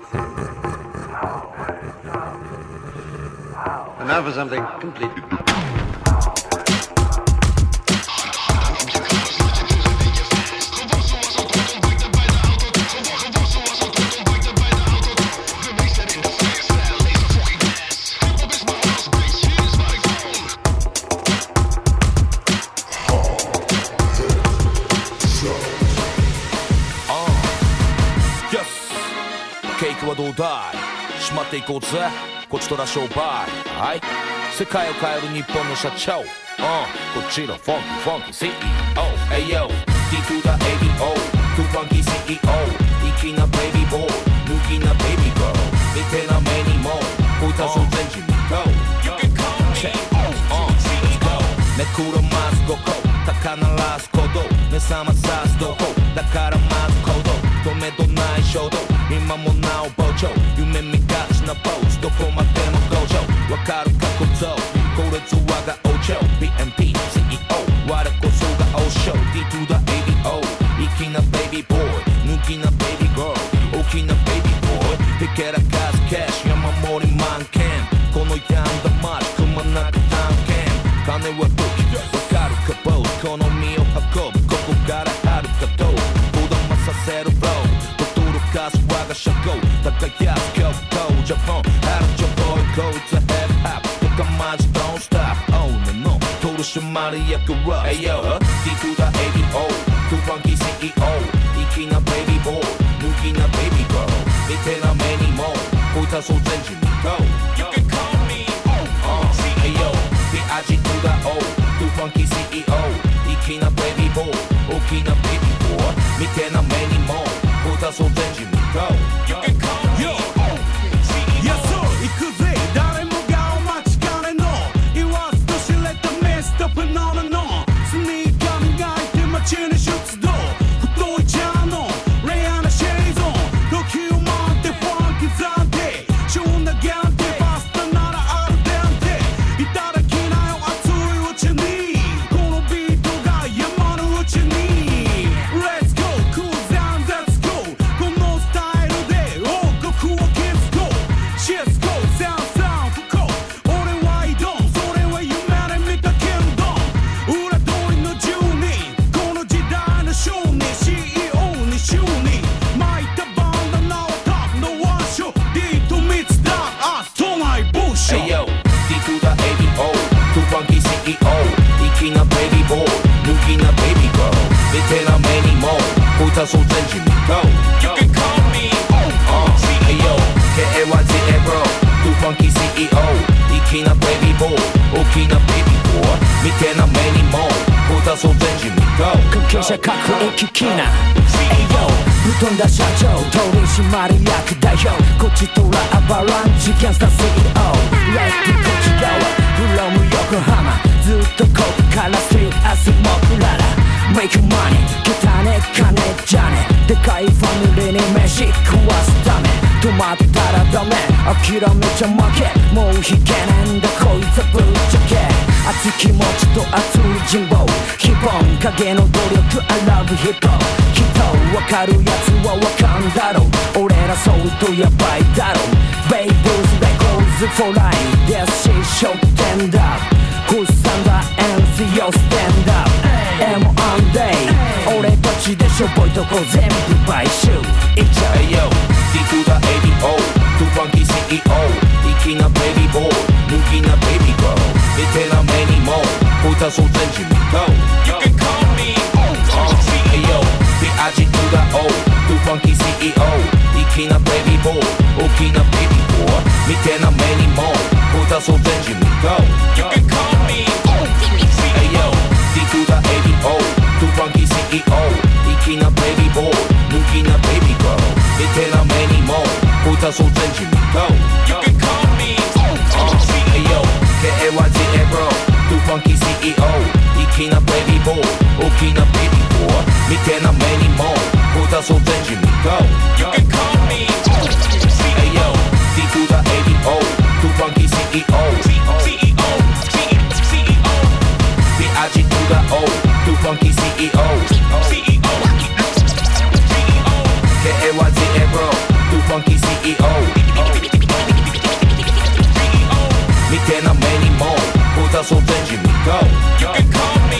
And now for something completely ケイクはどうだいしまっていこうぜこちとら商売はい世界を変える日本の社長こっちのフォンキー CEO Ayo D to the ABO to funky CEO 粋なベイビーボーイ抜きなベイビーガール見てな目にもこいたそう全人に Go You can call me Let's go めくらます5個高鳴らす鼓動目覚まさすどこだからまず行動止めどない衝動今もなお膨張夢見がちなポーズどこまでも向上わかるか小僧これぞ我が王朝 BMP CEO 我こそが王将 D to the ABO 粋なベイビーボーイ抜きなベイビーガール大きなベイビーボーイひけらかすキャッシュ山盛り満点この病んだ街くまなく探検金は武器わかるかボーイ好みを運ぶここからはるかどうこだまさせるフロー我が社交輝く極東ジャポンあるジャポイこいつはヘップハップとかマジ Don't stop Oh no no 取締役は Ayo D to the ABO to funky CEO 粋なベイビーボーイ抜きなベイビーガール見てな目にもこいたそう全人に Go You can call me Ayo B-I-G to the O to funky CEO 粋なベイビーボーイ大きなベイビーボーイ見てな目にもこいたそう全人にGo. You can call me Yes sir 行くぜ誰もがお待ちかねの言わずと知れたミスタープノノのスニーカー磨いて街に出動太いチャーのレアなシェイゾン時を待ってファンキー暫定旬な限定パスタならアルデンテいただきなよ熱いうちにこのビートが山のうちに Let's go cool down let's go このスタイルで王国を築こうシスコサンサン不幸俺は挑むそれは夢で見たキンドム裏通りの住人この時代の商人 CEO に就任巻いたバンダナはタップのワンショー D とミツダンアス都内ブッシュ Ayo D to the ABO to funky CEO 粋なベイビーボーイ抜きなベイビーガール見てな目にもこいたそう全人に Go You can call me Ayo KAYZA bro to funky CEO 粋なベイビーボーイ大きなベイビーボーイ見てな目にもこいたそう全人に Go 関係者各駅キな Ayo ぶっ飛んだ社長取締役代表こちとらアバランチキャンスター CEO レッドこっち側フロム横浜ずっとここからスリーアスモクララ Make money 汚ね金じゃねでかいファミリーに飯食わすため止まったらダメ諦めちゃ負けもう引けねんだこいつはぶっちゃけ熱い気持ちと熱い人望ヒップホン影の努力 I love hip hop きっとわかるやつはわかんだろう俺らそうとやばいだろうベイブーズレコーズ for life ですしショッテンダーフッサンダー MC よステンダー M1 デイ俺たちでしょぼいとこ全部買収いっちゃう Ayo D to the ABO to funky CEO 粋なベイビーボーイ抜きなベイビーガール見てな目にもこいたそう全人に Go You can call me Ayo B-I-G to the O to funky CEO 粋なベイビーボーイ大きなベイビーボーイ見てな目にもこいたそう全人に Go You can call me Ayo D to the ABO to funky CEO 粋なベイビーボーイ抜きなベイビーガール見てな目にもこいたそう全人に Go You can call me Ayo KAYZA bro to funky CEO 粋なベイビーボーイ大きなベイビーボーイ見てな目にもこいたそう全人に Go You can call me Ayo D to the ABO to funky CEO B-I-G to the O to funky CEO KAYZA bro to funky CEO Hustle Benjamin, go. You can call me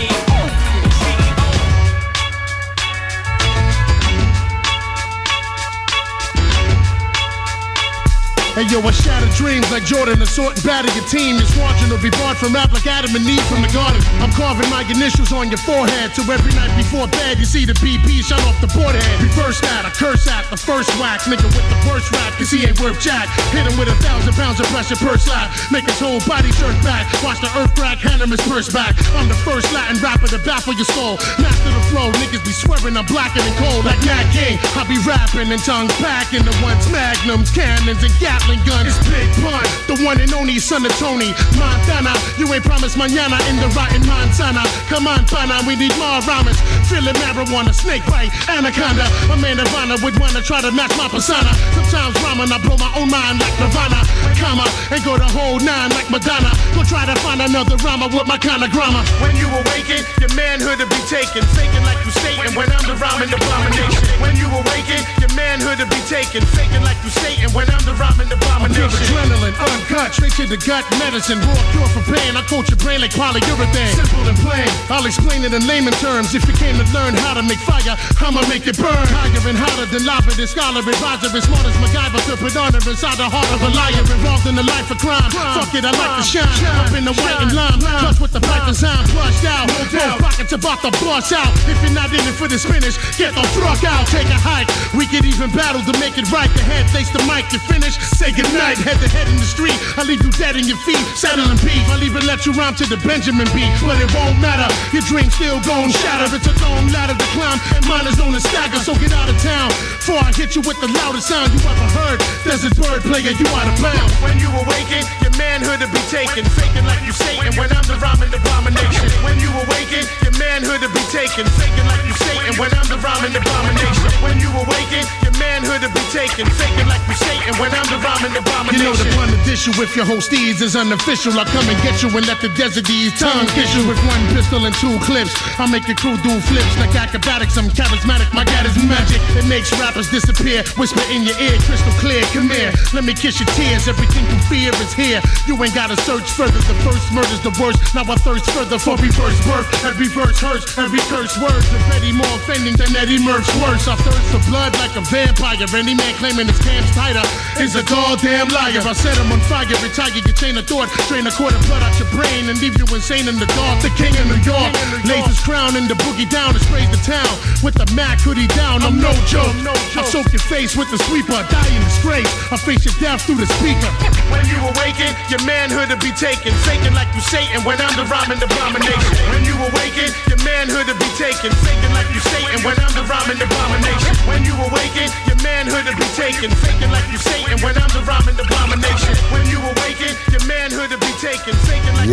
Hey yo, I shatter dreams like Jordan, assault and batter your team. It's watching to be barred from rap like Adam and Eve from the garden. I'm carving my initials on your forehead, so every night before bed you see the BP shot off the board head. Reverse that, I curse at the first wax, nigga with the worst rap, cause he ain't worth jack. Hit him with 1,000 pounds of pressure per slap, make his whole body jerk back. Watch the earth crack, hand him his purse back. I'm the first Latin rapper to baffle your soul. Master the flow, niggas be swearing I'm blacker than cold like Nat King. I be rapping and tongues packing the ones magnums, cannons and Gatling gun. It's Big Pun, the one and only son of Tony Montana. You ain't promised mañana in the rotten Montana. Come on, pana, we need more rhymes. Feeling marijuana, snake bite, anaconda. A man of honor would wanna try to match my persona. Sometimes rhyming, I blow my own mind like Nirvana. Comma, and go the whole nine like Madonna. Go try to find another rhymer with my kind of grammar. When you awaken, your manhood will be taken. Faking like you Satan when I'm the rhyming abomination. When you awaken, your manhood will be taken. Faking like you Satan when I'm the rhyming abomination. Pure adrenaline, uncut, straight to the gut medicine. Raw cure for pain, I coat your brain like polyurethane. Simple and plain, I'll explain it in layman terms. If you came to learn how to make fire, I'ma make it burn. Higher and hotter than lava, the scholar, advisor, as smart as MacGyver. To put honor inside the heart of a liar. Involved in the life of crime. Fuck it, I like to shine. Up in the white and lime, clutch with the pipe design, flushed out. Both pockets about to bust out. If you're not in it for the spinach, get the fuck out. Take a hike, we could even battle to make it right. The head face the mic, you finish, say goodnight. Head to head in the street, I leave you dead in your feet. Saddle and beef, I'll even let you rhyme to the Benjamin beat. But it won't matter, your dream still gon' shatter. It's a long ladder to climb, and mine is on the stagger. So get out of town, before I hit you with the loudest sound you ever heard. Desert bird player, you out of bounds. When you awaken, your manhood will be taken. Faking like you Satan when I'm the rhyming abomination. When you awaken, your manhood will be taken. Faking like you Satan when I'm the rhyming abomination. When you awaken, your manhood will be taken. Faking like you Satan when I'm the rhyming abomination. You know the blunt issue with your host steeds is unofficial. I come and get you and let the desert ease tongue kiss you with one pistol and two clips. I make your crew do flips like acrobatics. I'm charismatic, my God is magic. It makes rappers disappear. Whisper in your ear, crystal clear. Come here, let me kiss your tears. Everything you fear is here. You ain't gotta search further. The first murder's the worst. Now I thirst further for reverse birth. Every verse hurts, every curse word. Already more offending than Eddie Murph's worse. I thirst for blood like a vampire. Any man claiming his camp's tighter is a goddamn liar. I set him on fire, retire your chain of thought. Drain a quart of blood out your brain and leave you insane in the dark. The king of New York lays his crown and the boogie down and sprays the town. With the Mac hoodie down, I'm no joke. I soak your face with the sweeper, die in disgrace. I face your death through the speaker. When you awaken, your manhood will be taken. Faking like you Satan when I'm the rhyming abomination. When you awaken, your manhood will be taken. Faking like you Satan when I'm the rhyming abomination. When you awaken, your manhood will be taken. Faking like you Satan when I'm the rhyming abomination. When you awaken, your manhood will be taken. Faking like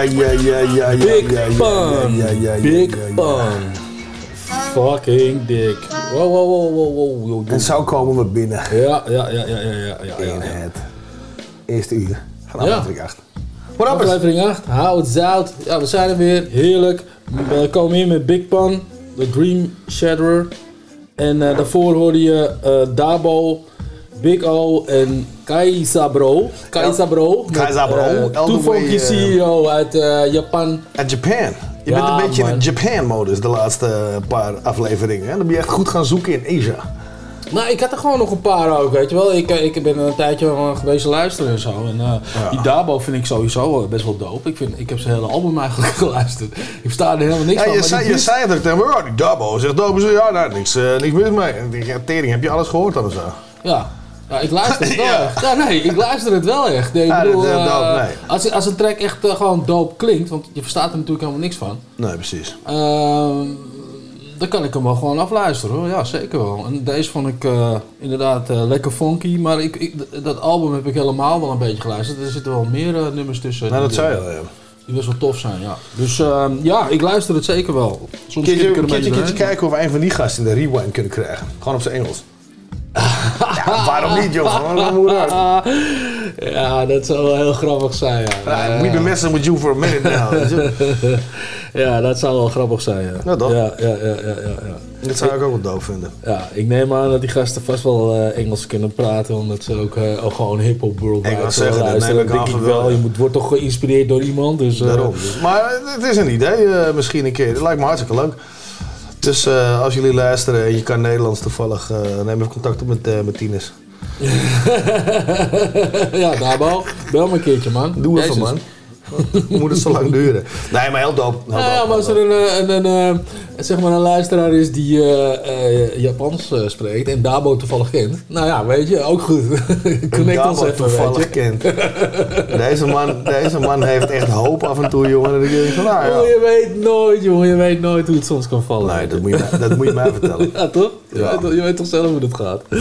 Big Pun. Fucking dik. Wow. En zo komen we binnen. Ja. In het eerste uur van aflevering 8. Wat anders? Aflevering 8, hou het zout. Ja, we zijn er weer. Heerlijk. We komen hier met Big Pun, de Dream Shatterer. En daarvoor hoorde je Dabo, Big O en Kaisabro. Toevallig CEO uit Japan. Uit Japan. Je bent een beetje in de Japan-modus de laatste paar afleveringen. Hè? Dan ben je echt goed gaan zoeken in Asia. Nou, ik had er gewoon nog een paar ook, weet je wel. Ik ben een tijdje geweest luisteren en zo. En die Dabo vind ik sowieso best wel dope. Ik heb zijn hele album eigenlijk geluisterd. Ik versta er helemaal niks van. Je zei het ook tegen me, die Dabo zegt dope. Ja, nou, niks mis mee. Die tering, heb je alles gehoord dan of zo? Ja, ik luister het wel echt. Ja, nee, ik luister het wel echt. Nee, ik bedoel, als een track echt gewoon dope klinkt, want je verstaat er natuurlijk helemaal niks van. Nee, precies. Dan kan ik hem wel gewoon afluisteren hoor. Ja, zeker wel. En deze vond ik inderdaad lekker funky. Maar dat album heb ik helemaal wel een beetje geluisterd. Er zitten wel meer nummers tussen. Nou, dat zei je al, ja. Die best wel tof zijn, ja. Dus ja, ik luister het zeker wel. Soms kun je kijken of we een van die gasten in de rewind kunnen krijgen. Gewoon op zijn Engels. Ja, waarom niet, joh? Ja, dat zou wel heel grappig zijn, ja. We've been messing with you for a minute now. Ja, dat zou wel grappig zijn, ja. Nou, toch? Ja. Dat zou ik ook wel doof vinden. Ja, ik neem aan dat die gasten vast wel Engels kunnen praten, omdat ze ook gewoon hip-hop worldwide Ik wou zeggen, dat neem ik aan van wel. Je wordt toch geïnspireerd door iemand. Dus, Daarom. Maar het is een idee, misschien een keer. Dat lijkt me hartstikke leuk. Dus als jullie luisteren en je kan Nederlands toevallig, neem even contact op met Tines. Ja, Dabo, bel me een keertje, man. Doe even, man. Moet het zo lang duren? Nee, maar heel dope. Maar als er zeg maar een luisteraar is die Japans spreekt en Dabo toevallig kent, nou ja, weet je, ook goed. Connect ons even, toevallig weet je. kent. Deze man heeft echt hoop af en toe, jongen. Dan denk ik van, nou ja. Je weet nooit, jongen, je weet nooit hoe het soms kan vallen. Nee, dat moet je mij vertellen. Ja, toch? Ja. Je weet toch zelf hoe het gaat. Ja.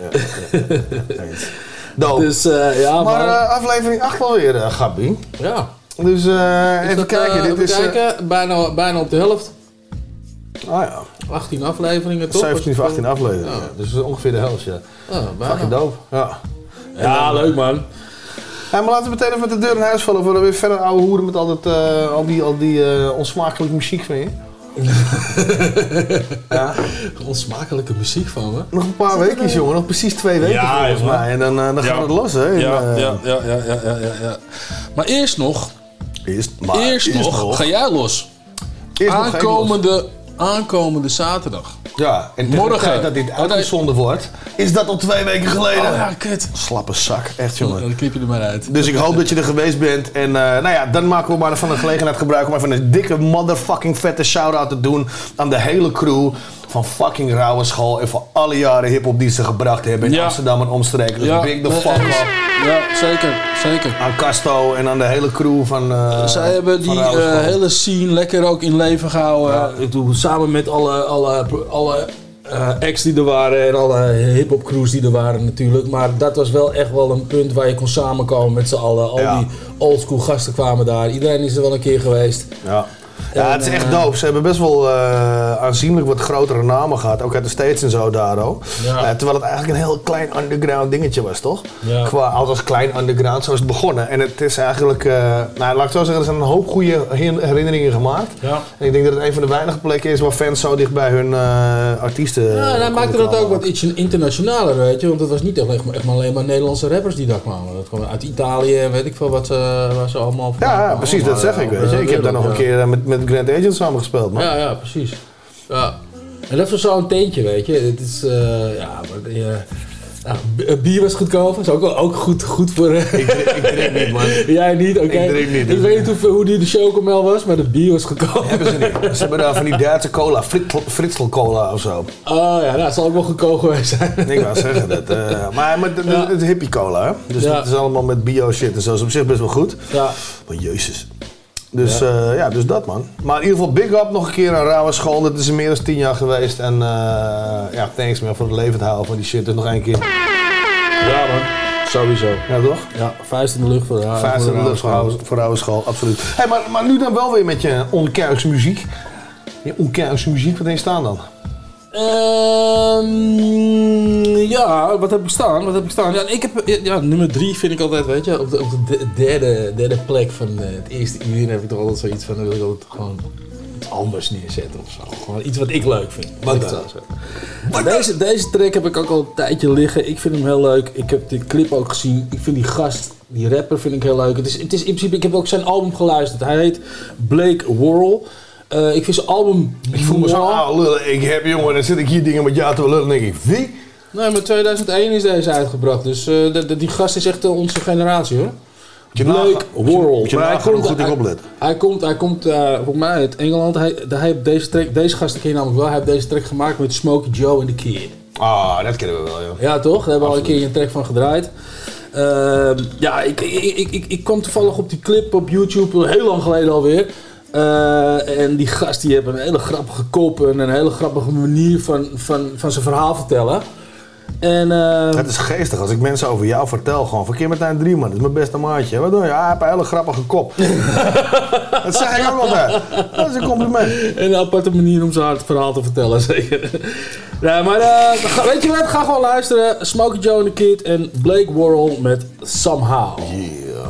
Dope. Dus ja, maar aflevering 8 alweer, Gabi. Ja. Dus even kijken. Dit is bijna op de helft. Ah ja. 18 afleveringen, toch? 17 of 18 afleveringen. Ja. Ja. Dus ongeveer de helft, ja. Bijna. Fucking dope. Ja. Ja, leuk man. Ja, maar laten we meteen even met de deur in huis vallen. Voor we weer verder ouwe hoeren met altijd al die onsmakelijke muziek van je. Ja. Onsmakelijke muziek van me. Nog een paar weekjes, jongen. Nog precies 2 weken volgens mij. En dan gaan we het los, hè. Ja. Maar eerst nog, ga jij los. Aankomende zaterdag. Ja, en morgen dat dit uitgezonden wordt, is dat al 2 weken geleden. Oh ja, kut. Slappe zak, echt jongen. Dan knip je er maar uit. Dus ik hoop dat je er geweest bent. En nou ja, dan maken we maar van de gelegenheid gebruik om even een dikke motherfucking vette shout-out te doen aan de hele crew van fucking Rauwe School en voor alle jaren hiphop die ze gebracht hebben in Amsterdam en omstreken. Dus big the fuck up. Ja, zeker. Aan Casto en aan de hele crew van zij hebben die hele scene lekker ook in leven gehouden. Ja. Ik doe samen met alle acts die er waren en alle hip-hop crews die er waren natuurlijk. Maar dat was wel echt wel een punt waar je kon samenkomen met z'n allen. Al die oldschool gasten kwamen daar. Iedereen is er wel een keer geweest. Ja. Ja, het is echt dope. Ze hebben best wel aanzienlijk wat grotere namen gehad. Ook uit de States en zo daar ook. Ja. Terwijl het eigenlijk een heel klein underground dingetje was, toch? Ja. Althans klein underground, zo is het begonnen. En het is eigenlijk, laat ik zo zeggen, er zijn een hoop goede herinneringen gemaakt. Ja. En ik denk dat het een van de weinige plekken is waar fans zo dicht bij hun artiesten... Ja, en hij maakte dat ook wat iets internationaler, weet je. Want het was niet echt maar alleen maar Nederlandse rappers die daar kwamen. Dat kwam uit Italië en weet ik veel waar ze allemaal van ja, precies, dat zeg ik, weet je. Ik heb daar nog een keer met Grand Agent samengespeeld, man. Ja, precies. Ja. En dat was zo'n teentje, weet je. Het is, bier was goedkoop. Dat is ook goed voor... Ik drink niet, man. Jij niet? Oké. Ik drink niet. Ik weet niet hoe die de chocomel was, maar de bier was goedkoop. Hebben ze niet. Ze hebben daar van die Duitse cola, Fritzl cola of zo. Oh ja, dat zal ook wel goedkoop geweest zijn. Ik wou zeggen dat. Maar het is hippie cola, hè. Dus het is allemaal met bio shit en zo. Dat is op zich best wel goed. Ja. Maar jezus. Dus dus dat, man. Maar in ieder geval big up nog een keer aan Rauwe School. Dat is er meer dan 10 jaar geweest. En thanks man voor het levend houden van die shit. Dus nog 1 keer. Ja man, sowieso. Ja toch? Ja, vuist in de lucht voor Rauwe School. Vuist in de lucht voor Rauwe School, absoluut. Hey, maar nu dan wel weer met je onkerkse muziek. Je onkerkse muziek, wat heb je staan dan? Ja, wat heb ik staan? Ja, ik heb, nummer 3 vind ik altijd, weet je, op de derde plek van het eerste uur heb ik toch altijd zoiets van, dan wil ik altijd gewoon iets anders neerzetten of zo. Gewoon iets wat ik leuk vind. Deze track heb ik ook al een tijdje liggen. Ik vind hem heel leuk. Ik heb de clip ook gezien. Ik vind die gast, die rapper vind ik heel leuk. Het is in principe, ik heb ook zijn album geluisterd. Hij heet Blake Worrell. Ik vind zijn album... Ik voel me zo lullen. Ik heb, jongen, dan zit ik hier dingen met jou te lullen en denk ik, wie? Nee, maar 2001 is deze uitgebracht. Dus die gast is echt onze generatie, hoor. Blake Worrell. Hij komt volgens mij uit Engeland. Hij heeft deze gast ken je namelijk wel. Hij heeft deze track gemaakt met Smokey Joe en The Kid. Ah, dat kennen we wel, joh. Ja, toch? Daar hebben we al een keer een track van gedraaid. Ik kwam toevallig op die clip op YouTube, heel lang geleden alweer. En die gast die heeft een hele grappige kop en een hele grappige manier van zijn verhaal vertellen. En, het is geestig als ik mensen over jou vertel, gewoon verkeer met een 3 man, dat is mijn beste maatje. Wat doe je? Hij heeft een hele grappige kop. Dat zeg ik ook altijd. Dat is een compliment. En een aparte manier om zijn verhaal te vertellen, zeker. Ja, maar weet je wat? Ga gewoon luisteren. Smokey Joe and The Kid en Blake Worrell met Somehow. Yeah.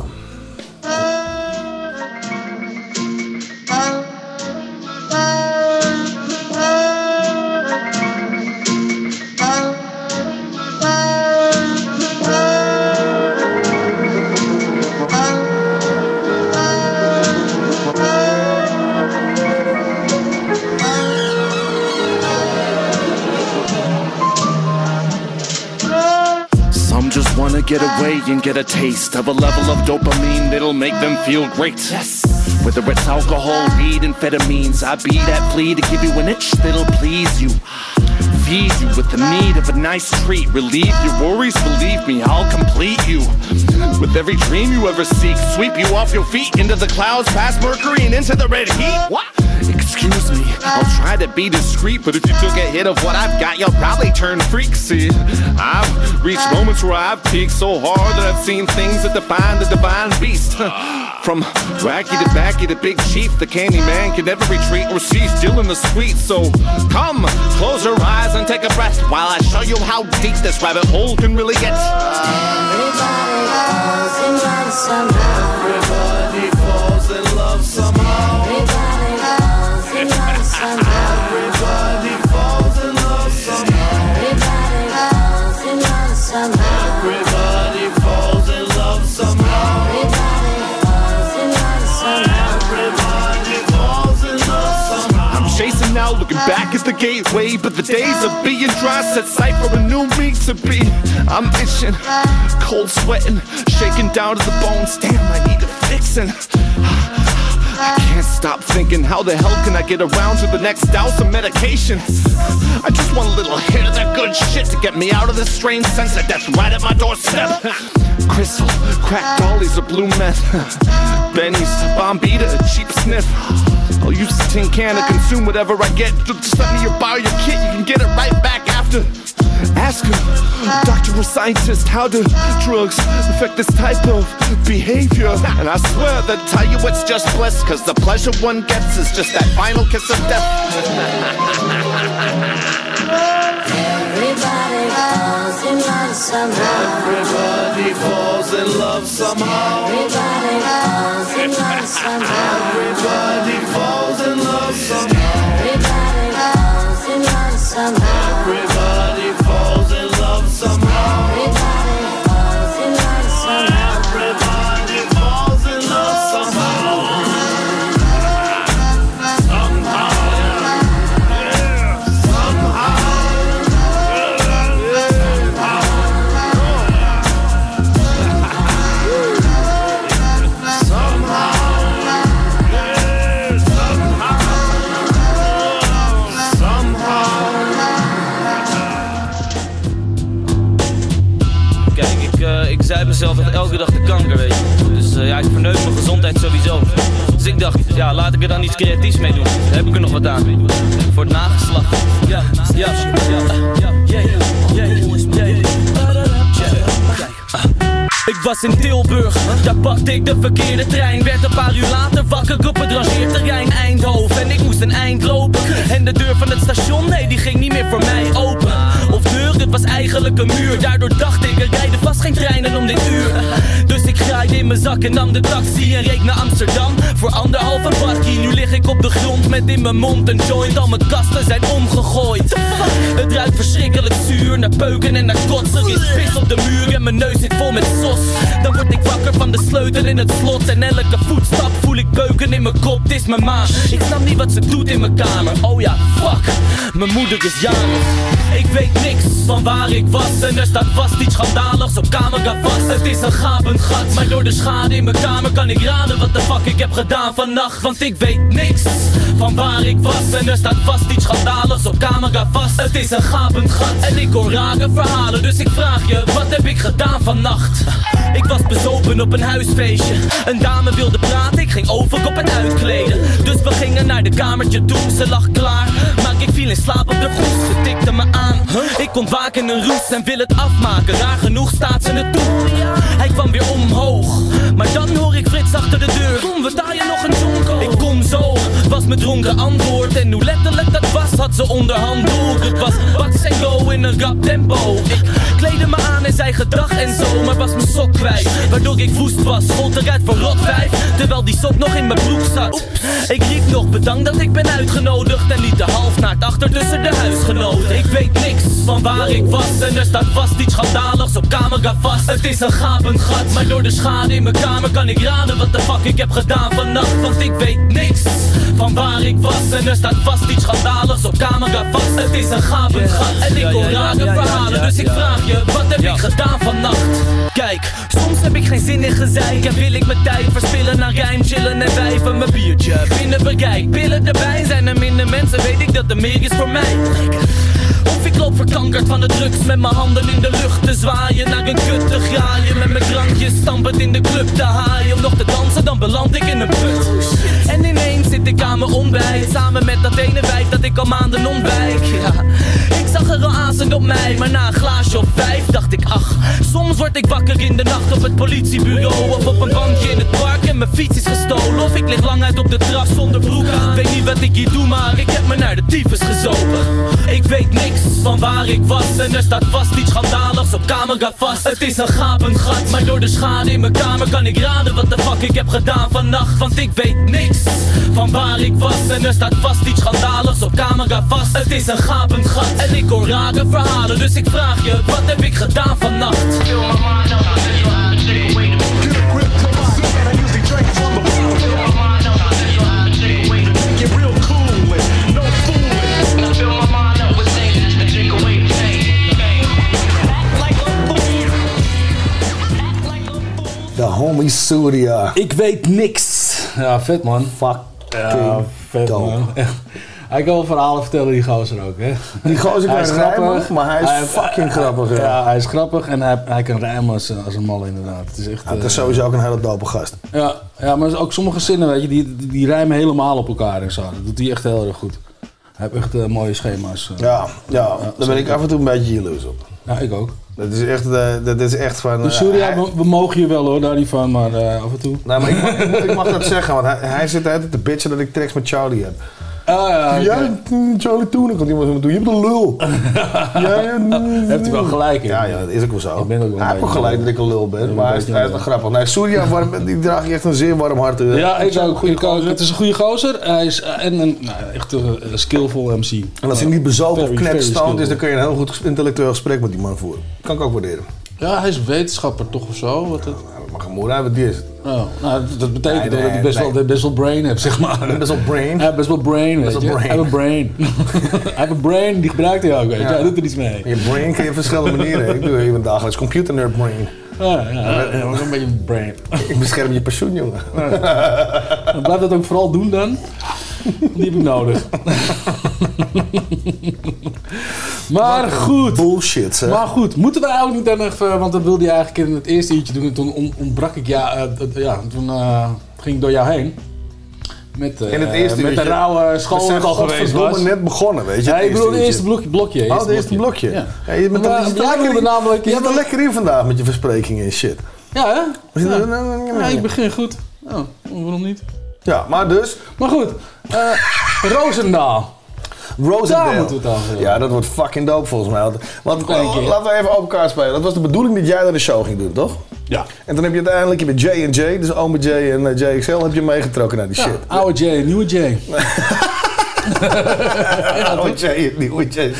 wanna get away and get a taste of a level of dopamine that'll make them feel great. Yes. Whether it's alcohol, weed, amphetamines, I be that flea to give you an itch that'll please you. Feed you with the need of a nice treat. Relieve your worries, believe me, I'll complete you. With every dream you ever seek, sweep you off your feet into the clouds, past Mercury and into the red heat. What? Excuse me, I'll try to be discreet, but if you took a hit of what I've got, you'll probably turn freak. See, I've reached moments where I've peaked so hard that I've seen things that define the divine beast. From wacky to backy to big chief, the candy man can never retreat or cease dealing the sweet. So come, close your eyes and take a breath while I show you how deep this rabbit hole can really get. Everybody falls in love somehow. Everybody falls in love somehow. Everybody falls in love somehow. Everybody falls in love somehow. Everybody falls in love somehow. Everybody falls in love somehow. Chasing now, looking back at the gateway, but the days of being dry set sight for a new me to be. I'm itching, cold sweating, shaking down to the bones. Damn, I need a fixing. I can't stop thinking, how the hell can I get around to the next dose of medication? I just want a little hit of that good shit to get me out of this strange sense that death's right at my doorstep. Crystal, crack dollies or blue meth, Benny's, Bombita, a cheap sniff. I'll use the tin can to consume whatever I get. Just let me borrow your kit, you can get it right back after. Ask a doctor or scientist, how do drugs affect this type of behavior? And I swear that tell you it's just bliss, cause the pleasure one gets is just that final kiss of death. Everybody falls in love somehow. Everybody falls in love somehow. Everybody falls in love somehow. Everybody falls in love somehow. Everybody falls in love somehow. Everybody falls in love somehow. Everybody falls in love somehow. Everybody falls in love somehow. Somehow. Ik zei mezelf echt elke dag de kanker, weet je. Dus ja, ik verneuk mijn gezondheid sowieso. Dus ik dacht, ja, laat ik er dan iets creatiefs mee doen. Daar heb ik er nog wat aan. Voor het nageslacht. Ja. Ik was in Tilburg, daar pakte ik de verkeerde trein. Werd een paar uur later wakker op het rangeerterrein Eindhoven. En ik moest een eind lopen. En de deur van het station, nee, die ging niet meer voor mij open. Of deur, het was eigenlijk een muur. Daardoor dacht ik, er rijden vast geen treinen om dit uur. Dus ik graaide in mijn zak en nam de taxi en reed naar Amsterdam. Voor 1,5 bakkie, nu lig ik op de grond met in mijn mond een joint. Al mijn kasten zijn omgegooid. Het ruikt verschrikkelijk zuur, naar peuken en naar kotsen. Er is pis op de muur en mijn neus zit vol met sos. Dan word ik wakker van de sleutel in het slot. En elke voetstap voel ik beuken in mijn kop. Het is mijn ma, ik snap niet wat ze doet in mijn kamer. Oh ja, fuck, mijn moeder is jarig. Ik weet niks van waar ik was. En er staat vast iets schandaligs op camera vast. Het is een gapend gat, maar door de schade in mijn kamer kan ik raden wat de fuck ik heb gedaan vannacht. Want ik weet niks van waar ik was. En er staat vast iets schandaligs op camera vast. Het is een gapend gat en ik hoor rare verhalen. Dus ik vraag je, wat heb ik gedaan vannacht? Ik was bezopen op een huisfeestje. Een dame wilde praten, ik ging over op het uitkleden. Dus we gingen naar de kamertje toe, ze lag klaar. Maar ik viel in slaap op de groes, ze tikte me aan. Ik ontwaak in een roes en wil het afmaken. Raar genoeg staat ze het toe. Hij kwam weer omhoog, maar dan hoor ik Frits achter de deur. Kom, we taaien nog een jonko. Ik kom zo, was mijn dronken antwoord. En hoe letterlijk dat was, had ze onderhand door. Het was Bax en Go in een rap tempo. Ik kleedde me aan en zei gedag en zo, maar was mijn sok kwijt. Waardoor ik woest was, schold eruit voor rotwijf. Terwijl die sok nog in mijn broek zat. Oeps. Ik riep nog bedankt dat ik ben uitgenodigd. En liet de halfnaakt achter tussen de huisgenoten. Ik weet niks van waar ik was. En er staat vast iets schandaligs op camera vast. Het is een gapend gat, maar door de schade in mijn kamer kan ik raden wat de fuck ik heb gedaan vannacht. Want ik weet niks van waar ik was. En er staat vast iets schandaligs op camera vast. Het is een gapend gat en ik hoor rare verhalen. Dus ik vraag je, je, wat heb ik gedaan vannacht? Kijk, soms heb ik geen zin in gezeik en wil ik mijn tijd verspillen naar rijm, chillen en wijven. Mijn biertje binnen bereik, pillen erbij. Zijn er minder mensen, weet ik dat er meer is voor mij. Of ik loop verkankerd van de drugs met mijn handen in de lucht te zwaaien. Naar een kut te graaien, met mijn drankjes stampend in de club te haaien. Om nog te dansen, dan beland ik in een put. En ineens zit ik aan mijn ontbijt, samen met dat ene wijf dat ik al maanden ontwijk. Ja, ik zag er al aanzend op mij, maar na een glaasje of 5 dacht ik, ach, soms word ik wakker in de nacht op het politiebureau. Of op een bankje in het park en mijn fiets is gestolen. Of ik lig lang uit op de trap zonder broek aan. Weet niet wat ik hier doe, maar ik heb me naar de tyfus gezopen. Ik weet niks van waar ik was en er staat vast iets schandaligs op camera vast. Het is een gapend gat, maar door de schade in mijn kamer kan ik raden wat de fuck ik heb gedaan vannacht. Want ik weet niks van waar ik was en er staat vast iets schandaligs op camera vast. Het is een gapend gat en ik hoor rare verhalen, dus ik vraag je, wat heb ik gedaan vannacht? De homie Surya. Ik weet niks. Ja, vet man. Fuck. Ja, vet man. Echt. Hij kan wel verhalen vertellen, die gozer ook, hè. Die gozer kan rijmen, maar hij is fucking grappig. Ja. Ja, hij is grappig en hij kan rijmen als een mal inderdaad. Het is echt... Het is sowieso ook een hele dope gast. Ja, maar ook sommige zinnen, weet je, die rijmen helemaal op elkaar en zo. Dat doet hij echt heel erg goed. Hij heeft echt mooie schema's. Ja, daar ben ik af en toe een beetje jaloers op. Ja, ik ook. Dat is echt van... Dus Surya, we mogen je wel hoor, daar niet van, maar af en toe. Nou, maar ik mag dat zeggen, want hij zit altijd te bitchen dat ik tracks met Charlie heb. Ja, Charlie Toenen komt iemand doen. Je bent een lul. Heeft hij wel gelijk in. Ja, dat is ook wel zo. Ik ben ook wel hij heeft ook gelijk dat ik een lul ben, maar hij is wel grappig. Nee, Surya, die draag je echt een zeer warm hart. Ja, ik ook. Het is een goede gozer. Hij is echt een skillful MC. En als hij niet bezopen of knetstand is, dan kun je een heel goed intellectueel gesprek met die man voeren. Kan ik ook waarderen. Ja, hij is wetenschapper toch of zo? Wat het... Maar gemoed, wat die is het. Oh, nou, dat betekent dat hij best wel brain heeft, zeg maar. Best wel brain? Ja, best wel brain, weet je. Hij heeft een brain. Hij heeft een brain, die gebruikt hij ook, weet je. Hij doet er iets mee. Je brain kun je op verschillende manieren. Ik doe even dagelijks computer nerd brain. Ja, ook een beetje brain. Ik bescherm je pensioen, jongen. Blijf dat ook vooral doen dan. Die heb ik nodig. Maar goed. Bullshit, zeg. Maar goed, moeten we eigenlijk niet dan even... Want dat wilde je eigenlijk in het eerste uurtje doen. En toen ontbrak ik toen ging ik door jou heen. In het eerste met de rauwe school dat al geweest was. Net begonnen, weet je. Ja, ik bedoel het eerste blokje. Het eerste blokje. Ja. Ja, je bent er lekker in vandaag met je versprekingen en shit. Ja, hè? Ja, ik begin goed. Oh, waarom niet? Ja, maar dus... Maar goed, Roosendaal. Daar moeten we het over. Ja, dat wordt fucking dope volgens mij. Want laten we even open kaart spelen. Dat was de bedoeling dat jij daar de show ging doen, toch? Ja. En dan heb je uiteindelijk met J&J, dus Ome J en JXL, heb je meegetrokken naar die shit. Oude J, nieuwe J. Oude J, nieuwe J, zegt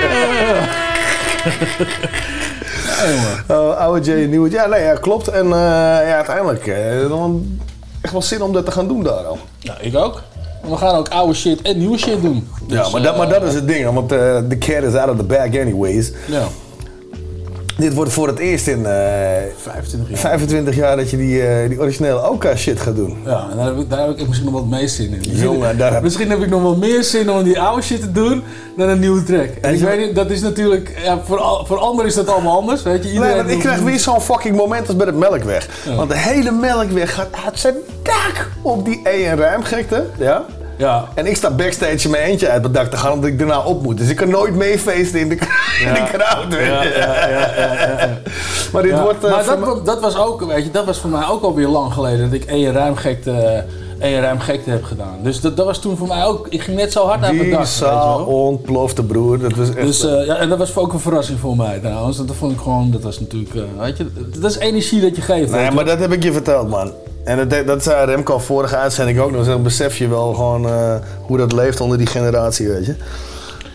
hij. Oude J, nieuwe J. Ja, nee, ja, klopt. En uiteindelijk dan echt wel zin om dat te gaan doen daar al. Ja, ik ook. We gaan ook oude shit en nieuwe shit doen. Dus, ja, maar dat is het ding, want the cat is out of the bag anyways. Ja. Dit wordt voor het eerst in 25 jaar dat je die originele Oka shit gaat doen. Ja, en daar heb ik misschien nog wat meer zin in. Jongen, misschien heb ik nog wel meer zin om die oude shit te doen dan een nieuwe track. En ik weet niet, dat is natuurlijk, ja, voor anderen is dat allemaal anders, weet je. Nee, want ik krijg weer zo'n fucking moment als bij het Melkweg. Ja. Want de hele Melkweg gaat uit zijn dak op die rijmgekte, ja. Ja. En ik sta backstage in mijn eentje uit het dak te gaan omdat ik daarna op moet. Dus ik kan nooit meefeesten in de crowd. Ja. Maar dit wordt... maar dat was ook, weet je, dat was voor mij ook alweer lang geleden dat ik rijmgekte heb gedaan. Dus dat was toen voor mij ook, ik ging net zo hard uit mijn dak. Die zaal ontplofte, broer. Dat was echt... Dus en dat was ook een verrassing voor mij trouwens. Dat vond ik gewoon, dat was natuurlijk, weet je, dat is energie dat je geeft. Nee, maar dat heb ik je verteld, man. En dat zei Remco vorige uitzending ook nog. Dan besef je wel gewoon hoe dat leeft onder die generatie, weet je.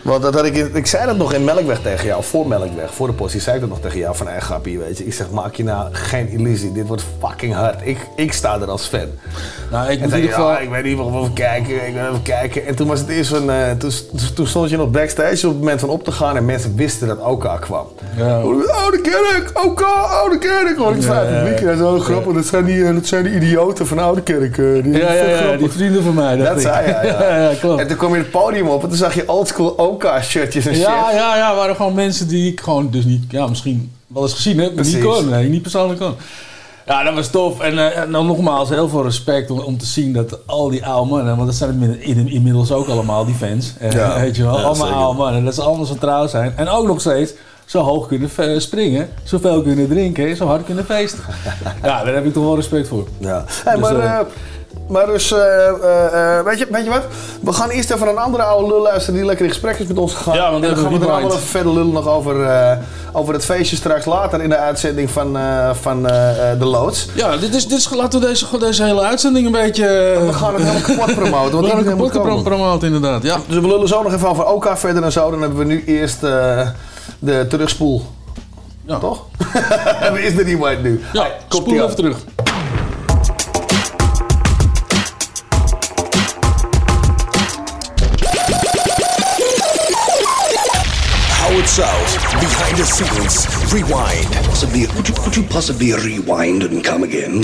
Want dat had ik zei dat nog in Melkweg tegen jou, voor Melkweg, voor de postie, zei ik dat nog tegen jou van grappie, weet je. Ik zeg, maak je nou geen illusie, dit wordt fucking hard. Ik sta er als fan. Nou, ik en zei ik weet niet, we gaan even kijken. En toen was het eerst van, toen stond je nog backstage op het moment van op te gaan en mensen wisten dat OK kwam. Ja. Oude Kerk, OK, Oude Kerk. Hoor ik vanuit het publiek. Dat is wel grappig, dat zijn die idioten van Oude Kerk. Die vrienden van mij. Dat zei hij, ja, klopt. En toen kwam je het podium op en toen zag je oldschool OK-shirtjes en shit. Ja, waren gewoon mensen die ik gewoon dus niet, misschien wel eens gezien heb, maar niet kon. Nee, niet persoonlijk kon. Ja, dat was tof. En dan nogmaals, heel veel respect om te zien dat al die oude mannen, want dat zijn inmiddels ook allemaal, die fans. Weet je wel, allemaal oude mannen. Dat ze allemaal zo trouw zijn. En ook nog steeds zo hoog kunnen springen, zoveel kunnen drinken, zo hard kunnen feesten. Ja, daar heb ik toch wel respect voor. Ja. Hey, dus, maar dus, weet je wat? We gaan eerst even een andere oude lul luisteren die lekker in gesprek is met ons gegaan. Ja, want en dan gaan we er allemaal even verder lullen nog over het feestje straks later in de uitzending van de Loods. Ja, laten we deze hele uitzending een beetje... we gaan het helemaal kapot promoten. We gaan het kapot promoten, inderdaad. Ja. Dus we lullen zo nog even over OK verder en zo. Dan hebben we nu eerst de terugspoel. Ja. Toch? We is de rewind nu. Ja, spoel even terug. Howard South, behind the scenes, rewind. Could you possibly rewind and come again?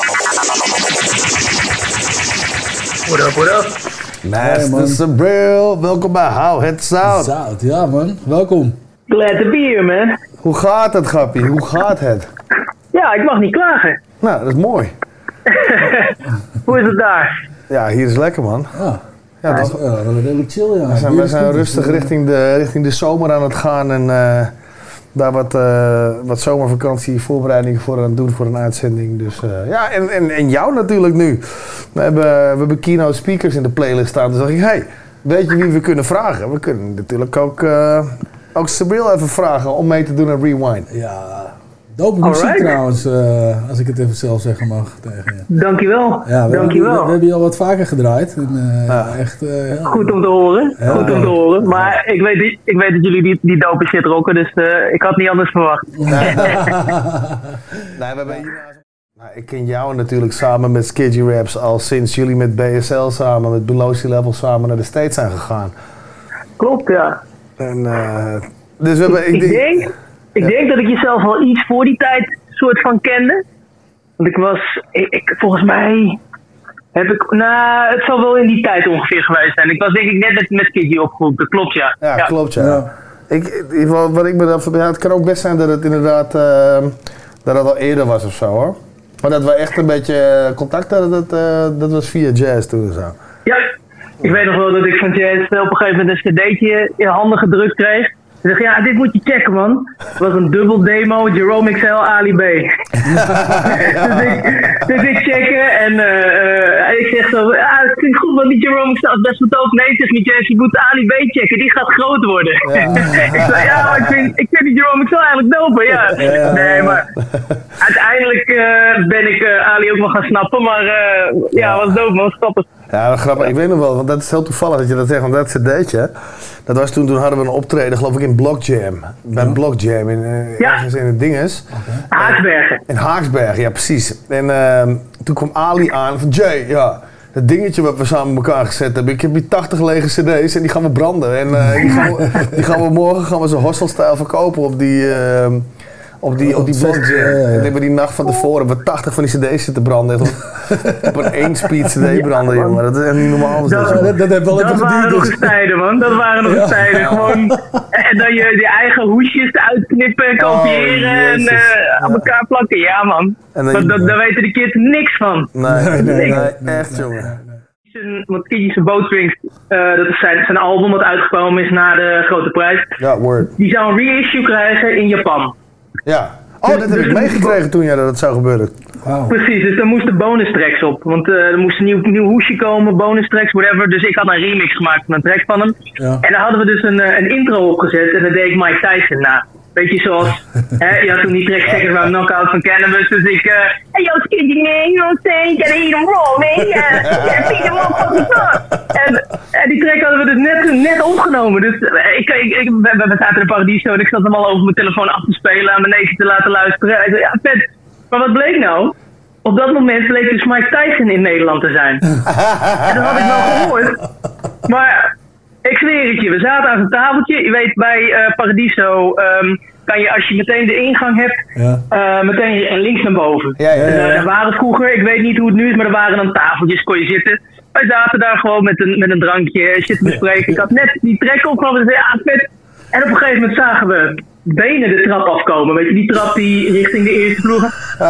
What up? Master Sabril, welkom bij How It Sound. Ja man, welkom. Glad to be here, man. Hoe gaat het, grappie? Hoe gaat het? Ja, ik mag niet klagen. Nou, dat is mooi. Hoe is het daar? Ja, hier is lekker, man. Ja, dat is redelijk chill, ja. We zijn rustig richting de zomer aan het gaan en daar wat zomervakantie voorbereidingen voor aan het doen voor een uitzending. Dus ja, en jou natuurlijk nu. We hebben keynote speakers in de playlist staan. Dus dacht ik, hey, weet je wie we kunnen vragen? We kunnen natuurlijk ook Sabril even vragen om mee te doen aan Rewind. Ja, dope muziek trouwens, als ik het even zelf zeggen mag tegen je. Dankjewel. Ja, Dankjewel. We hebben je al wat vaker gedraaid. En, echt, goed om te horen. Ja, goed om te horen. Maar ik weet dat jullie die dope shit rocken, dus ik had niet anders verwacht. Nee, we hebben ik ken jou natuurlijk samen met Skidgy Raps al sinds jullie met BSL samen, met Below Sea Level samen naar de States zijn gegaan. Klopt, ja. En, dus we hebben, ik denk dat ik jezelf al iets voor die tijd soort van kende. Want volgens mij heb ik, het zal wel in die tijd ongeveer geweest zijn. Ik was denk ik net met Skidgy opgegroeid, dat klopt ja. Ja, klopt ja. Wat ik me dan verbeeld, het kan ook best zijn dat het inderdaad dat het al eerder was of zo hoor. Maar dat we echt een beetje contact hadden, dat was via Jazz toen en zo. Ja, ik weet nog wel dat ik van Jazz op een gegeven moment een cd'tje in handen gedrukt kreeg. Ik dacht, ja, dit moet je checken, man. Het was een dubbel demo, Jerome XL, Ali B. dus ik checken en ik zeg zo, het klinkt goed, want die Jerome XL is best wel tof. Nee, zeg niet, Jess, je moet Ali B checken, die gaat groot worden. Ja. Ik zei, ja, maar ik vind die Jerome XL eigenlijk dope, ja. Nee, maar uiteindelijk ben ik Ali ook wel gaan snappen, maar was dope, man, stappen. Ja, grappig. Ik weet nog wel, want dat is heel toevallig dat je dat zegt, want dat cd'tje, dat was toen hadden we een optreden, geloof ik, in Block Jam. Bij Block Jam, ergens in het dinges. Haaksbergen. In Haaksbergen, ja precies. En toen kwam Ali aan van, Jay, ja, dat dingetje wat we samen met elkaar gezet hebben, ik heb hier 80 lege cd's en die gaan we branden. En die gaan we morgen zo hostelstijl verkopen op die Block Jam. En hebben die nacht van tevoren we 80 van die cd's zitten branden. Op een 1-speed cd branden, jongen. Dat is echt niet normaal. Dat heeft wel even geduurd. Dat waren nog eens tijden, man. Dat waren nog eens tijden. Gewoon, en dan je eigen hoesjes uitknippen en kopiëren en aan elkaar plakken. Ja, man. Daar weten de kids niks van. Nee, echt, jongen. Want Skidgy's Boatstrings, dat is zijn album dat uitgekomen is na de Grote Prijs. Ja, word. Die zou een reissue krijgen in Japan. Ja. Oh, dat heb ik meegekregen toen dat het zou gebeuren. Wow. Precies, dus daar moesten bonus tracks op. Want er moest een nieuw hoesje komen, bonus tracks, whatever. Dus ik had een remix gemaakt van een track van hem. Ja. En daar hadden we dus een intro opgezet en dat deed ik Mike Tyson na. Beetje zoals, je had toen die track Seconds Round Knockout van Cannabis, dus ik, hey yo, skiddy man, you know what I'm saying, gotta eat them raw, man, yeah, beat them motherfuckers up. En die track hadden we dus net opgenomen, dus we zaten in de Paradiso en ik zat hem al over mijn telefoon af te spelen, aan mijn neefje te laten luisteren. Hij zei, ja, vet, maar wat bleek nou? Op dat moment bleek dus Mike Tyson in Nederland te zijn. En dat had ik wel gehoord, maar... Ik zweer het je, we zaten aan zo'n tafeltje. Je weet, bij Paradiso kan je, als je meteen de ingang hebt, meteen links naar boven. Er waren vroeger, ik weet niet hoe het nu is, maar er waren dan tafeltjes, kon je zitten. Wij zaten daar gewoon met een drankje, shit te bespreken. Ik had net die trek opgenomen en zei, ja, vet. En op een gegeven moment zagen we benen de trap afkomen. Weet je, die trap die richting de eerste vloer.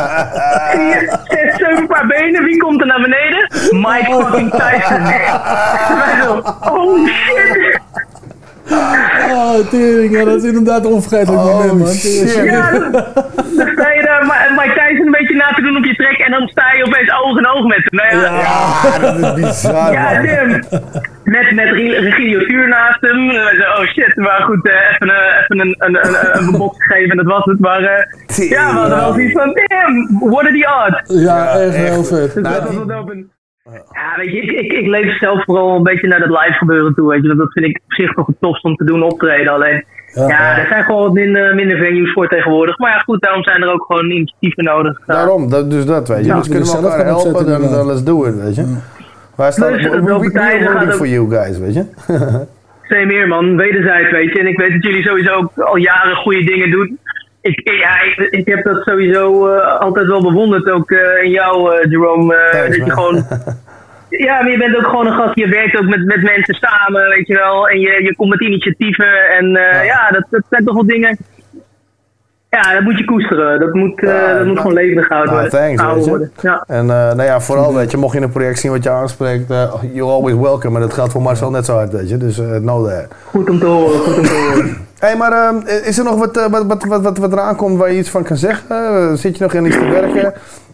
6, 7 paar benen. Wie komt er naar beneden? Mike fucking Tyson. Wij zo, oh shit. Oh, tering, ja, dat is inderdaad een onvergetelijk moment, man. Shit. Ja, dan sta je daar Mike Tyson een beetje na te doen op je trek en dan sta je opeens oog in oog met hem. Ja, dat is bizar, ja, Tim. Met Regilio Tuur naast hem. Oh shit, maar goed, even een box gegeven en dat was het. Maar ja, we hadden wel zoiets van, damn, what are the odds? Ja, echt heel vet. Dus dat was wel een... Ja, weet je, ik leef zelf vooral een beetje naar dat live gebeuren toe, weet je. Dat vind ik op zich toch het tofst om te doen, optreden. Alleen, er zijn gewoon wat minder venues voor tegenwoordig. Maar ja, goed, daarom zijn er ook gewoon initiatieven nodig. Daarom, dus dat weet je. Dus kunnen we elkaar helpen, dan let's do it, weet je. Wij staan, we for you guys, weet je. Same meer, man. Wederzijds, weet je. En ik weet dat jullie sowieso ook al jaren goede dingen doen. Ik heb dat sowieso altijd wel bewonderd, ook in jou, Jerome. Dat je gewoon... Ja, maar je bent ook gewoon een gast, je werkt ook met mensen samen, weet je wel. En je komt met initiatieven en dat zijn toch wel dingen... Ja, dat moet je koesteren. Dat moet gewoon levendig gehouden worden. Ja. En vooral, weet je, mocht je een project zien wat je aanspreekt, you're always welcome. En dat geldt voor Marcel net zo hard, weet je. Dus know that. Goed om te horen. Hey, maar is er nog wat eraan komt waar je iets van kan zeggen? Zit je nog in iets te werken?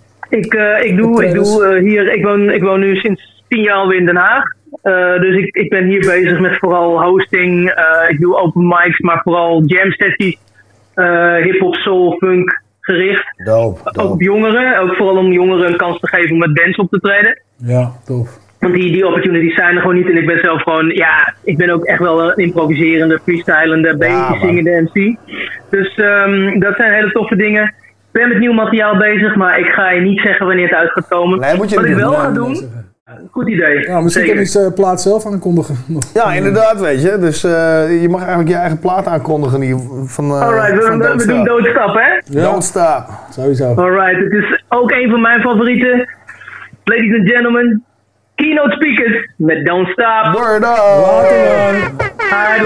Ik woon nu sinds 10 jaar alweer in Den Haag. Dus ik ben hier bezig met vooral hosting. Ik doe open mics, maar vooral jam sessies. Hip-hop, soul, funk gericht. Dope. Ook op jongeren. Ook vooral om jongeren een kans te geven om met bands op te treden. Ja, tof. Want die opportunities zijn er gewoon niet. En ik ben zelf gewoon, ik ben ook echt wel een improviserende, freestylende, beetje zingende MC. Dus dat zijn hele toffe dingen. Ik ben met nieuw materiaal bezig, maar ik ga je niet zeggen wanneer het uit gaat komen. Nee, moet je wat ik wel ga doen... Goed idee. Ja, misschien kan je plaat zelf aankondigen. Ja, inderdaad, weet je. Dus je mag eigenlijk je eigen plaat aankondigen. Alright, we doen Don't Stop, hè? Ja. Don't Stop. Sowieso. Alright, het is ook een van mijn favorieten. Ladies and gentlemen, Keynote Speakers met Don't Stop. Word up! Alright,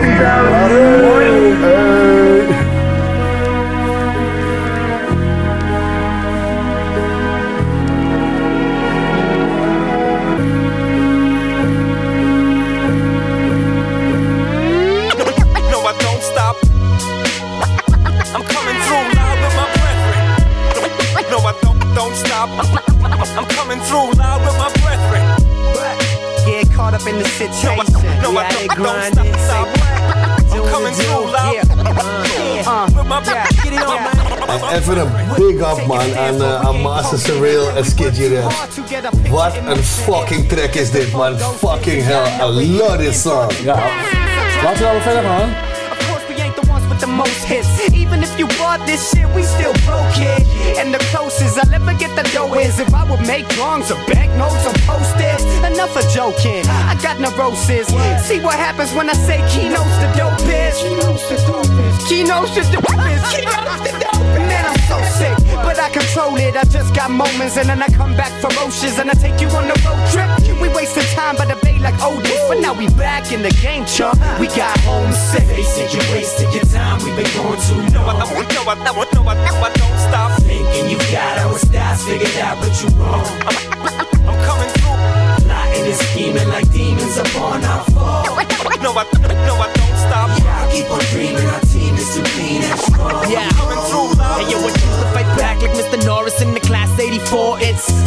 Don't stop. I'm coming through loud with my brethren. Yeah, caught up in the situation. No, I don't stop. I'm coming through loud with my brethren. Get it on, man. Even een big up, man, aan Master Surreal en Skidgy Raps. Wat een fucking track is dit, man. Fucking hell, I love this song. Ja, laten we wel verder gaan. The most hits. Even if you bought this shit, we still broke it. And the closest I'll ever get the dough is if I would make drawings or banknotes or post-its. Enough of joking, I got neurosis. See what happens when I say keynotes the dopest. Keynotes the dopest. Man, I'm so sick, but I control it. I just got moments and then I come back ferocious and I take you on the road trip. We wasted time by the bay like Otis, but now we back in the game, chump. We got homesick. They said you wasted your time. We've been going too long. I don't stop thinking you got our styles figured out, but you wrong. I'm coming through, plotting and scheming like demons upon our fall. No, I don't stop. Yeah, I keep on dreaming. Our team is too clean and strong. Yeah, I'm coming through, love. Hey, yo, I choose to fight back like Mr. Norris in the class 84. It's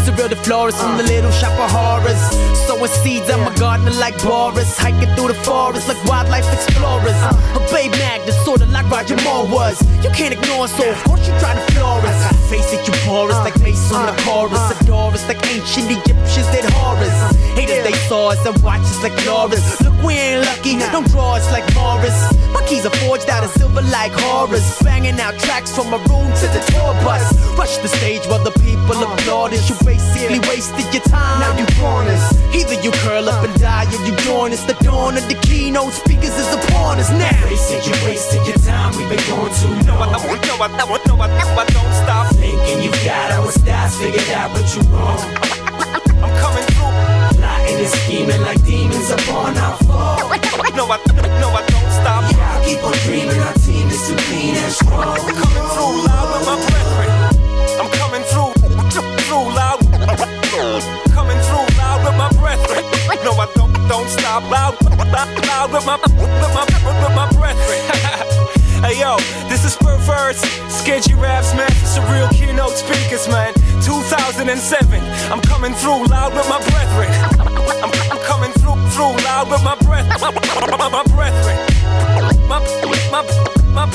Surreal the florist from the little shop of horrors. Sowing seeds, I'm a gardener like Boris. Hiking through the forest like wildlife explorers. A babe magnet, sorta like Roger Moore was. You can't ignore us, so of course you try to floor us. Face it, you porous like Mace on the chorus. Adore us like ancient Egyptians did horrors. Haters, they saw us and watch us like Loris. Look, we ain't lucky, don't draw us like Morris. My keys are forged out of silver like Horus. Banging out tracks from a room to the tour bus. Rush the stage while the people applaud us. You basically wasted your time, now you gone us. Either you curl up and die or you join us. The dawn of the keynote speakers is upon us now. They said you wasted your time, we've been going too long. I don't stop thinking you got our styles figured out, but you wrong. I'm coming through, plotting and scheming like demons upon our fall. No, I don't stop. Yeah, I keep on dreaming, our team is too clean and strong. I'm coming through loud with my brethren. I'm coming through loud. Coming through loud with my brethren. No, I don't stop loud with my brethren. Hey yo, this is Perverse, Sketchy Raps, man. Surreal keynote speakers, man. 2007, I'm coming through loud with my brethren. I'm coming through loud with my brethren. My brethren. My brethren. My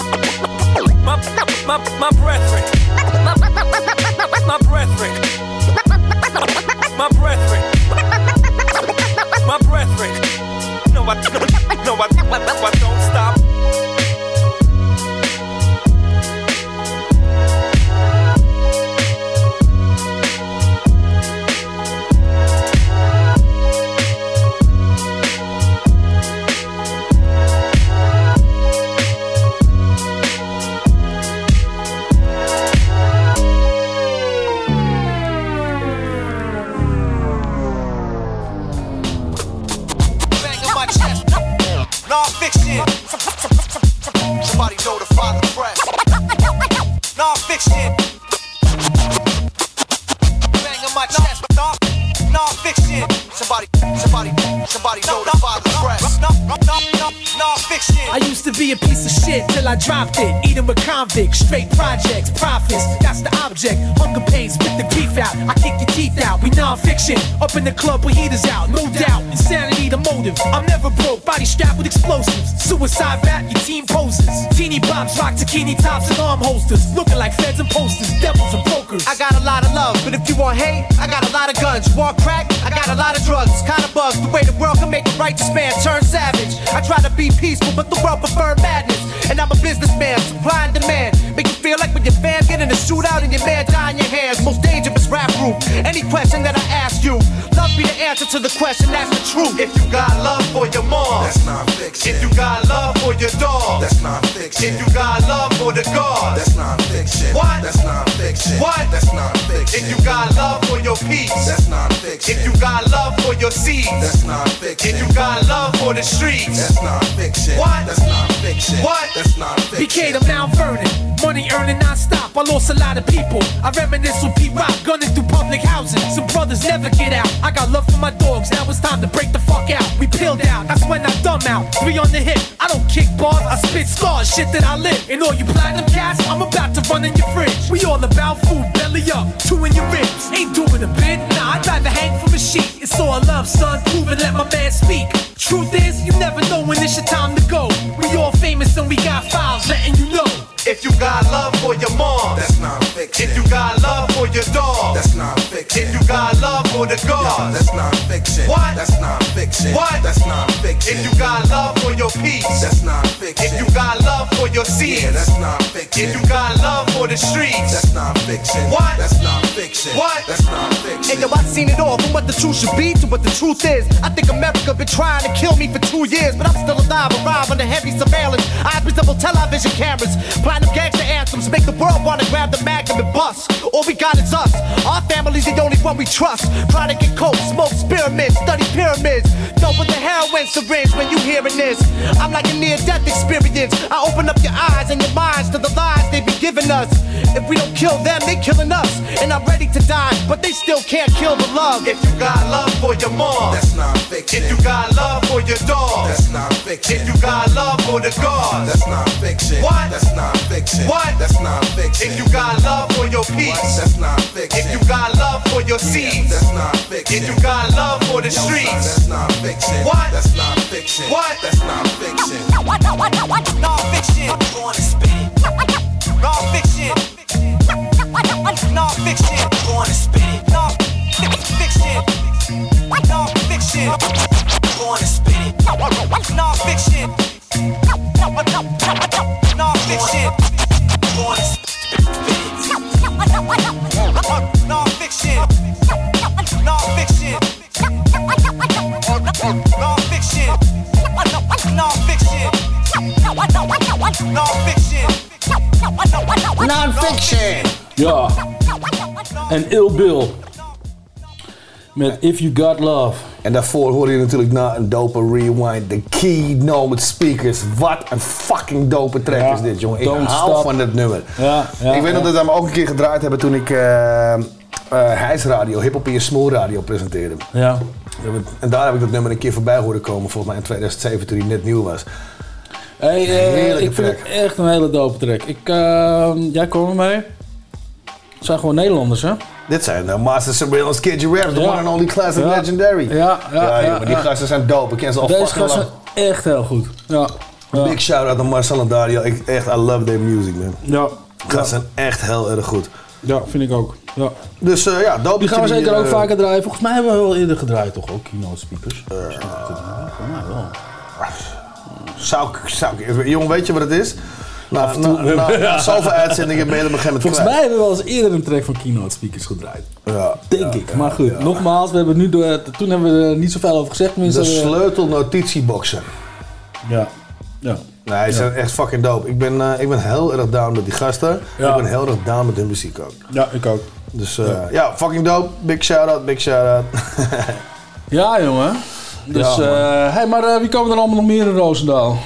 brethren. My brethren. No, I don't stop. Non-fiction. Somebody notify the press. Non-fiction. Bang on my chest. Non-fiction. Somebody notify the press. Non-fiction. I used to be a piece of shit till I dropped it. Eating with convicts, straight projects, profits. That's the object. Hunger pains, spit the beef out. I kick your teeth out. We non-fiction. Up in the club with heaters out, no doubt. Insanity the motive. I'm never broke. Body strapped with explosives. Suicide rap, your team poses. Teeny bops, rock zucchini tops and arm holsters. Looking like feds and posters, devils and brokers. I got a lot of love, but if you want hate, I got a lot of guns. You want crack? I got a lot of drugs. Kinda bugs the way the world can make a righteous man turn savage. I try to be peaceful, but the world prefer madness. And I'm a businessman, supply and demand. Make you feel like when your fans get in a shootout and your man die in your hands. Most dangerous rap group. Any question that I ask you, love be the answer to the question, that's the truth. If you got love for your mom, that's non-fiction. If you got love for your dog, that's non-fiction. If you got love for the God, that's non-fiction. What? That's non-fiction. What? That's non-fiction. If you got love for your peace, that's non-fiction. If you got love for your seeds, that's non-fiction. If you got love for the streets, that's non-fiction. What? That's non-fiction. What? That's non-fiction. BK to Mount Vernon, money earning non-stop. I lost a lot of people. I reminisce with P-Rock, gunning through public housing. Some brothers never get out. I got love for my dogs, now it's time to break the fuck out. We peeled out, that's when I dumb out. 3 on the hip, I don't kick bars, I spit scars, shit that I live. And all you platinum cats, I'm about to run in your fridge. We all about food, belly up, 2 in your ribs. Ain't doing a bit, nah, I'd rather hang from a sheet. It's all love, son, prove and let my man speak. Truth is, you never know when it's your time to go. We all famous and we got files letting you know. If you got love for your mom, that's non-fiction. If you got love for your dog, that's non-fiction. If you got love for the God, that's non-fiction. What? That's non-fiction. What? That's non-fiction. If you got love for your peace, that's non-fiction. If you got love for your seeds, yeah, that's non-fiction. If you got love for the streets, that's non-fiction. What? That's non-fiction. What? That's non-fiction. And yo, I've seen it all, from what the truth should be to what the truth is. I think America been trying to kill me for 2 years, but I'm still alive, arrive under heavy surveillance. Eyes resemble television cameras, platinum gangster anthems make the world wanna grab the magnum and bust. All we got is us. Our family's the only one we trust. Try to get coke, smoke pyramids, study pyramids. Dope with the heroin syringe when you hearing this. I'm like a near-death experience. I open up your eyes and your minds to the lies they be giving us. If we don't kill them, they killing us. And I'm ready to die, but they still can't kill the love. If you got love for your mom, that's non-fiction. If you got love for your dog, that's non-fiction. If you got love for the God, that's non-fiction. What? That's non-fiction. fiction. What? That's non-fiction. If you got love for your peace. What? That's non-fiction. If you got love for your seeds. That's non-fiction. If you got love for the streets. That's non-fiction. What? That's non-fiction. What? That's non-fiction. Non-fiction. Born to spit it. Non-fiction. Non-fiction. Born to spit it. Non-fiction. Non-fiction. Born to spit it. Non-fiction. Non-fiction. Born to spit it. Non-fiction. Non-fiction. Non-fiction. Non-fiction. Non-fiction. Ja. En Ill Bill. Met If You Got Love. En daarvoor hoorde je natuurlijk na een dope rewind de Keynote Speakers. Wat een fucking dope track is dit, jongen. Ik hou van dit nummer. Ik weet nog dat we hem ook een keer gedraaid hebben toen ik Hijs Radio, Hip Hop in je Small Radio presenteerde. Ja. En daar heb ik dat nummer een keer voorbij horen komen, volgens mij in 2007 toen hij net nieuw was. Hey, ik vind het echt een hele dope track. Jij kwam ermee. Het zijn gewoon Nederlanders, hè? Dit zijn Master Surveillance, Kid Raps, the one and only classic legendary. Ja, maar die gasten zijn dope. Ik ken ze al Deze fucking gasten zijn echt heel goed. Ja. Big shout-out aan Marcel en Dario. I love their music, man. Ja. Gasten zijn echt heel erg goed. Ja, vind ik ook. Ja. Dus dope. Die gaan we zeker ook vaker draaien. Volgens mij hebben we wel eerder gedraaid, toch ook, Keynote Speakers? Jongen, weet je wat het is? Na zoveel uitzendingen ben je op een gegeven moment Volgens mij hebben we wel eens eerder een track van Keynote Speakers gedraaid. Ja, Denk ik. Maar goed, nogmaals, we hebben toen hebben we er niet zoveel over gezegd. De sleutelnotitieboxen. Ja. Nee, die zijn echt fucking dope. Ik ben heel erg down met die gasten. Ja. Ik ben heel erg down met hun muziek ook. Ja, ik ook. Dus fucking dope. Big shout-out, big shout-out. Ja, jongen. Dus, maar wie komen er allemaal nog meer in Roosendaal?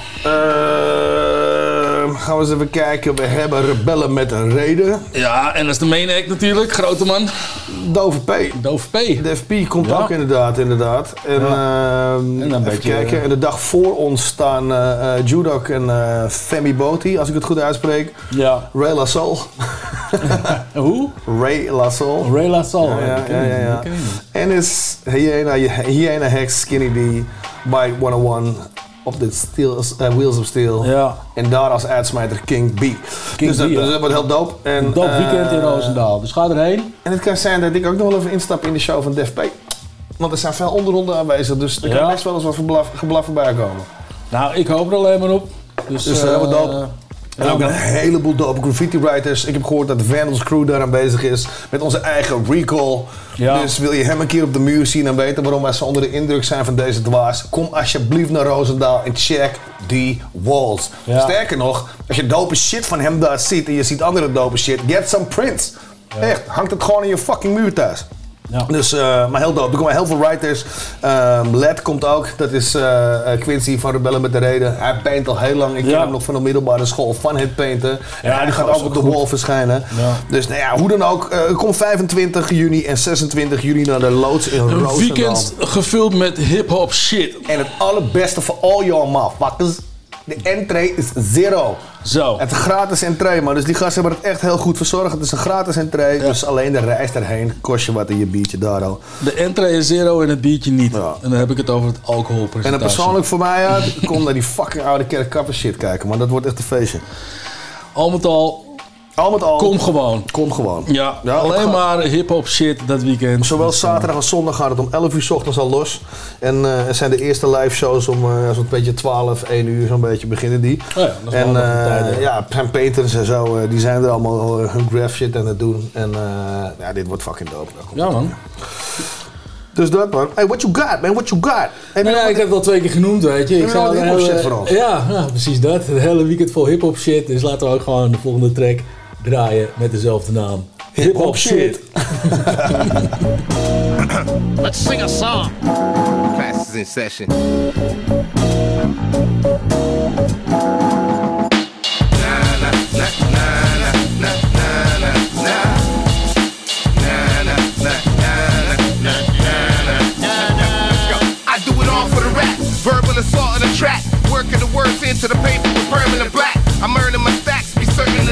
Gaan we eens even kijken. We hebben Rebellen met een reden. Ja, en dat is de main act natuurlijk. Grote man. Dove P. Def P komt ook inderdaad. En dan even kijken. En de dag voor ons staan Judok en Femi Boti, als ik het goed uitspreek. Ja. Ray La Soul. Hoe? Ray La Soul. Ray La Soul. Ja. En is Hyena Hex, Skinny D, Bite 101 op de Wheels of Steel. Ja. En daar als uitsmijter King B. Dus dat wordt heel dope. Een dope weekend in Roosendaal. Dus ga erheen. En het kan zijn dat ik ook nog wel even instap in de show van Def P. Want er zijn veel onderronden aanwezig, dus er kan best wel eens wat geblaf voorbij komen. Nou, ik hoop er alleen maar op. Dus helemaal dope. En ook een heleboel dope graffiti writers. Ik heb gehoord dat de Vandals crew daar aan bezig is. Met onze eigen Recall. Ja. Dus wil je hem een keer op de muur zien en weten waarom wij zo onder de indruk zijn van deze dwaas. Kom alsjeblieft naar Roosendaal en check die walls. Ja. Sterker nog, als je dope shit van hem daar ziet en je ziet andere dope shit. Get some prints. Ja. Echt, hangt het gewoon in je fucking muur thuis. Ja. Dus, maar heel dope. Er komen heel veel writers. Led komt ook. Dat is Quincy van Rebellen met de Reden. Hij paint al heel lang. Ik ken hem nog van de middelbare school van het painten. Ja, die gaat ook op de wall verschijnen. Ja. Dus nou ja, hoe dan ook. Kom 25 juni en 26 juni naar de loods in Roosendaal. Een weekend gevuld met hip-hop shit. En het allerbeste voor all your motherfuckers. De entree is zero. Zo. Het is een gratis entree, man. Dus die gasten hebben het echt heel goed verzorgd. Het is een gratis entree. Ja. Dus alleen de reis erheen kost je wat in je biertje daar al. De entree is zero en het biertje niet. Ja. En dan heb ik het over het alcoholpercentage. En dan persoonlijk voor mij uit, kom naar die fucking oude kerkkapper shit kijken, man. Dat wordt echt een feestje. Al met al. Kom gewoon. Kom gewoon. Ja, alleen maar hip-hop shit dat weekend. Zowel zaterdag als zondag gaat het om 11 uur 's ochtends al los. En er zijn de eerste live shows om zo'n beetje 12, 1 uur zo'n beetje beginnen die. Oh ja, dat is wel tijd, Sam Peters en zo, die zijn er allemaal hun graph shit aan het doen. En dit wordt fucking dope. Ja, man. Dus dat, man. Hey, what you got, man? What you got? Hey, ik heb het al 2 keer genoemd, weet je. Ik zou hip-hop shit voor ons. Ja, precies dat. Het hele weekend vol hip-hop shit. Dus laten we ook gewoon de volgende track draaien met dezelfde naam. Hip-hop shit. Let's sing a song. Class is in session. Verbal assault on the track, working the words into the paper with permanent black. I'm earning my stacks, be certain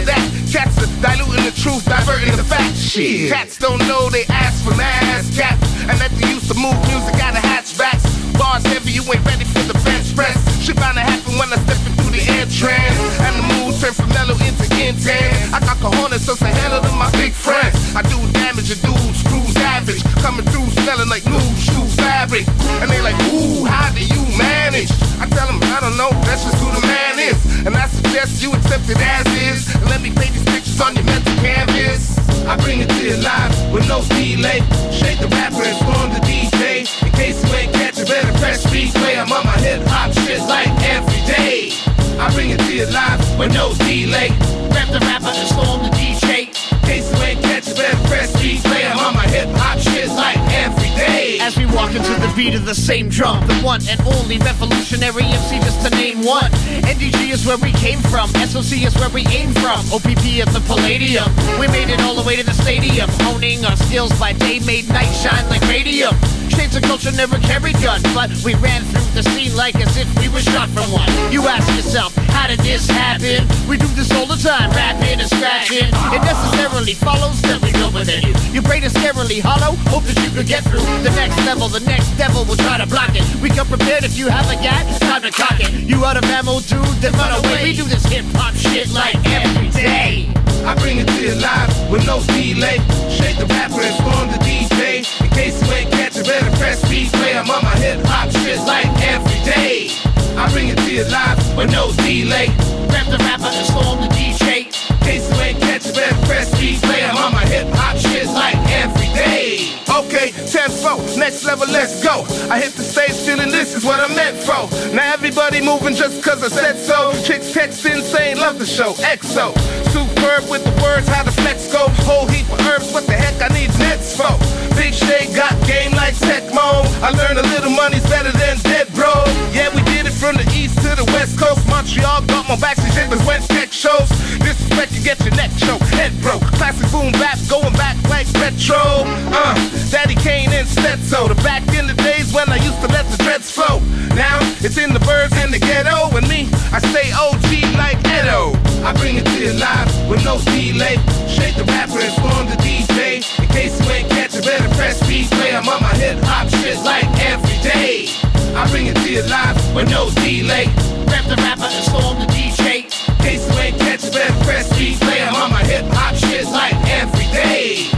Shit. Cats don't know they ask for mass caps. And that they used to move music out of hatchbacks. Bars heavy, you ain't ready for the bench press. Shit bound to happen when I step in through the entrance. And the mood turn from mellow into intense. I got cojones, so say hello to my big friends. I do damage, a dude screws average. Coming through smelling like new shoe fabric. And they like, ooh, how do you manage? I tell them, I don't know, that's just who the man is. And I suggest you accept it as is. And let me paint these pictures on your mental canvas. I bring it to you live with no delay. Shake the rapper and storm the DJ. In case you ain't catch it, better press replay. I'm on my hip hop shit like every day. I bring it to you live with no delay. Rap the rapper and storm the DJ. In case you ain't catch it, better press replay. I'm on my hip hop shit like every day. As we walk into the beat of the same drum, the one and only revolutionary MC, just to name one. NDG is where we came from, SOC is where we aim from, OPP at the Palladium. We made it all the way to the stadium, honing our skills by day, made night shine like radium. Shades of culture never carried gun, but we ran through the scene like as if we were shot from one. You ask yourself, how did this happen? We do this all the time, rapping and scratching. It necessarily follows that we go within you. Your brain is scarily hollow, hope that you could get through the next level. The next devil will try to block it. We come prepared if you have a gat, time to cock it. You out of ammo, dude, then run away. We do this hip-hop shit like every day. I bring it to you live with no delay. Shake the rapper and storm the DJ. In case you ain't catch it, better press replay. I'm on my hip hop shit like every day. I bring it to you live with no delay. Rap the rapper and storm the DJ. In case you ain't catch it, better press replay. I'm on my hip hop shit like every day. Okay, 10-4, next level, let's go. I hit the stage feeling this is what I'm meant for. Now everybody moving just cause I said so. Chicks texting saying love the show, EXO. Superb with the words, how the flex go. Whole heap of herbs, what the heck I need nets for. Big Shade got game like Tecmo. I learned a little money's better than dead, bro. Yeah, we did it from the east to the west coast. Montreal got my backstage niggas went tech shows. Disrespect, you get your neck choked, head broke. Classic boom bap going back like retro. Daddy Kane and Stetso. The back in the days when I used to let the dreads flow. Now it's in the birds and the ghetto. And me, I stay OG like Edo. I bring it to you live with no delay. Shake the rapper and storm the DJ. In case you ain't catch it, better press replay. I'm on my hip hop shit like every day. I bring it to you live with no delay. Rap the rapper and storm the DJ. In case you ain't catch it, better press replay. I'm on my hip hop shit like every day.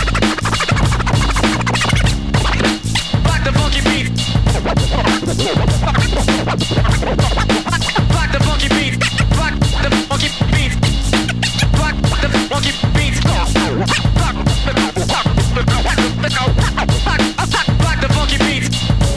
Rock the funky beat. Rock the funky beat. Rock the funky beat. Rock the funky beat. Rock the funky beat.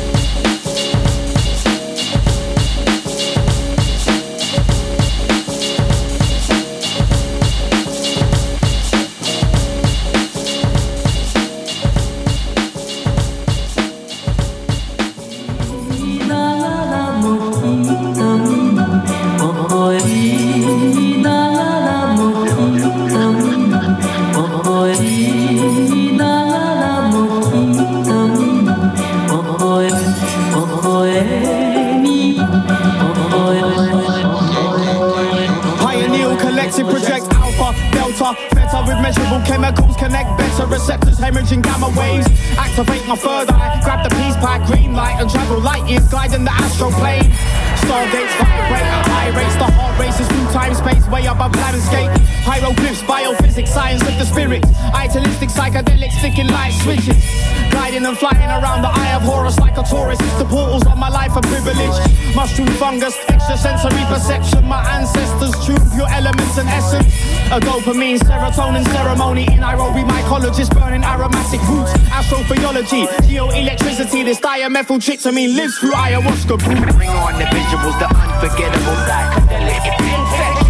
Project alpha, delta, theta with measurable chemicals connect better receptors, hemorrhaging gamma waves. Activate my third eye, grab the peace pipe, green light and travel light years, guiding the astral plane. Stargates vibrate at high rates, the heart races through time space, way above landscape. Hieroglyphs, biophysics, science of the spirit. Idealistic psychedelics, sticking light switches. Gliding and flying around the eye of Horus like a tourist. The portals of my life are privilege. Mushroom fungus, extrasensory perception. My ancestors tune pure elements and essence. A dopamine, serotonin ceremony in Nairobi. Mycologist burning aromatic roots. Astrophysiology, geoelectricity. This dimethyltryptamine lives through ayahuasca brew. Bring on the visuals, the unforgettable psychedelic infection.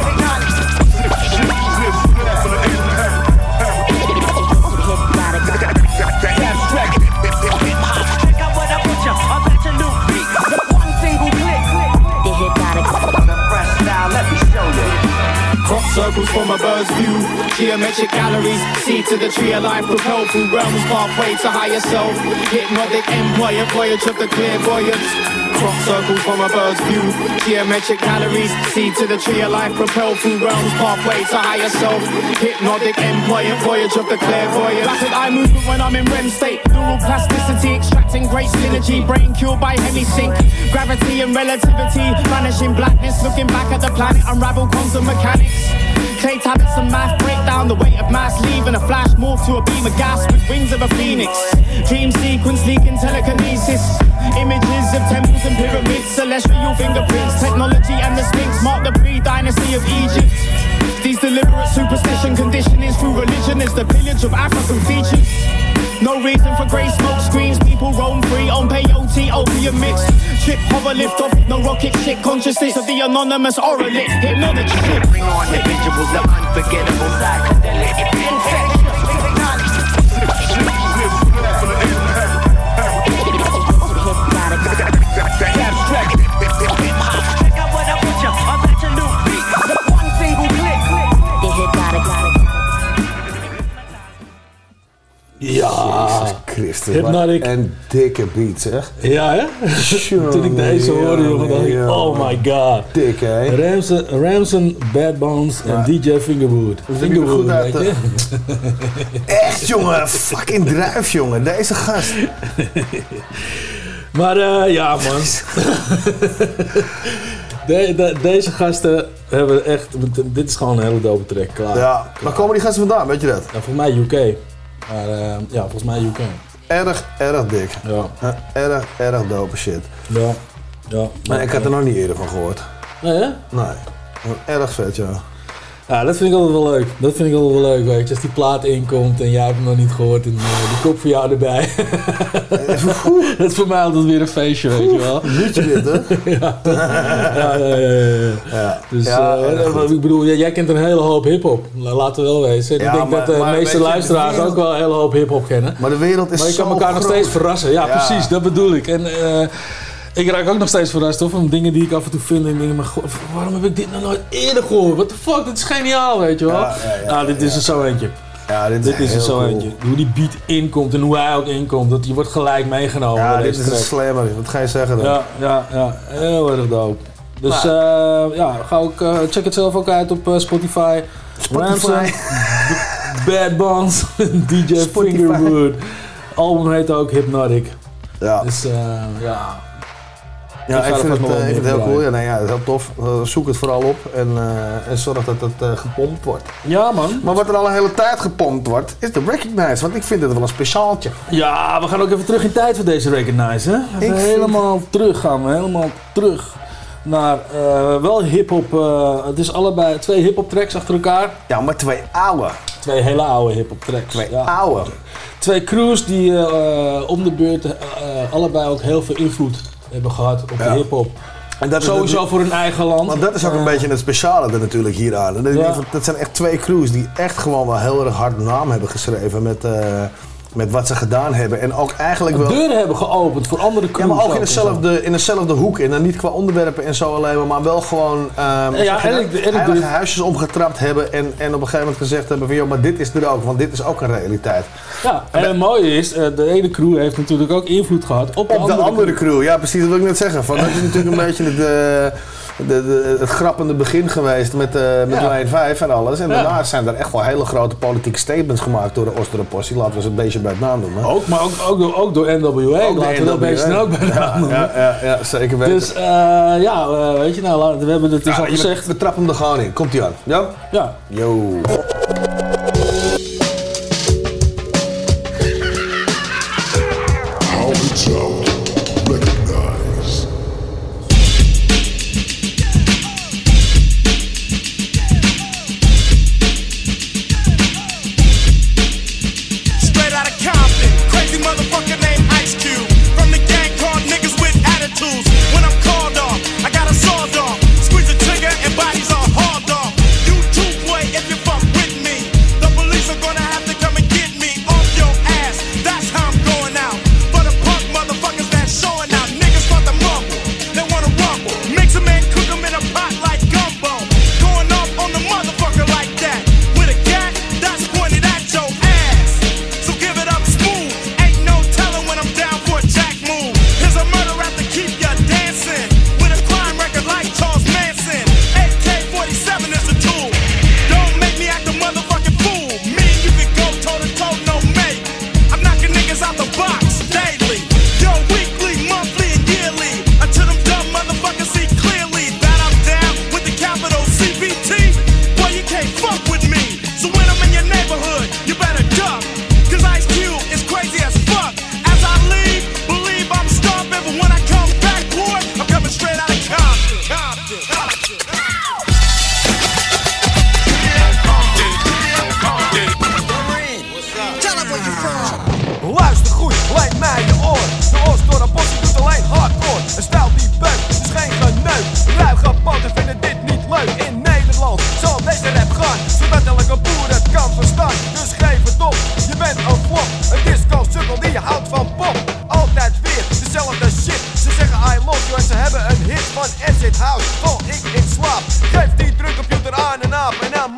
Check out what I put you, I bet you new beat. One single click, the hypnotic fresh style, let me show you. Crop circles from a bird's view, geometric galleries, seed to the tree of life, propelled through realms, pathway to higher self. Hypnotic employer, voyage of the clairvoyance. crop circles from a bird's view. Geometric calories, seed to the tree of life, propelled through realms, pathway to higher self. Hypnotic employant, voyage of the clairvoyant. Rapid eye movement when I'm in REM state. Neural plasticity, extracting great synergy. Brain cured by hemisync. Gravity and relativity, vanishing blackness. Looking back at the planet, unravel quantum mechanics. Clay tablets and math break down the weight of mass, leaving a flash morph to a beam of gas with wings of a phoenix. Dream sequence leaking telekinesis. Images of temples and pyramids, celestial fingerprints. Technology and the Sphinx mark the pre-dynasty of Egypt. These deliberate superstition conditionings through religion is the pillage of African features. No reason for grey smoke screens, people roam free on peyote, opium mix. Trip, hover, lift off, no rocket shit. Consciousness of the anonymous oralist, hypnotic shit. Bring on the visuals of unforgettable psychedelic infection. Check out what I put you, I'm at your new beat. One single click, the hypnotic. Ja, Christus. Hypnotic. En dikke beat, zeg. Ja, hè? Toen ik deze hoorde, jongen, dacht ik, oh my god. Dik, hè? Ramson, Bad Bones en DJ Fingerwood. Fingerwood, weet je? Echt, jongen. Fucking druif, jongen. Deze gast. Maar ja, man. Deze gasten hebben echt... Dit is gewoon een hele dope track, klaar. Ja, waar komen die gasten vandaan, weet je dat? Ja, volgens mij UK. Maar ja, volgens mij UK. Erg dik. Ja. Erg dope shit. Ja. Maar ik had er nog niet eerder van gehoord. Nee, hè? Nee. Erg vet, ja. Ja, dat vind ik altijd wel leuk. Dat vind ik altijd wel leuk, weet je. Als die plaat inkomt en jij hebt hem nog niet gehoord en die kop voor jou erbij. Dat is voor mij altijd weer een feestje, weet je wel. Liedje dit, hè? Ja. Dus ik bedoel, jij kent een hele hoop hiphop. Laten we wel wezen. Ik denk dat de meeste luisteraars ook wel een hele hoop hiphop kennen. Maar de wereld is zo Maar je kan elkaar nog steeds verrassen. Ja, precies. Dat bedoel ik. En ik raak ook nog steeds verrast hoor, van dingen die ik af en toe vind. En ik denk, maar god, waarom heb ik dit nog nooit eerder gehoord? What the fuck, dit is geniaal, weet je wel. Dit is er zo eentje. Ja, dit is er zo cool. eentje. Hoe die beat inkomt en hoe hij ook inkomt, dat die wordt gelijk meegenomen. Ja, dit is een slammer. Wat ga je zeggen dan? Ja. Heel erg dope. Dus ga ook, check het zelf ook uit op Spotify. Ramson, Bad Bones, DJ Fingerwood. Album heet ook Hypnotic. Ja. Dus ja, ik vind het heel cool. Ja, nee, ja, heel tof. Zoek het vooral op en zorg dat het gepompt wordt. Ja, man. Maar wat er al een hele tijd gepompt wordt, is de Recognize. Want ik vind het wel een speciaaltje. Ja, we gaan ook even terug in tijd voor deze Recognize, hè? Even helemaal terug naar wel hip-hop. Het is allebei 2 hip-hop tracks achter elkaar. Ja, maar 2 oude. 2 hele oude hip-hop tracks. 2 oude. 2 crews die om de beurt allebei ook heel veel invloed hebben gehad op de hip-hop. En dat sowieso is voor hun eigen land. Want dat is ook een beetje het speciale er natuurlijk hier aan. Dat zijn echt 2 crews die echt gewoon wel heel erg hard naam hebben geschreven met wat ze gedaan hebben. En ook eigenlijk wel deuren hebben geopend voor andere crews. Ja, maar ook in dezelfde hoek. En dan niet qua onderwerpen en zo alleen maar wel gewoon heilige huisjes omgetrapt hebben. En op een gegeven moment gezegd hebben van joh, maar dit is er ook. Want dit is ook een realiteit. Ja, en het mooie is, de ene crew heeft natuurlijk ook invloed gehad op de andere crew. Ja, precies, dat wil ik net zeggen. Van, dat is natuurlijk een beetje het grappende begin geweest met Lijn 5 en alles. En daarna zijn er echt wel hele grote politieke statements gemaakt door de Oosterenpossie. Laten we ze een beetje bij het naam doen. Hè? Maar ook door NWA. Laten we dat beetje ook bij het naam doen. Ja, zeker weten. Dus weet je nou, we hebben het dus al gezegd. We trappen hem er gewoon in. Komt ie aan. Ja? Ja. Yo. Squeeze the trigger and bodies are hauled off. You too, boy, if you fuck with me.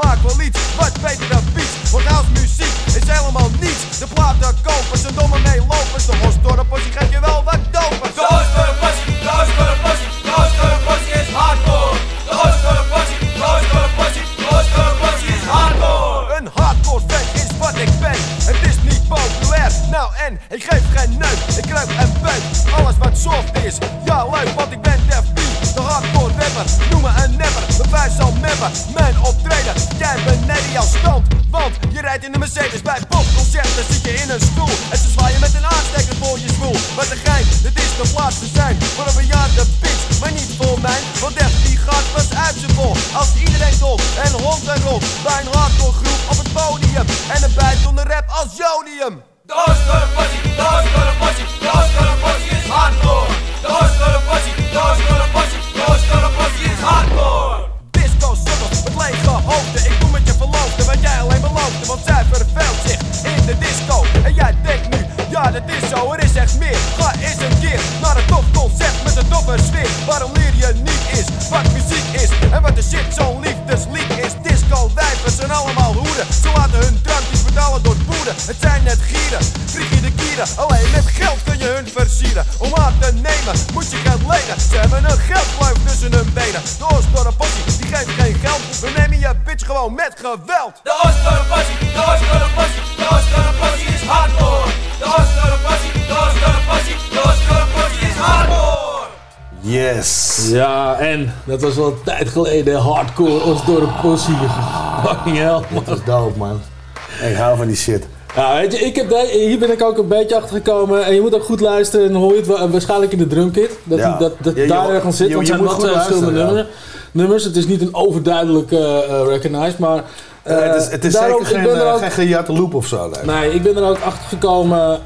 maak wel iets wat beter dan beats. Want house muziek is helemaal niets. De platen kopen, zijn domme meelopers. De Osdorp-possie geeft je wel wat dopers. De Osdorp-possie, de Osdorp-possie, de Osdorp-possie is hardcore. De Osdorp-possie, de Osdorp-possie, de Osdorp-possie is hardcore. Een hardcore fan is wat ik ben. Het is niet populair, nou en ik geef geen neuk. Ik kruip en buik, alles wat soft is. Ja leuk, want ik ben Def B, de hardcore rapper. Noem me een nepper, mijn vuist zal meppen. Mijn optreden, jij beneden jouw stand. Want je rijdt in de Mercedes bij popconcerten, zit je in een stoel. En ze zwaaien met een aansteker voor je zwoel. Wat een gein, dit is de plaats te zijn voor een bejaarde bitch, maar niet voor mij. Want Def B gaat pas uit zijn bol. Als iedereen dolt en hond en rolt bij een hardcore groep op het podium. En erbij zonder rap als jodium. De Osdorp-possie, de Osdorp-possie, de Osdorp-possie is hardcore. De Osdorp-possie, de Osdorp-possie, de Osdorp-possie is hardcore. Disco sukkels met lege hoofden. Ik doe met je verloofde wat jij alleen beloofde. Want zij verveelt zich in de disco. En jij denkt nu, ja dat is zo, er is echt meer. Ga eens een keer naar een tof concept met een toffe sfeer. Waarom leer je niet is wat muziek is. En wat de shit zo'n liefdeslied is. Disco wijvers zijn allemaal hoeden. Ze laten hun drankjes betalen door poeder. Het zijn net gieren, frikkie de kieren. Alleen met geld kun je hun versieren. Om aan te nemen moet je geld lenen. Ze hebben een geldkluif tussen hun benen. De Osdorp-possie, die geeft geen geld. We nemen je bitch gewoon met geweld. De Osdorp-possie, de Osdorp-possie, de Osdorp-possie is hardcore. De Osdorp-possie, de Osdorp-possie, de Osdorp-possie is hardcore. Yes. Ja, en dat was wel een tijd geleden. Hardcore Osdorp-possie. Fucking hell, man. Dat is dope, man. Ik hou van die shit. Ja, weet je, hier ben ik ook een beetje achter gekomen. En je moet ook goed luisteren. En dan hoor je het waarschijnlijk in de drumkit. Dat daar ergens zit. Want het zijn wel twee verschillende nummers. Het is niet een overduidelijk recognized, maar... het is daarom, zeker geen gejatte loop of zo. Nee, ik ben er ook achter gekomen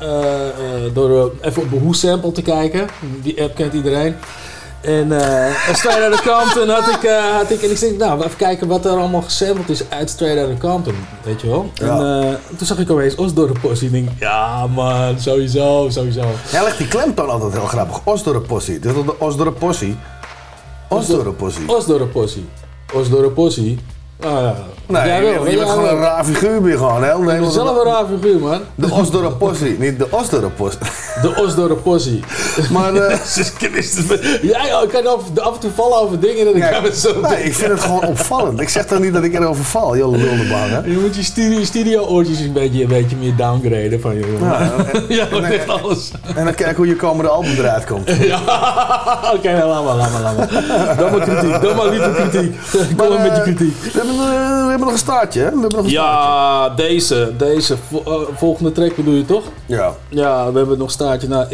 door even op een Who sample te kijken. Die app kent iedereen. En Straight Outta Compton had ik en ik denk, nou, even kijken wat er allemaal gesampled is uit Straight Outta Compton, weet je wel. Ja. En toen zag ik opeens Osdorp-possie en ik denk, ja man, sowieso. Hij legt die klemtoon altijd heel grappig, Osdorp-possie. Dit is de Osdorp-possie. Osdorp-possie. Ah, ja. Nee, je bent gewoon een raar figuur weer gewoon. Je bent zelf een raar figuur, man. De Osdorp-possie, niet de Osdorp-possie. De Osdorp-possie. Maar jij kan af en toe vallen over dingen en dan gaan we zo. Nee, ik vind het gewoon opvallend. Ik zeg dan niet dat ik erover val, joh, lullenbaan, hè. Je moet je stereo-oortjes een beetje meer downgraden van je. Ja, echt alles. En dan kijken hoe je komende album eruit komt. Ja, oké, laat maar. Dan maar kritiek, dan maar liever kritiek. Kom een beetje kritiek. We hebben nog een staartje, hè? Ja, deze volgende track bedoel je toch? Ja. Ja, we hebben nog een staartje. Nou,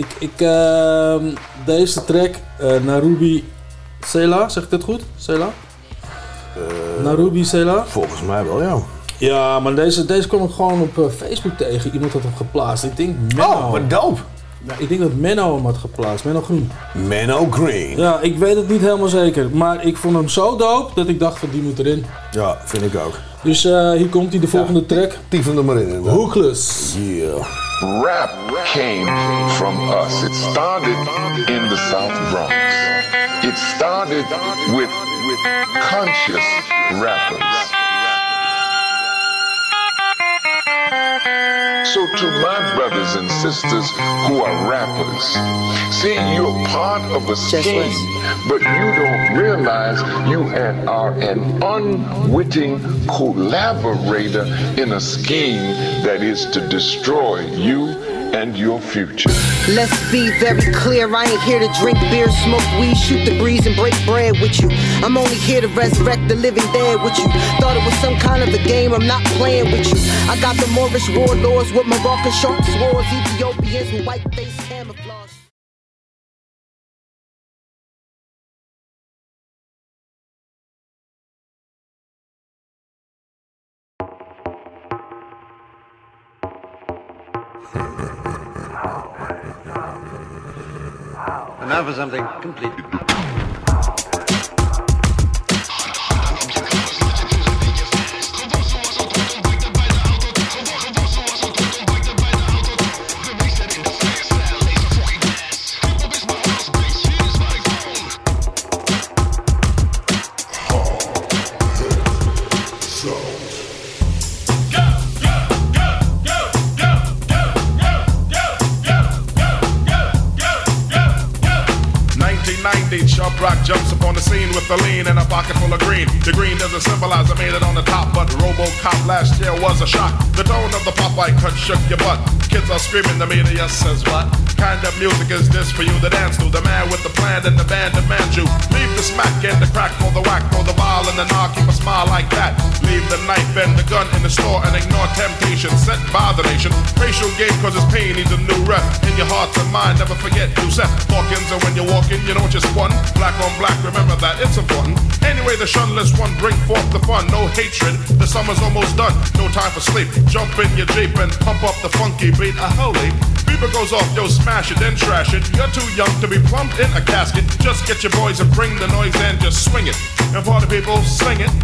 deze track, Narubi Sela, zeg ik dit goed? Sela? Narubi Sela? Volgens mij wel, ja. Ja, maar deze kwam ik gewoon op Facebook tegen. Iemand had hem geplaatst. Ik denk, Menno. Oh, wat dope. Ja, ik denk dat Menno hem had geplaatst. Menno Groen. Menno Green. Ja, ik weet het niet helemaal zeker. Maar ik vond hem zo dope dat ik dacht van die moet erin. Ja, vind ik ook. Dus hier komt hij, de volgende track. Tyfen er maar in. Hookless. Yeah. Rap came from us. It started in the South Bronx. It started with conscious rappers. So to my brothers and sisters who are rappers, see, you're part of a scheme, but you don't realize you are an unwitting collaborator in a scheme that is to destroy you and your future. Let's be very clear, I ain't here to drink beer, smoke weed, shoot the breeze and break bread with you. I'm only here to resurrect the living dead with you. Thought it was some kind of a game, I'm not playing with you. I got the Moorish warlords with Moroccan sharp swords, Ethiopians with white face camouflage. And now for something completely So 1990, Chubb Rock jumps upon the scene with the lean and a pocket full of green. The green doesn't symbolize I made it on the top, but RoboCop last year was a shock. The tone of the Popeye cut shook your butt. Kids are screaming, the media says what? Kind of music is this for you to dance to? The man with the plan and the band demands you. Leave the smack and the crack for the whack, for the vial and the knock, keep a smile like that. Leave the knife and the gun in the store and ignore temptation sent by the nation. Racial game cause it's pain needs a new rep. In your heart and mind, never forget you set Hawkins, and when you're walking, you don't just one. Black on black, remember that, it's important. Anyway, the shunless one, bring forth the fun. No hatred, the summer's almost done. No time for sleep, jump in your Jeep and pump up the funky beat. Holy, beeper goes off, yo, smash it, then trash it. You're too young to be plumped in a casket. Just get your boys and bring the noise and just swing it. And party people, sing it.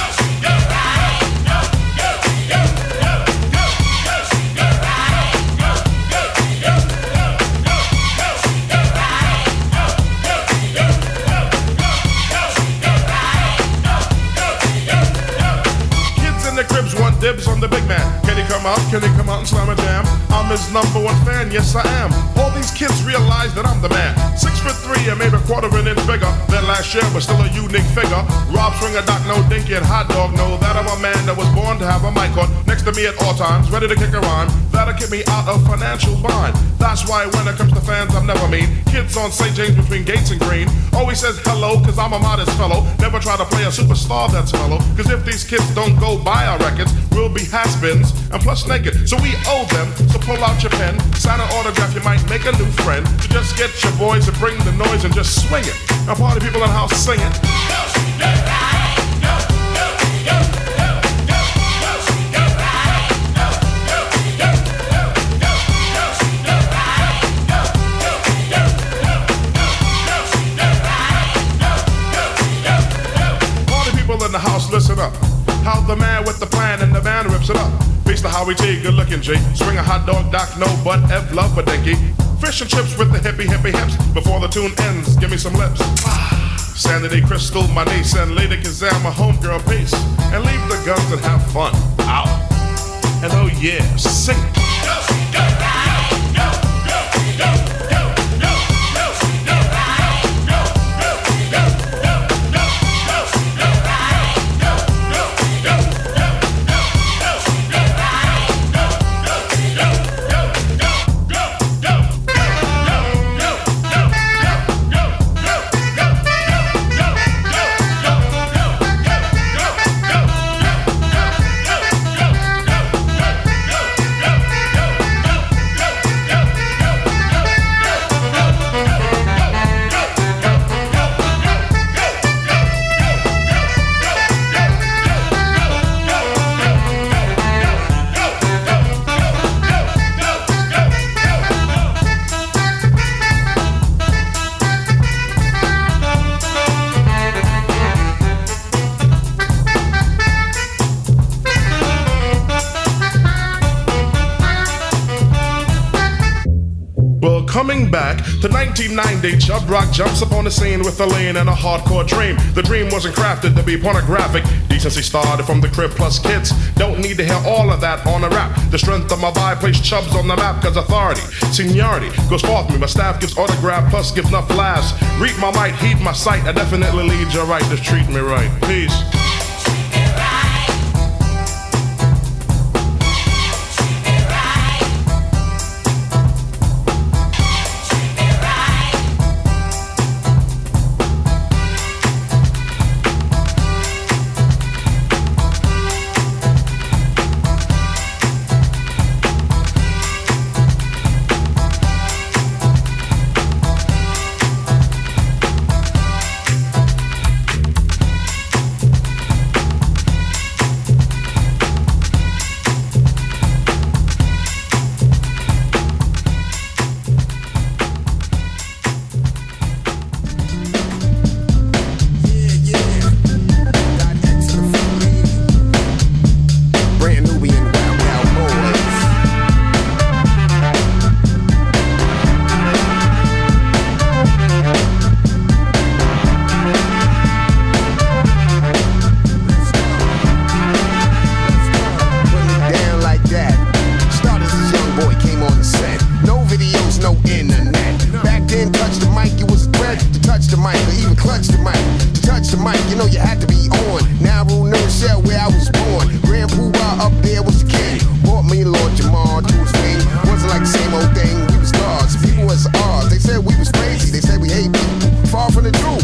Dibs on the big man. Can he come out? Can he come out and slam a jam? I'm his number one fan, yes I am. All these kids realize that I'm the man. 6'3" and maybe a quarter an inch bigger than last year, but still a unique figure. Rob Swinger, Doc, no Dinky, and Hot Dog know that I'm a man that was born to have a mic on next to me at all times, ready to kick a rhyme. That'll keep me out of financial bind. That's why when it comes to fans, I'm never mean. Kids on St. James between Gates and Green always says hello, cause I'm a modest fellow. Never try to play a superstar that's mellow, cause if these kids don't go buy our records, we'll be has-beens and plus naked. So we owe them, so pull out your pen, sign an autograph, you might make a new friend. So just get your boys and bring the noise and just swing it. Now party people in the house sing it. Party people in the house, listen up. How the man with the plan and the band rips it up. Beats the Howie T, good looking G. Swing a hot dog, Doc, no butt, F, love a dinky. Fish and chips with the hippie hips. Before the tune ends, give me some lips. Sanity Crystal, my niece, and Lady Kazam, my homegirl, peace. And leave the guns and have fun. Out. And oh yeah, sing it. Coming back to 1990, Chubb Rock jumps up on the scene with a lean and a hardcore dream. The dream wasn't crafted to be pornographic. Decency started from the crib plus kids. Don't need to hear all of that on a rap. The strength of my vibe placed Chubbs on the map, cause authority, seniority goes forth me. My staff gives autograph plus gives enough laughs. Read my might, heed my sight. I definitely lead you right, just treat me right. Peace.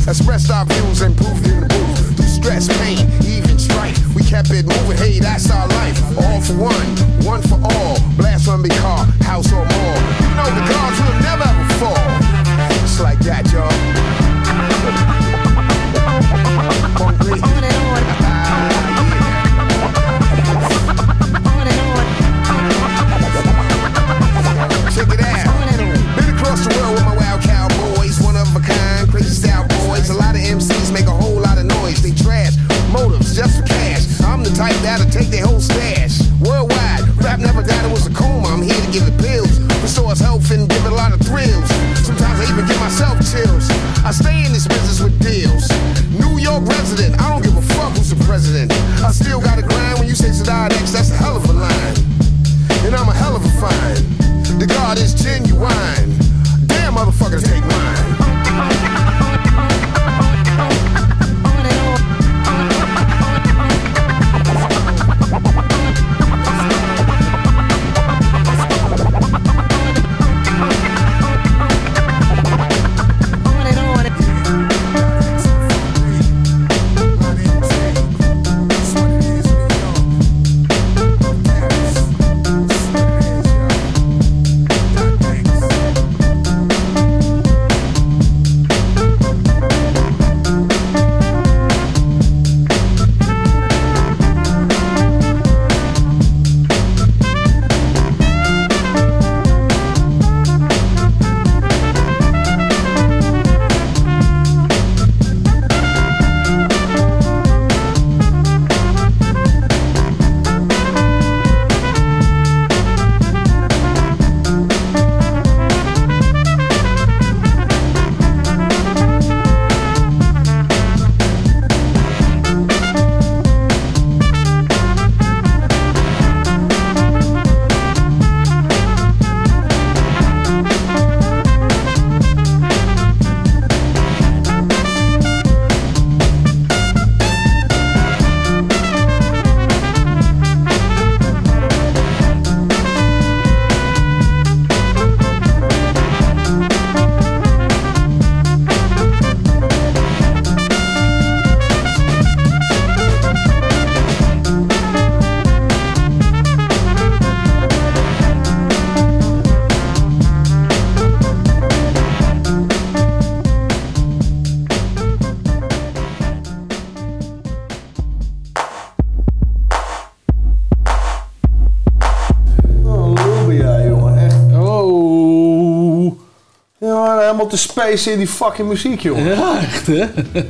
Expressed our views and proved in the booth. Through stress, pain, even strife, we kept it moving. Hey, that's our life. All for one for all. Blast from big car, house or more. You know the gods will never ever fall. It's like that, y'all. Check it out. Been across the world with my wild cowboys, one of a kind, crazy style boys. A lot of MCs make a whole lot of noise. They trash motives just for cash. I'm the type that'll take their whole stash. Worldwide, rap never died, it was a coma. I'm here to give the pills, restores health and give it a lot of thrills. Sometimes I even give myself chills. I stay in this business with deals. New York resident, I don't give a fuck who's the president. I still gotta grind when you say Sadat X, that's a hell of a line. And I'm a hell of a find. The God is genuine. Damn, motherfuckers take mine. Helemaal te spacen in die fucking muziek, jongen. Ja, echt, hè?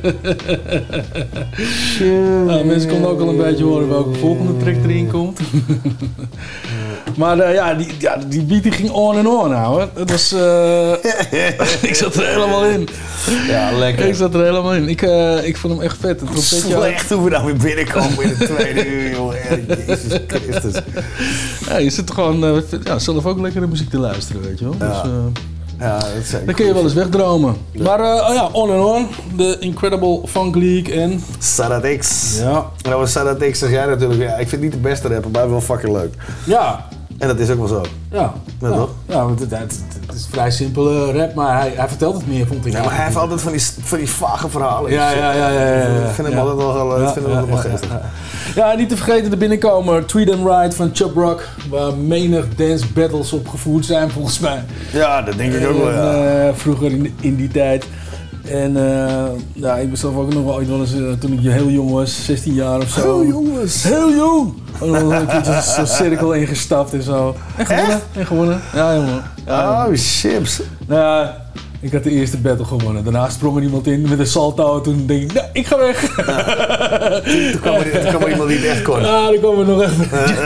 Nou, mensen konden ook al een beetje horen welke volgende track erin komt. Maar die beat die ging on en on, nou. Het was... ik zat er helemaal in. Ja, lekker. Ik zat er helemaal in. Ik vond hem echt vet. Het slecht hoe we nou weer binnenkomen in de tweede uur, jongen. Jezus Christus. Ja, je zit gewoon zelf ook lekkere muziek te luisteren, weet je wel. Ja. Dus, ja, dat is zeker. dan kun je wel eens wegdromen. Ja. Maar on and on. De Incredible Funk League en... Sadat X. Ja. Nou, Sadat X zeg jij natuurlijk. Ja, ik vind het niet de beste rapper, maar wel fucking leuk. Ja. En dat is ook wel zo. Ja. Ja, toch? Ja, want het is vrij simpele rap, maar hij vertelt het meer, vond ik. Ja, maar hij heeft altijd van die vage verhalen. Ja. Ik vind hem altijd wel geestig. Ja, niet te vergeten de binnenkomer Treat 'em Right van Chub Rock, waar menig dance battles op gevoerd zijn volgens mij. Ja, dat denk ik ook wel, ja. Vroeger in die tijd. En ik ben zelf ook nog wel eens, toen ik heel jong was, 16 jaar of zo. Heel jong was? Heel jong! Een keertje zo'n cirkel ingestapt en zo. En gewonnen. Ja, jongen. Ja, oh, chips. Nou ja, ik had de eerste battle gewonnen. Daarna sprong er iemand in met een salto. Toen denk ik, ik ga weg. Toen kwam er iemand die het echt kon. Ja, dan kwam er nog echt.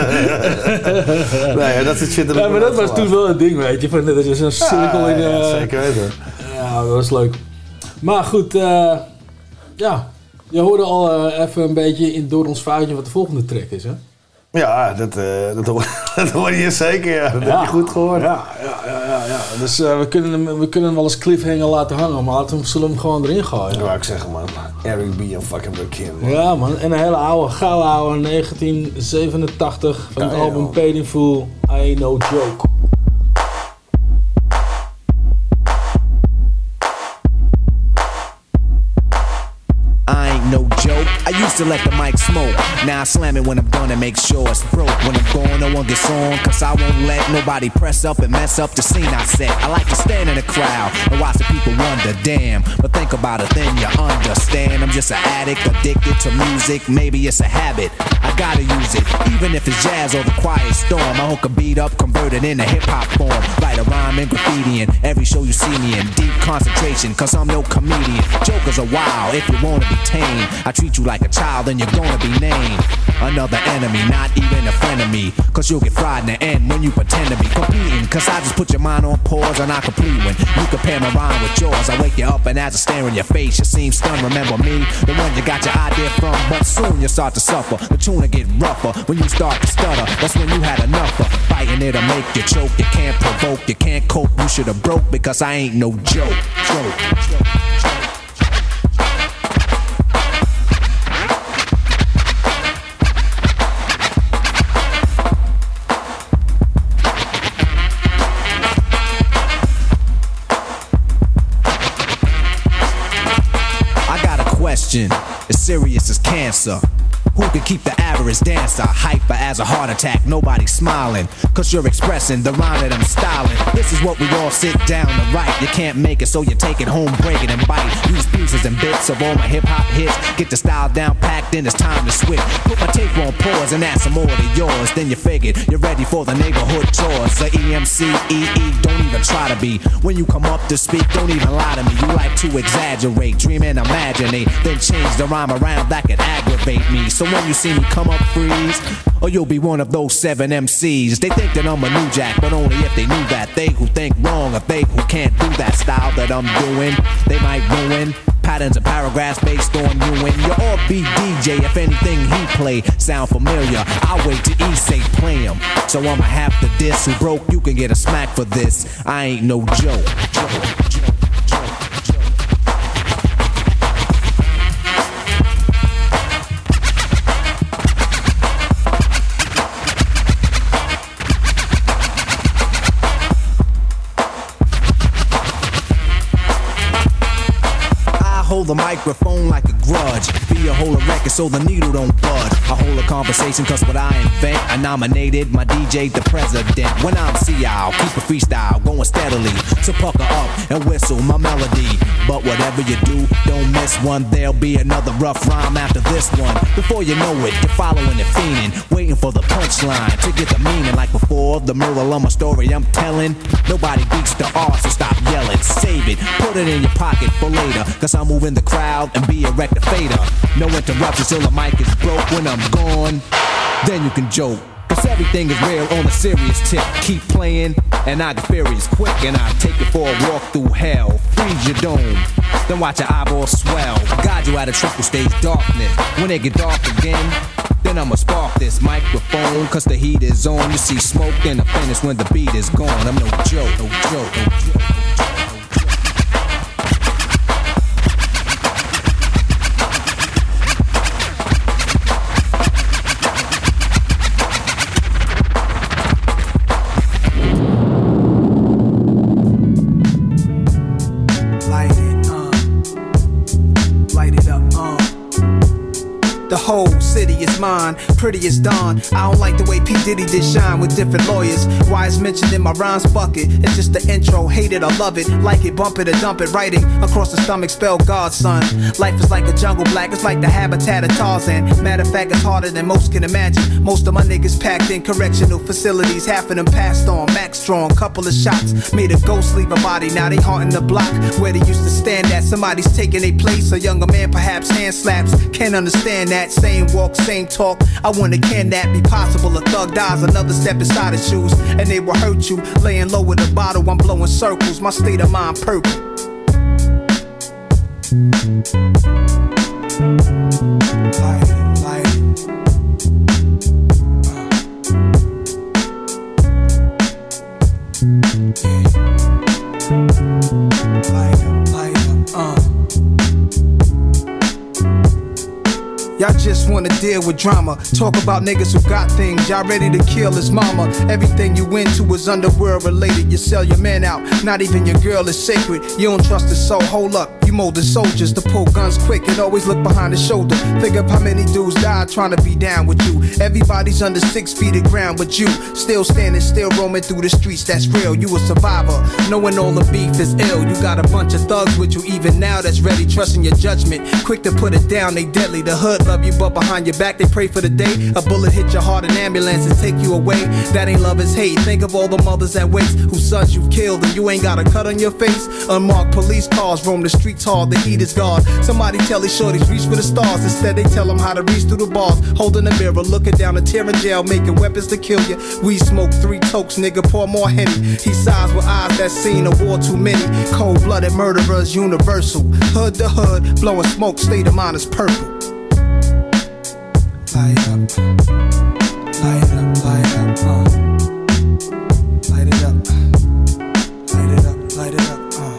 Nee, dat soort shit. Ja, maar dat was toen wel het ding, weet je. Van, dat is een cirkel in... Ja, zeker weten. Ja, dat was leuk. Maar goed, je hoorde al even een beetje door ons foutje wat de volgende track is, hè? Ja, dat hoor je zeker, ja. Dat heb je goed gehoord. Ja. Dus we kunnen hem wel eens cliffhanger laten hangen, maar zullen we hem gewoon erin gooien. Ja, ik zeg man. Eric B. en fucking Rakim. Ja man, en een hele gouden oude 1987 van het album Paid in Full, I Ain't No Joke. Used to let the mic smoke, now I slam it when I'm done and make sure it's broke. When I'm gone, no one gets on, cause I won't let nobody press up and mess up the scene I set. I like to stand in the crowd and watch the people wonder, damn. But think about it, then you understand. I'm just an addict, addicted to music. Maybe it's a habit, I gotta use it. Even if it's jazz or the quiet storm, I hook a beat up, convert it into hip-hop form. Write a rhyme and graffiti in every show you see me in. Deep concentration, cause I'm no comedian. Jokers are wild, if you wanna be tame. I treat you like a child and you're gonna be named another enemy, not even a friend of me. Cause you'll get fried in the end when you pretend to be competing. Cause I just put your mind on pause and I complete when you compare my rhyme with yours. I wake you up and as I stare in your face, you seem stunned. Remember me, the one you got your idea from. But soon you start to suffer, the tune will get rougher. When you start to stutter, that's when you had enough of fighting. It'll make you choke, you can't provoke, you can't cope. You should've broke because I ain't no joke. As serious as cancer. Who can keep the average dancer hyper as a heart attack? Nobody's smiling, cause you're expressing the rhyme that I'm styling. This is what we all sit down to write. You can't make it, so you take it home, break it and bite. Use pieces and bits of all my hip-hop hits. Get the style down packed, then it's time to switch. Put my tape on pause and add some more to yours. Then you figured you're ready for the neighborhood tours. The EMC, don't even try to be. When you come up to speak, don't even lie to me. You like to exaggerate, dream and imaginate. Then change the rhyme around, that could aggravate me. So when you see me come up, freeze, or you'll be one of those 7 MCs. They think that I'm a new jack, but only if they knew that. They who think wrong, or they who can't do that style that I'm doing, they might ruin patterns and paragraphs based on you and your offbeat DJ. If anything he play sound familiar, I'll wait till he say play him. So I'ma have to diss who broke, you can get a smack for this. I ain't no joke. Hold the microphone like a grudge. Be a whole record so the needle don't budge. I hold a conversation cause what I invent. I nominated my DJ the president. When I'm CI, I'll keep a freestyle going steadily. So pucker up and whistle my melody. But whatever you do, don't miss one. There'll be another rough rhyme after this one. Before you know it, you're following and fiending, waiting for the punchline to get the meaning. Like before, the moral of my story I'm telling. Nobody beats the art, so stop yelling. Save it, put it in your pocket for later. Cause I'm moving the crowd and be a rectificator. No interruptions till the mic is broke. When I'm gone, then you can joke. Cause everything is real on a serious tip. Keep playing and I get furious quick. And I take you for a walk through hell. Freeze your dome, then watch your eyeballs swell. Guide you out of triple stage darkness. When it get dark again, then I'ma spark this microphone. Cause the heat is on. You see smoke, then I finish when the beat is gone. I'm no joke, no joke, no joke. The whole city is mine, pretty as dawn. I don't like the way P. Diddy did shine with different lawyers. Why it's mentioned in my rhymes bucket. It's just the intro, hate it or love it. Like it, bump it or dump it. Writing across the stomach, spell God, son. Life is like a jungle black, it's like the habitat of Tarzan. Matter of fact, it's harder than most can imagine. Most of my niggas packed in correctional facilities. Half of them passed on, max strong. Couple of shots, made a ghost leave a body. Now they haunting the block where they used to stand at. Somebody's taking their place, a younger man perhaps hand slaps. Can't understand that. Same walk, same talk. I wonder, can that be possible? A thug dies, another step inside his shoes, and they will hurt you. Laying low with a bottle, I'm blowing circles. My state of mind purple. Y'all just wanna deal with drama. Talk about niggas who got things. Y'all ready to kill his mama. Everything you into is underworld related. You sell your man out. Not even your girl is sacred. You don't trust his soul. Hold up. You molded soldiers to pull guns quick and always look behind the shoulder. Think of how many dudes died trying to be down with you. Everybody's under 6 feet of ground but you. Still standing, still roaming through the streets, that's real. You a survivor, knowing all the beef is ill. You got a bunch of thugs with you even now that's ready, trusting your judgment. Quick to put it down, they deadly. The hood love you but behind your back they pray for the day a bullet hit your heart, an ambulance and take you away. That ain't love, it's hate. Think of all the mothers that waste whose sons you've killed and you ain't got a cut on your face. Unmarked police cars roam the streets hard, the heat is gone. Somebody tell these shorties reach for the stars. Instead they tell them how to reach through the bars. Holding a mirror, looking down a tear in jail, making weapons to kill you. We smoke 3 tokes, nigga, pour more Henny. He sighs with eyes that seen a war too many. Cold-blooded murderers, universal. Hood to hood, blowing smoke, state of mind is purple. Light up, light up, light up, light it up, light it up, light it up,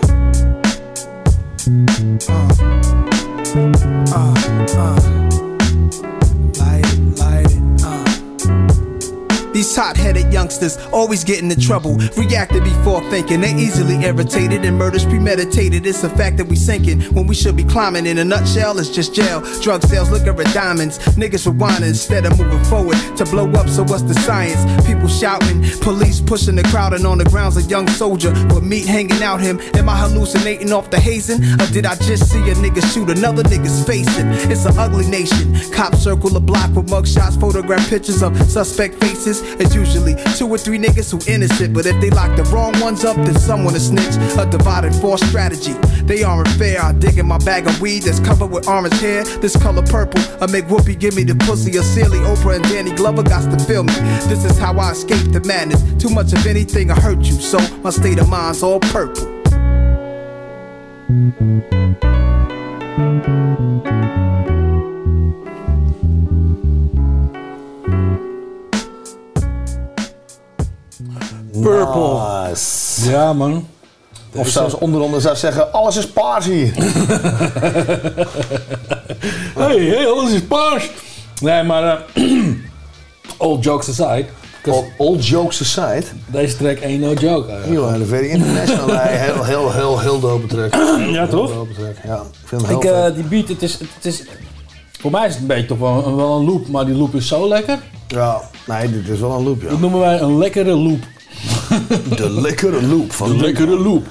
light it, These hot-headed youngsters always get into trouble. Reacted before thinking, they easily irritated and murders premeditated. It's a fact that we sinking when we should be climbing. In a nutshell, it's just jail. Drug sales, look at diamonds. Niggas rewinding instead of moving forward to blow up, so what's the science? People shouting, police pushing the crowd, and on the ground's a young soldier with meat hanging out him. Am I hallucinating off the hazing? Or did I just see a nigga shoot another nigga's facing? It's an ugly nation. Cops circle the block with mugshots, photograph pictures of suspect faces. It's usually 2 or 3 niggas who innocent, but if they lock the wrong ones up, then someone to snitch. A divided force strategy. They aren't fair. I dig in my bag of weed that's covered with orange hair. This color purple. I make Whoopi give me the pussy. A silly Oprah and Danny Glover got to feel me. This is how I escape the madness. Too much of anything will hurt you, so my state of mind's all purple. Purple. Nice. Ja, man. Of zelfs onderonder zou zeggen, alles is paars hier. hey, alles is paars. Nee, maar all jokes aside. All jokes aside. Deze track ain't no joke. Heel very international. heel dope track. Ja, toch? Dope track. Ja, ik vind hem heel vet. Die beat, het is... Voor mij is het een beetje toch wel een loop, maar die loop is zo lekker. Ja, nee, dit is wel een loop, ja. Dat noemen wij een lekkere loop. De lekkere loop van de lekkere loop.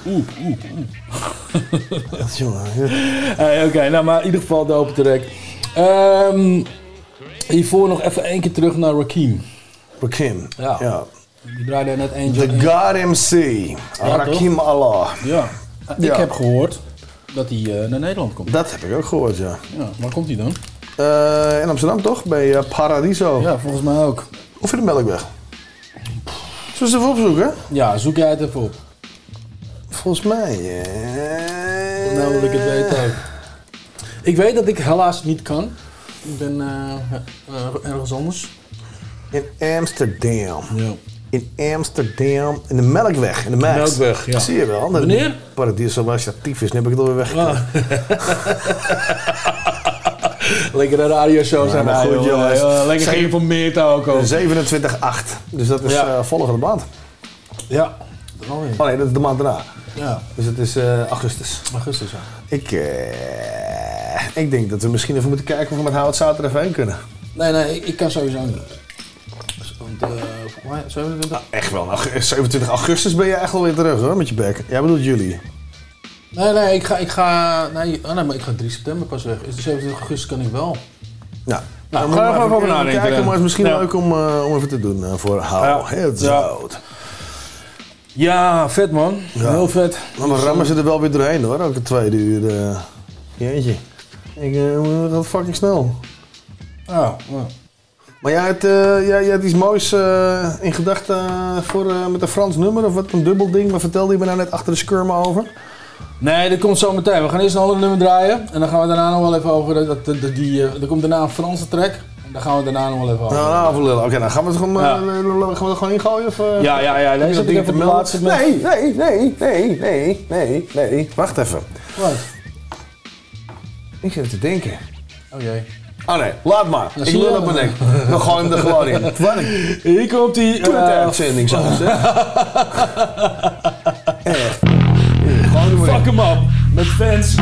Oké, nou maar in ieder geval dope track. Hiervoor nog even 1 keer terug naar Rakim. Rakim, ja. Die draaide er net eentje. The God MC, ja, Rakim Allah. Ja, ik heb gehoord dat hij naar Nederland komt. Dat heb ik ook gehoord, ja. Waar komt hij dan? In Amsterdam toch? Bij Paradiso. Ja, volgens mij ook. Of in de Melkweg. Zullen we het even opzoeken? Ja, zoek jij het even op. Volgens mij... Nou wil ik het weten ook. Ik weet dat ik helaas niet kan. Ik ben ergens anders. In Amsterdam. Ja. In Amsterdam. In de Melkweg. In de Max. Melkweg, ja. Zie je wel. Wanneer? Paradiso was actief is. Nu heb ik het alweer weggekregen. Lekkere radioshow zijn maar goed, jongens. Lekker geïnformeerd ook. 27-8. Dus dat is volgende maand. Ja. Oh nee, dat is de maand daarna. Ja. Dus het is augustus. Augustus, ja. Ik denk dat we misschien even moeten kijken of we met Howard Zater even heen kunnen. Nee, ik kan sowieso niet. Want, 27? Nou, echt wel. 27 augustus ben je echt wel weer terug hoor, met je bek. Jij bedoelt juli. Nee, ik ga... Nee, maar ik ga 3 september pas weg. Dus de 27 augustus kan ik wel. Ja. Nou, ga er even over nadenken. Kijken, maar het is misschien leuk om even te doen voor Howard Zater. Ja, vet man. Ja. Heel vet. Maar dan rammen ze er wel weer doorheen hoor, ook de 2 uur. Jeetje. Ik gaat fucking snel. Ja. Maar jij had iets moois in gedachten met een Frans nummer of wat, een dubbel ding. Wat vertelde je me nou net achter de skirmen over? Nee, dat komt zo meteen. We gaan eerst een ander nummer draaien. En dan gaan we daarna nog wel even over... Er komt daarna een Franse track. Daar gaan we daarna nog wel even over. Oké, dan gaan we het gewoon, gaan we het gewoon ingooien? Of, ja. Deze heb ik even de laatste met... Nee. Wacht even. Wat? Ik zit te denken. Oh jee. Oh nee, laat maar. Ik lul op mijn nek. We gooien hem er gewoon in. Hier komt die... uitzending zelfs, hè. Echt. Fuck hem op. met fans.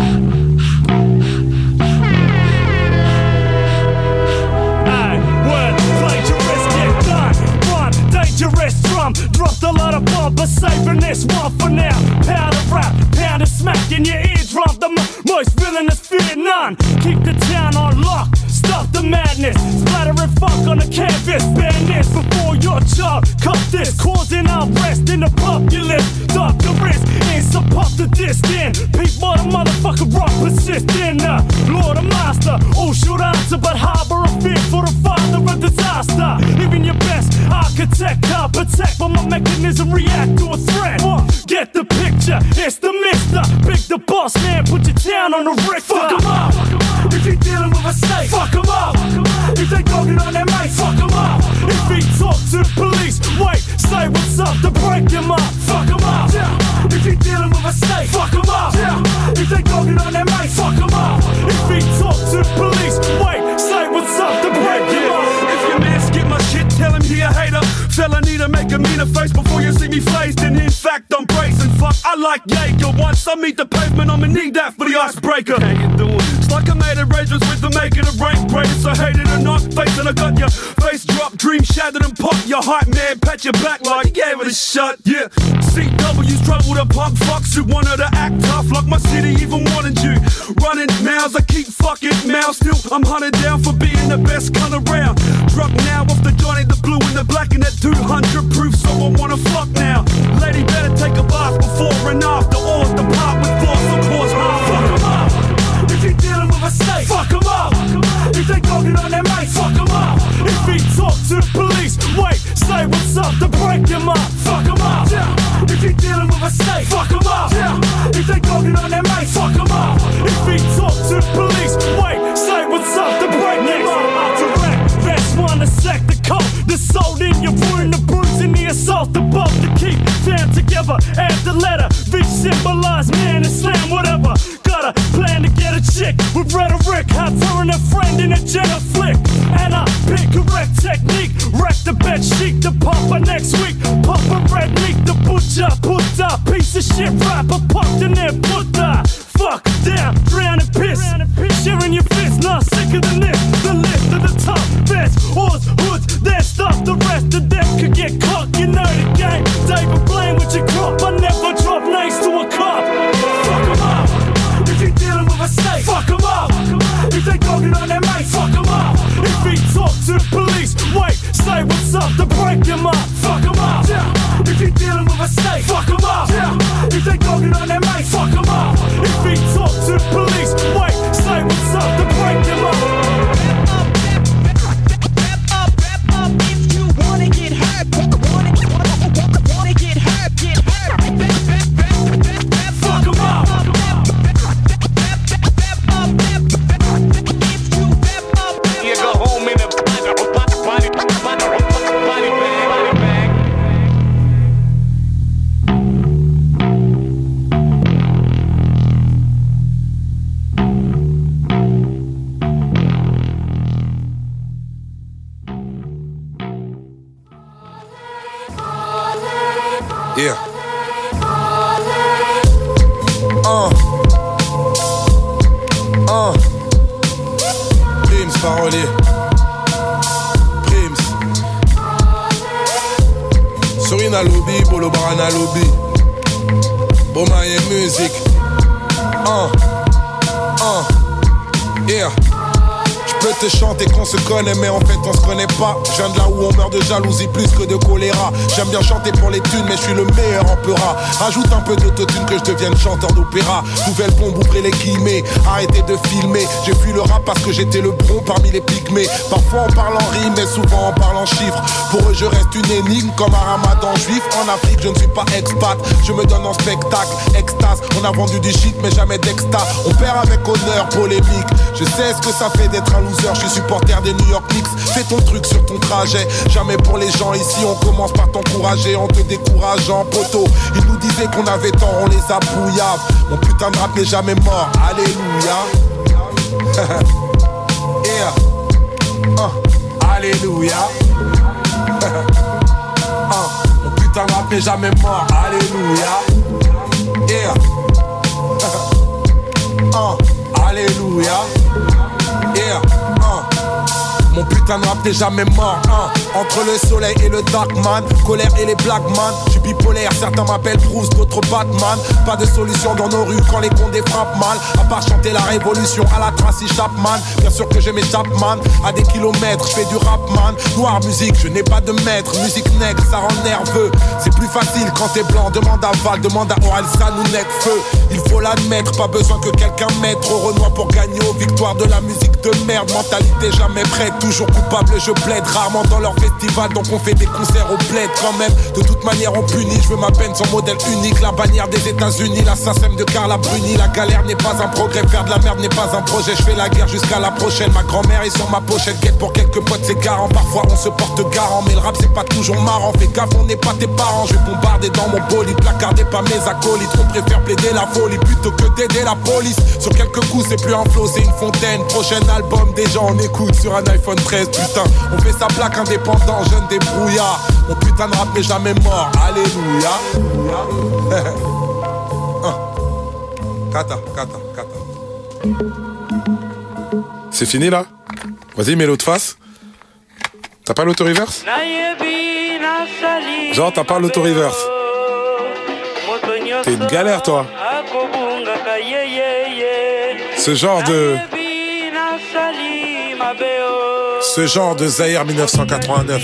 Dangerous drum, dropped a lot of bomb, but saving this one for now. Pound of rap, pound of smack in your eardrum. The most villainous fear none. Keep the town on lock, stop the madness. Splattering funk on the canvas. Ban this before your child. Cut this, causing unrest in the populace. Doctor risk, ain't supposed to disc in. People, the motherfucker rock persistent. Lord of master, all should answer, but harbor a fear for the father of disaster. Even your best architect can't protect, but my mechanism react to a threat. Get the picture, it's the mister. Big the boss man, put your town on the Richter. Fuck him up, if he dealing with a snake. Fuck him up, if they dogging on their mate. Fuck him up, if he talk to the police. Wait, say what's up to break him up. Fuck him up, if he dealing with a snake. Fuck him up, if they dogging on their mate. Fuck him up, if he talk to the police. Wait, say what's up to break him up. If your man skip my shit, tell him he a hater. Fella need to make a meaner face before you see me flazed. And in fact, I'm brazen. Fuck, I like Jaeger. Once I meet the pavement, I'ma need that for the icebreaker. How you doing? It's like I made arrangements with the making of rank breakers. So hate it or not, face and I got your face drop, dream shattered and pop. Your hype man, pat your back like you gave it a shot. Yeah, CW's trouble to punk fucks who wanted to act tough like my city even wanted you. Running mouths, I keep fucking mouths. Still, I'm hunted down for being the best gun around. Drunk now off the Johnny, the blue and the black and that 200 proof, so I wanna fuck now. Lady better take a bath before and after, or depart with force, of course. Fuck him up, if he dealing with a snake. Fuck him up, if they dogging on their mate. Fuck him up, if he talk to the police. Wait, say what's up to break him up. Fuck him up, if he dealing with a snake. Fuck him up, if they dogging on their mate. Fuck him up, if he talk to the police. Wait, say what's up to break him up. After wreck, vest one to sack the coat. The soul in your wound, the bruise and the assault. The both to keep down together. Add the letter, V symbolize man and slam whatever. Got a plan to get a chick with rhetoric. I turn a friend in a Jenna flick. And I pick correct technique. Wreck the bed sheet, the pumper next week. Pump a red meat, the butcher. Put a piece of shit rapper. Pumped in there, put the fuck down, drown and piss. Sharing your fist, not sicker than this. The list of the top best. Horse, hoods, their stuff. The rest of them could get caught. You know the game. David Blaine with your crop. I never drop names to a cop. Fuck him up, if he dealing with a snake. Fuck him up, if they dogging on their mate. Fuck him up, if he talk to the police. Wait, say what's up to break him up. Fuck him up, if he dealing with a snake. Fuck him up, if they dogging on their mate. Fuck him up, if he talk to the police. Wait, say what's up to break him up. If you wanna get hurt, wanna get hurt, get hurt. Fuck him up. You go home in a body bag. Yeah. Prims parolier. Prims. Sorina lobby, Bolo Barana lobby. Bomaye music. Yeah. J'peux te chanter qu'on se connaît mais en fait on se connaît pas. Je viens de là où on meurt de jalousie plus que de choléra. J'aime bien chanter pour les thunes mais je suis le meilleur en peura. Rajoute un peu d'autotune que je devienne chanteur d'opéra. Nouvelle bombe, ouvrez les guillemets. Arrêtez de filmer. J'ai fui le rap parce que j'étais le bron parmi les pygmées. Parfois on parle en rime mais souvent on parle en chiffres. Pour eux je reste une énigme comme un ramadan juif. En Afrique je ne suis pas expat. Je me donne en spectacle, extase. On a vendu du shit mais jamais d'exta. On perd avec honneur, polémique. Je sais ce que ça fait d'être un loser. Je suis supporter des New York Knicks. Fais ton truc sur ton trajet. Jamais pour les gens ici. On commence par t'encourager en te décourageant, poteau. Ils nous disaient qu'on avait tort, on les a brouillave. Mon putain de rap n'est jamais mort. Alléluia. Yeah. Alléluia. Mon putain de rap n'est jamais mort. Alléluia. Yeah. Alléluia. Yeah, Mon putain de rap n'est jamais mort, Entre le soleil et le darkman, colère et les blackman. J'suis bipolaire, certains m'appellent Bruce, d'autres Batman. Pas de solution dans nos rues quand les condés frappent mal. À part chanter la révolution à la Tracy Chapman. Bien sûr que je m'échappe man, à des kilomètres, j'fais du rap man. Noir musique, je n'ai pas de maître. Musique nègre, ça rend nerveux. C'est plus facile quand t'es blanc, demande à Val, demande à Orelsan ou Necfeu. Il faut l'admettre, pas besoin que quelqu'un mette trop Renoir pour gagner aux victoires de la musique de merde. Mentalité jamais prête, toujours coupable, je plaide. Rarement dans leur festival, donc on fait des concerts au bled quand même. De toute manière on punit, je veux ma peine, son modèle unique. La bannière des États-Unis, la SACEM de Carla Bruni. La galère n'est pas un progrès, faire de la merde n'est pas un projet. Je fais la guerre jusqu'à la prochaine. Ma grand-mère est sur ma pochette, quête pour quelques potes c'est garant. Parfois on se porte garant, mais le rap c'est pas toujours marrant. Fais gaffe, on n'est pas tes parents. Je vais bombarder dans mon bolide, placardé par mes acolytes. On préfère plaider la folie plutôt que d'aider la police. Sur quelques coups c'est plus un flow, c'est une fontaine. Prochain album déjà on écoute sur un iPhone 13. Putain, on fait sa plaque indépendant, jeune débrouillard. Mon putain de rap n'est jamais mort, alléluia. Kata. C'est fini là? Vas-y, mets l'autre face. T'as pas l'auto-reverse? Genre, t'as pas l'auto-reverse. T'es une galère, toi. Ce genre de Zaïre 1989.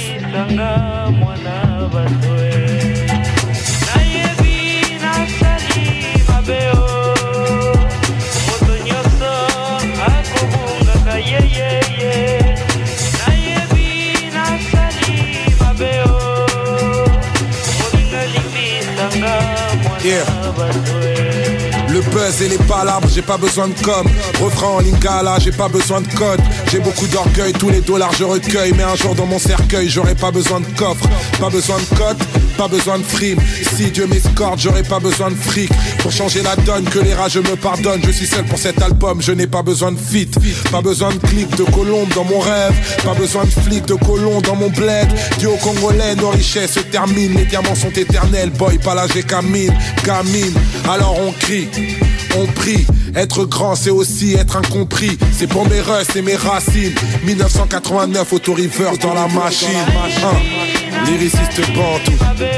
Yeah. Le buzz et les palabres, j'ai pas besoin de com. Refrain en lingala, j'ai pas besoin de code. J'ai beaucoup d'orgueil, tous les dollars je recueille. Mais un jour dans mon cercueil, j'aurai pas besoin de coffre. Pas besoin de cote, pas besoin de frime. Si Dieu m'escorte, j'aurai pas besoin de fric. Pour changer la donne, que les rageux me pardonnent. Je suis seul pour cet album, je n'ai pas besoin de feat. Pas besoin de clics de colombe dans mon rêve. Pas besoin de flics de colons dans mon bled. Dieu congolais, nos richesses se terminent. Les diamants sont éternels, boy, pas la gamine. Alors on crie, on prie. Être grand c'est aussi être incompris. C'est pour mes russes et mes racines. 1989, auto-reverse dans la machine. Lyriciste bantou.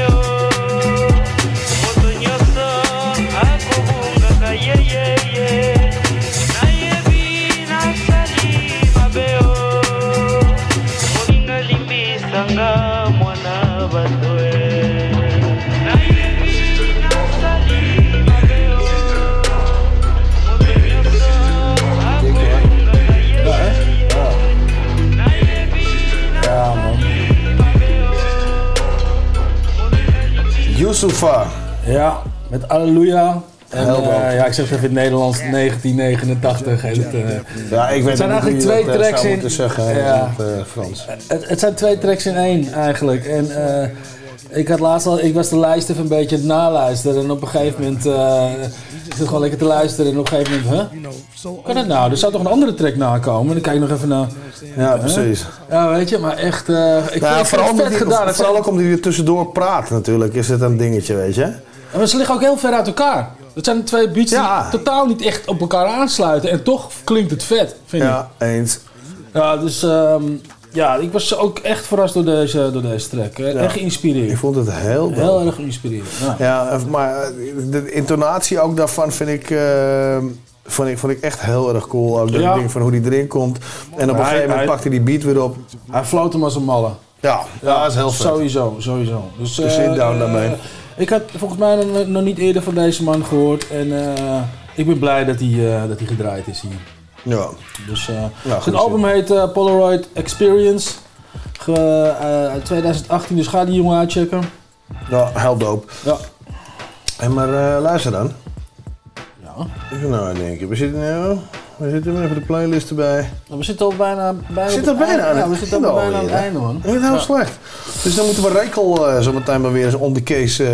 Youssoufa. Ja, met Alleluia. En, ja, ik zeg het even in het Nederlands, 1989. Het zijn eigenlijk twee tracks in. Frans. Het zijn twee tracks in één eigenlijk. En ik was de lijst even een beetje aan het naluisteren. En op een gegeven moment ik zit gewoon lekker te luisteren. En op een gegeven moment, hoe kan dat nou? Er zou toch een andere track nakomen? En dan kijk ik nog even naar. Ja, precies. Ja, weet je, maar echt. Ik vind vooral het vet gedaan. Vooral ook omdat hij er tussendoor praat natuurlijk, is het een dingetje, weet je. Maar ze liggen ook heel ver uit elkaar. Dat zijn twee beats die totaal niet echt op elkaar aansluiten. En toch klinkt het vet, vind ik. Ja, eens. Ja, dus ik was ook echt verrast door deze track. Echt geïnspireerd. Ik vond het heel erg geïnspireerd. Ja, maar de intonatie ook daarvan vind ik... Vond ik echt heel erg cool. Ook dat ding van hoe die erin komt. En op een gegeven moment pakt hij die beat weer op. Hij floot hem als een malle. Ja, dat is heel vet. Sowieso. Dus, sit down daarmee. Ik had volgens mij nog niet eerder van deze man gehoord. En ik ben blij dat hij gedraaid is hier. Ja. Dus, zijn album heet Polaroid Experience. Uit 2018, dus ga die jongen uitchecken. Ja, heel dope. Ja. En maar luister dan. Ja. Even nou denken. We zitten even de playlist erbij. We zitten al bijna aan het einde, man. Dat is heel slecht. Dus dan moeten we Rekel zo meteen maar weer eens on the case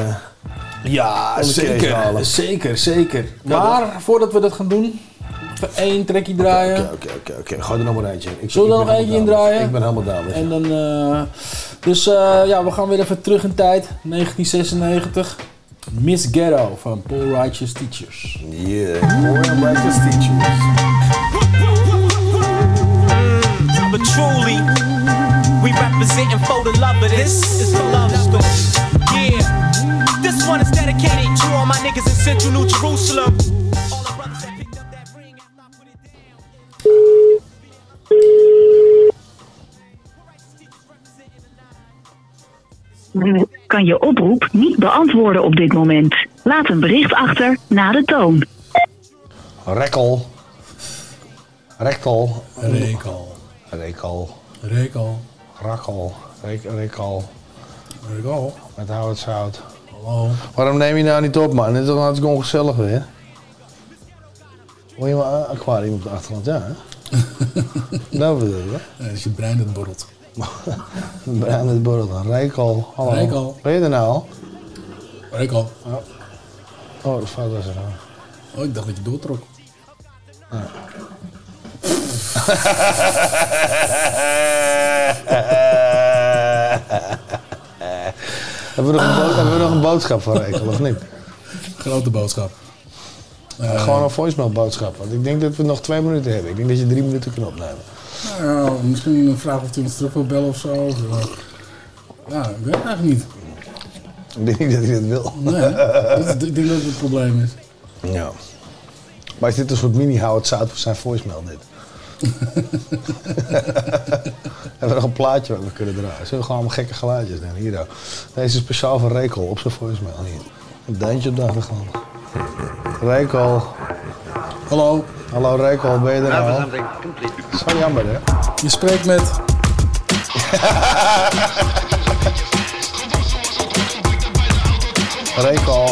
zeker. Maar voordat we dat gaan doen, even één trackje draaien. Oké. Gooi er nog maar eentje in. Zullen we er nog eentje in draaien? Ik ben helemaal down. En dan, we gaan weer even terug in tijd. 1996. Miss Ghetto van Poor Righteous Teachers. Yeah, Poor Righteous Teachers. But truly, we representing for the love of this. It's the love story. Yeah, this one is dedicated to all my niggas in Central New Jerusalem. All the brothers that picked up that ring after I put it down. Kan je oproep niet beantwoorden op dit moment. Laat een bericht achter na de toon. Rekkel. Rekkel. Rekel. Rekel. Rekel. Rakkel. Rekel. Rekel. Met Howard Zout. Hallo. Waarom neem je nou niet op, man? Het is toch hartstikke ongezellig weer. Hoor je maar een aquarium op de achtergrond, ja? Dat bedoel je, hè? Nee, dat is je brein dat borrelt. Brein dat borrelt. Rekel. Hallo. Rekel. Ben je er nou al? Rekel. Oh, dat fout was er nou. Oh, ik dacht dat je doortrok. Ja. Hebben we nog een boodschap van Rekel, of niet? Grote boodschap. Gewoon een voicemail boodschap. Want ik denk dat we nog 2 minuten hebben. Ik denk dat je 3 minuten kunt opnemen. Nou, misschien een vraag of hij ons terug wil bellen of zo. Ja, ik weet het eigenlijk niet. Ik denk niet dat hij dat wil. Nee, ik denk dat het het probleem is. Ja. Maar is dit een soort mini-Howard Zout voor zijn voicemail dit? Hebben we nog een plaatje waar we kunnen draaien? Zullen we gewoon allemaal gekke geluidjes doen? Hier dan. Deze is speciaal voor Rekel op zijn voicemail. Hier. Een duintje op de achtergrond. Rekel. Hallo. Hallo Rekel, ben je er nou? Zo jammer hè? Je spreekt met... Rekel.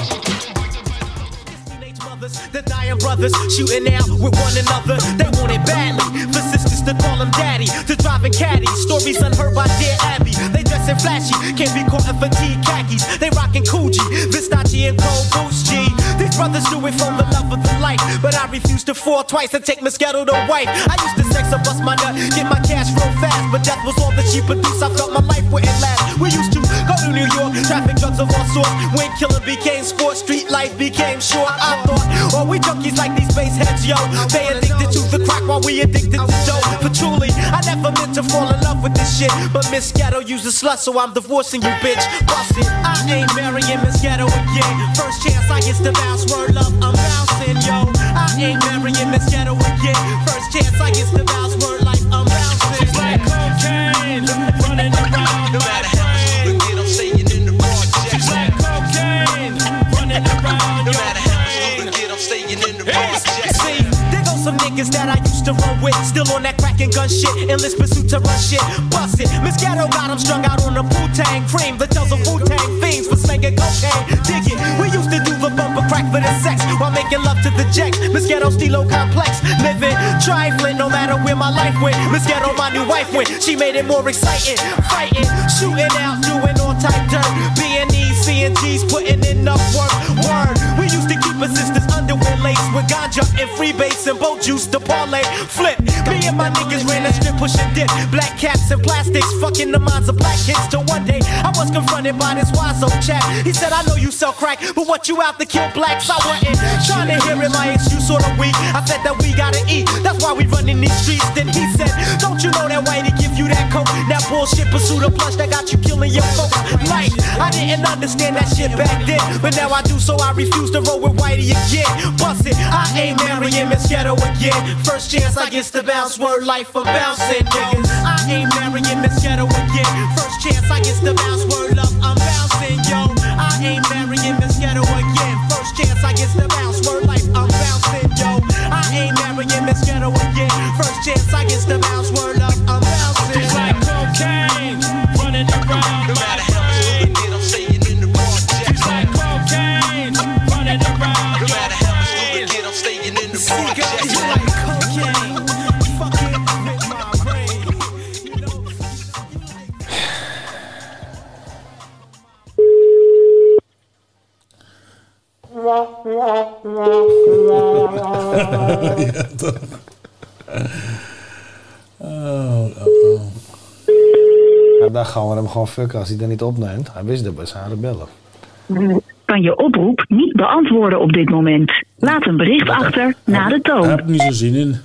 The dying brothers shooting out with one another. They want it badly. For sisters to call them daddy. To driving caddies. Stories unheard by dear Abby. They dressing flashy. Can't be caught in fatigue khakis. They rocking Coogee. Versace and Cold Boots G. These brothers do it from the love of the life. But I refuse to fall twice and take Moscato to wife. I used to sex or bust my nut. Get my cash real fast. But death was all that she produced. I felt my life wouldn't last. We used to go to New York. Traffic drugs of all sorts. When killing became sport. Street life became short. I thought, oh, we junkies like these bass heads, yo. They addicted to the crack while we addicted to dope. But truly, I never meant to fall in love with this shit. But Miss Ghetto used a slut, so I'm divorcing you, bitch. Bust it. I ain't marrying Miss Ghetto again. First chance I get to bounce, word love, I'm bouncing, yo. I ain't marrying Miss Ghetto again. First chance I get to bounce, word life, I'm bouncing. It's like cocaine, running around. No matter how much you can get, I'm staying in the project. It's like cocaine, running around. No matter how much you can get, I'm staying in the project. See, there go some niggas that I used to run with. Still on that crack and gun shit. Endless pursuit to run shit. Bust it. Miss Ghetto got him strung out on the Wu-Tang cream. The tells of Wu-Tang fiends for slinging cocaine. Dig it. We used to do the bumper crack for the sex while making love to the jacks. Miss Ghetto Stilo complex. Living trifling no matter where my life went. Miss Ghetto my new wife went. She made it more exciting. Fighting, shooting out, doing all type dirt. B&E's, C&G's, putting in enough work. Word. We used to keep a sister's underwear laced with ganja and freebase and boat juice to parlay. Flip. Me and my niggas ran a strip pushing dip. Black caps and plastics, fucking the minds of black kids. Till one day I was confronted by this wise old chap. He said, I know you sell crack, but what you out to kill blacks? I wasn't trying to hear it, my excuse sorta weak. I said that we gotta eat, that's why we run in these streets. Then he said, don't you know that whitey give you that coke? That bullshit pursuit of plush that got you killing your folks. Like, I didn't understand that shit back then, but now I do, so I refuse to roll with whitey again. Bust it, I ain't marrying Miss Ghetto again. First chance I get to bounce, word life I'm bouncing, niggas. I ain't marrying Miss Ghetto again. First chance I get to bounce, word love, I'm bouncing, yo. I ain't marrying Miss Ghetto again. First chance I get to bounce, word life, I'm bouncing, yo. I ain't marrying Miss Ghetto again. First chance I get to bounce, word love, I'm bouncing. It's like cocaine, running around. No matter how much you can get, I'm staying in the project. It's like cocaine, running around. No matter how much you can get, I'm staying in the project. It's like cocaine, fucking with my brain. Ja, toch. Ja, daar gaan we hem gewoon fucken als hij dat niet opneemt. Hij wist dat bij zijn rebellen. Kan kan je oproep niet beantwoorden op dit moment. Laat een bericht achter na de toon. Daar heb ik niet zo zin in.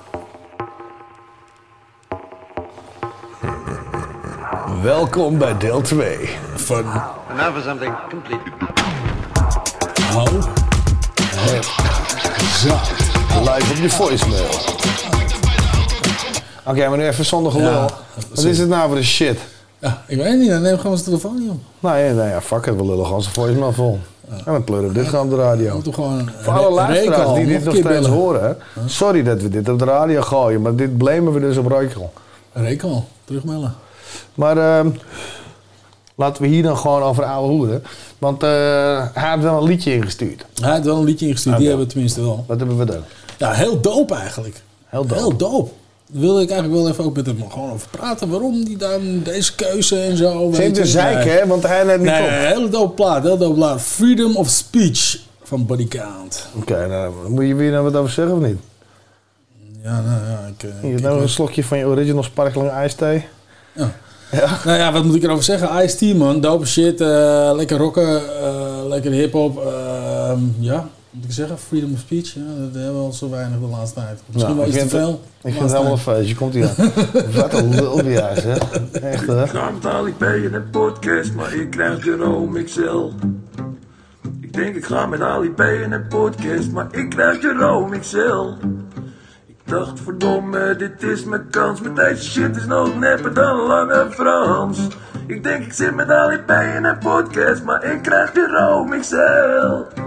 Welkom bij deel 2 van... And now for something completely... Hou het zacht. Live op je voicemail. Oké, maar nu even zonder gelul. Ja, wat is het nou voor de shit? Ja, ik weet niet, dan neem gewoon zijn telefoon niet op. Nee, fuck it, we lullen gewoon zijn voicemail vol. Ja. En dan pleuren we dit gewoon op de radio. Voor alle luisteraars die dit nog steeds horen. Hè? Sorry dat we dit op de radio gooien, maar dit blamen we dus op Reukal. Reukal, terugmelden. Maar laten we hier dan gewoon over ouwe hoeren. Want hij heeft wel een liedje ingestuurd. Hij heeft wel een liedje ingestuurd, okay. Die hebben we tenminste wel. Wat hebben we dan? Ja, heel dope eigenlijk. Heel dope. Daar wilde ik eigenlijk wel even ook met hem gewoon over praten. Waarom die dan deze keuze en zo. Ze heeft de zeik, hè? Want hij net niet op. Nee, hele dope plaat. Freedom of Speech van Body Count. Oké, nou, moet je weer nou wat over zeggen of niet? Ja, nou ja. Je hebt nou een slokje van je original sparkling ijsthee. Ja. Ja. Nou ja, wat moet ik erover zeggen? Ice-T, man. Dope shit. Lekker rocken. Lekker hip-hop. Ja, moet ik zeggen? Freedom of Speech. Ja, dat hebben we al zo weinig de laatste tijd. Misschien wel iets te veel. Ik vind het helemaal een feestje. Komt ie aan. Wat een lul bij jou, zeg. Echt, hè? Ik ga met Ali B in een podcast, maar ik krijg Jerome XL. Ik denk ik ga met Ali B in een podcast, maar ik krijg Jerome XL. Ik dacht, verdomme, dit is mijn kans. Met deze shit is nog nepper dan Lange Frans. Ik denk ik zit met Ali B in een podcast, maar ik krijg Jerome XL.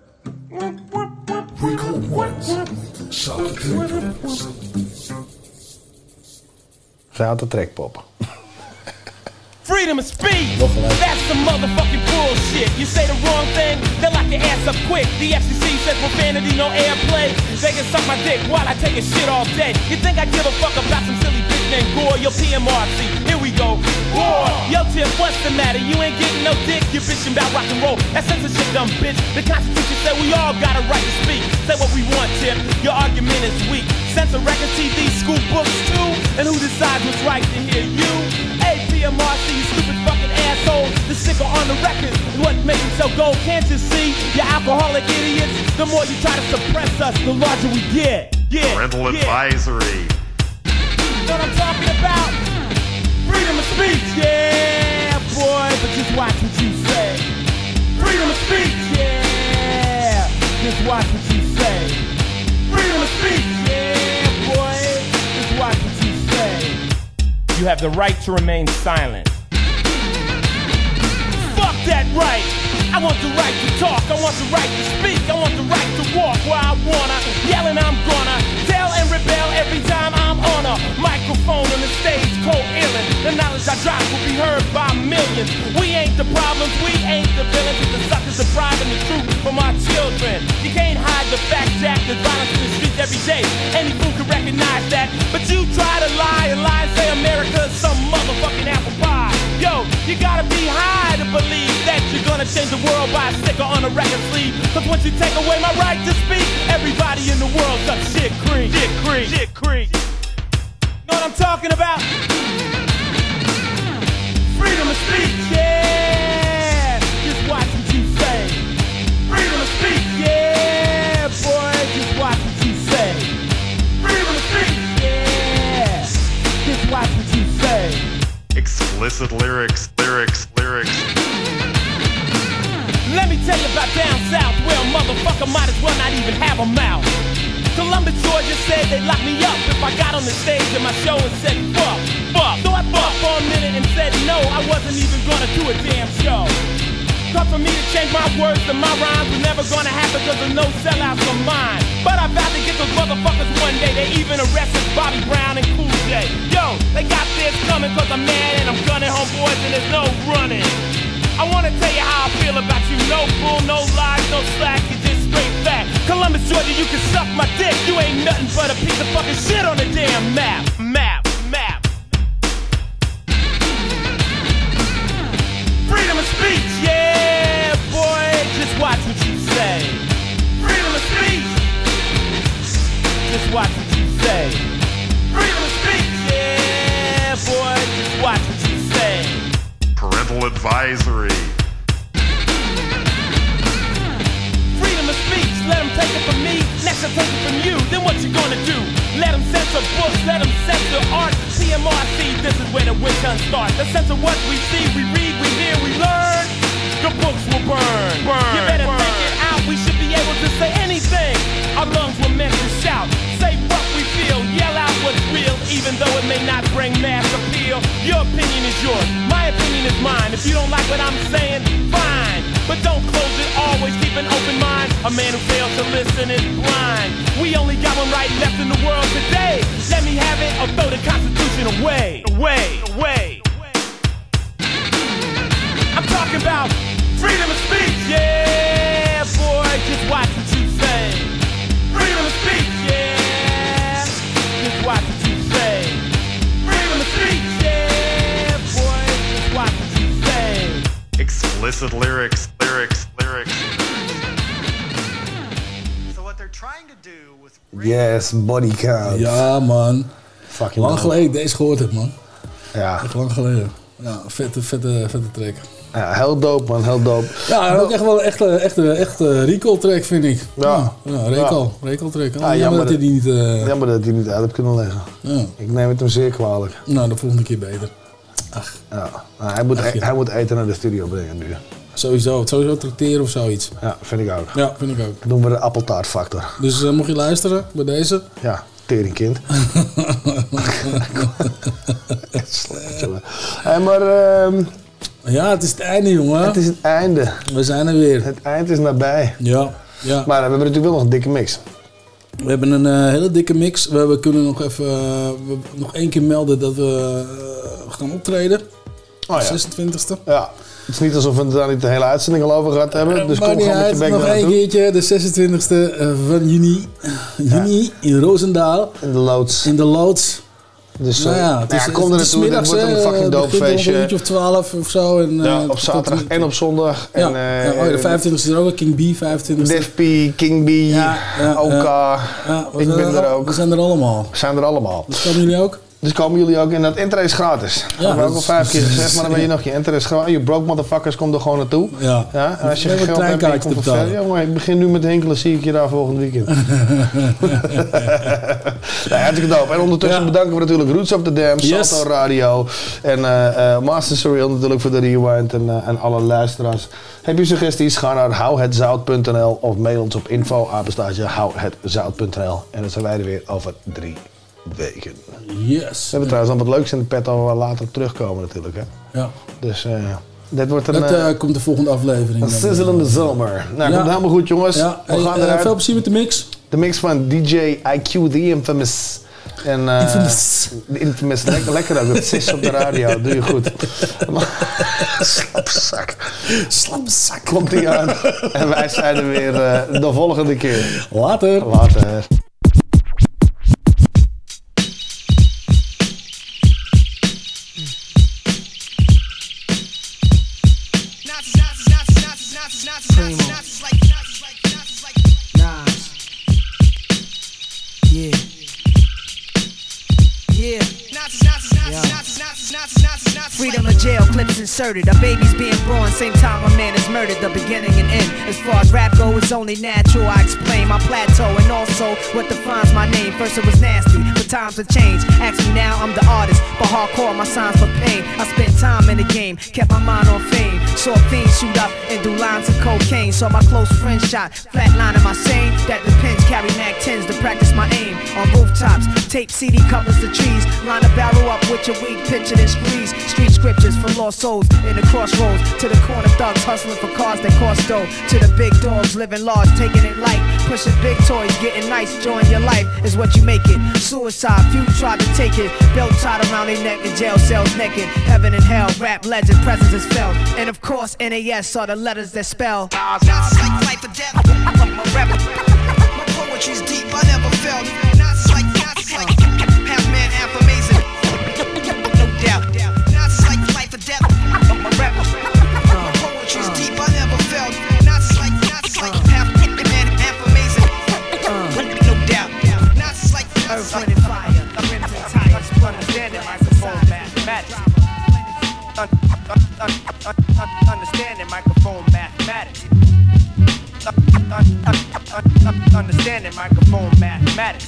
Zij had de trekpop. Freedom of speech, that's some motherfucking bullshit. You say the wrong thing, they lock your ass up quick. The FCC says profanity, no airplay. They can suck my dick while I take a shit all day. You think I give a fuck about some silly bitch named Gore? Yo, PMRC, here we go. War, yo Tip, what's the matter? You ain't getting no dick, you bitching about rock and roll. That censorship, dumb bitch. The Constitution said we all got a right to speak. Say what we want, Tip, your argument is weak. Censor record TV, school books too. And who decides what's right to hear you? PMRC, you stupid fucking asshole. The sticker on the record is what makes it so gold. Can't you see, you alcoholic idiots? The more you try to suppress us, the larger we get. Yeah, parental advisory. You know what I'm talking about? Freedom of speech, yeah, boy. But just watch what you say. Freedom of speech, yeah. Just watch what you say. Freedom of speech, yeah, boy. Just watch what you say. You have the right to remain silent. Fuck that right! I want the right to talk, I want the right to speak, I want the right to walk where I wanna. Yelling I'm gonna tell and rebel every time I'm on a microphone on the stage, coherent. The knowledge I drop will be heard by millions. We ain't the problems, we ain't the villains. It's the suckers depriving the truth from our children. You can't hide the fact, Jack. There's violence in the streets every day. Any fool can recognize that. But you try to lie and say America's some motherfucking apple pie. Yo, you gotta be high to believe that you're gonna change the world by a sticker on a record sleeve. Cause once you take away my right to speak, everybody in the world sucks shit cream. Shit cream. Shit cream. Know what I'm talking about? Freedom of speech, yeah. Just watch what you say. Freedom of speech, yeah, boy. Just watch what you say. Freedom of speech, yeah. Just watch what you say. Explicit lyrics. Let me tell you about down south, where a motherfucker might as well not even have a mouth. Columbus, Georgia said they'd lock me up if I got on the stage in my show and said fuck. So I thought for a minute and said no, I wasn't even gonna do a damn show. Cause for me to change my words and my rhymes was never gonna happen cause there's no sellouts for mine. But I vowed to get those motherfuckers one day. They even arrested Bobby Brown and Cool J. Yo, they got this coming cause I'm mad and I'm gunning homeboys and there's no running. I wanna tell you how I feel about you. No bull, no lies, no slack, you just straight fact. Columbus, Georgia, you can suck my dick. You ain't nothing but a piece of fucking shit on the damn map. Freedom of speech, yeah, boy, just watch what you say. Freedom of speech, just watch what you say. Freedom of speech, yeah, boy, just watch what you say. Parental advisory. let them take it from me, next I'll take it from you. Then what you gonna do? Let them censor books, let them censor art. CMRC, this is where the witch hunt starts. The sense of what we see, we read, we hear, we learn. The books will burn. You better think it out, we should be able to say anything. Our lungs were meant to shout. Say what we feel, yell out what's real, even though it may not bring mass appeal. Your opinion is yours, my opinion is mine. If you don't like what I'm saying, fine. But don't close it, always keep an open mind. A man who fails to listen is blind. We only got one right left in the world today. Let me have it or throw the Constitution away. I'm talking about freedom of speech, yeah, boy, just watch what you say. Freedom of speech, yeah, just watch what you say. Freedom of speech, yeah, boy, just watch what you say. Explicit lyrics. Yes, body count. Ja, man. Fucking lang geleden deze gehoord heb, man. Ja. Echt lang geleden. Ja, vette track. Ja, heel dope, man. Heel dope. Ja, en ook echt wel een echte recall track, vind ik. Ja, recall track. Ja, jammer dat hij die niet... Jammer dat hij niet uit heeft kunnen leggen. Ja. Ik neem het hem zeer kwalijk. Nou, de volgende keer beter. Ach. Ja. Nou, hij moet eten naar de studio brengen nu. Sowieso tracteren of zoiets. Ja, vind ik ook. Ja, vind ik ook. Dan doen we de appeltaartfactor. Dus mocht je luisteren bij deze? Ja, teringkind. Slecht, jongen. Maar... ja, het is het einde, jongen. Het is het einde. We zijn er weer. Het eind is nabij. Ja. Maar we hebben natuurlijk wel nog een dikke mix. We hebben een hele dikke mix. We kunnen nog even nog één keer melden dat we gaan optreden. Oh, ja. 26e. Ja. Het is niet alsof we daar niet de hele uitzending al over gehad hebben. Dus kom gewoon met je bek nog één keertje, de 26e van juni. In Roosendaal. In de loods. Dus kom er naartoe, het wordt een fucking dope feestje. Een uurtje of 12 of zo. En, op zaterdag en op zondag. Ja, de 25e is er ook, King B 25e. Def P, King B, OK. Ik ben er ook. We zijn er allemaal. Dus komen jullie ook? En dat intree is gratis. Dat hebben we ook al 5 keer gezegd, maar dan ben je nog je intree is gratis. Je broke motherfuckers, kom er gewoon naartoe. Ja. En als je geen geld hebt, je komt verder. Ja, maar ik begin nu met hinkelen, zie ik je daar volgend weekend. Hartstikke dope. En ondertussen bedanken we natuurlijk Roots of the Dam, Salto Radio en Master Surreal natuurlijk voor de rewind en alle luisteraars. Heb je suggesties? Ga naar houhetzout.nl of mail ons op info@houhetzout.nl. En dan zijn wij er weer over 3 weken. Yes. We hebben trouwens al wat leuks in de pet waar we later terugkomen natuurlijk. Hè? Ja. Dus dit wordt een... Dat komt de volgende aflevering. Een sizzlende zomer. Nou, komt helemaal goed jongens. Ja. We gaan eruit. Veel plezier met de mix. De mix van DJ IQ, The Infamous. En, Infamous. Lekker ook, het is op de radio, doe je goed. Slapzak. Komt ie aan. En wij zijn er weer de volgende keer. Later. Freedom of jail, clips inserted. A baby's being born, same time a man is murdered. The beginning and end. As far as rap go, it's only natural. I explain my plateau and also what defines my name. First it was nasty, but times have changed. Ask me now, I'm the artist, but hardcore my signs for pain. I spent time in the game, kept my mind on fame. Saw fiends shoot up and do lines of cocaine. Saw my close friend shot, flatline in my sane. That depends, carry Mac 10s to practice my aim. On rooftops, tape CD covers the trees. Line a barrel up with your weak picture and squeeze. Street scriptures for lost souls in the crossroads. To the corner thugs hustling for cars that cost dough. To the big dogs living large, taking it light. Pushing big toys, getting nice, enjoying your life is what you make it. Suicide, few tried to take it. Belt tied around their neck in jail cells naked. Heaven and hell, rap legend, presence is felt. And of course, NAS are the letters that spell. Shots like life or death. My poetry's deep, I never felt. Knots like half man, half amazing. No doubt. Knots like life or death. My poetry's deep, I never felt. Knots like half man, half amazing. No doubt. Knots like earth, wind, and fire. Crimson tires, understanding microphone mathematics. Understanding microphone mathematics. Understanding microphone mathematics.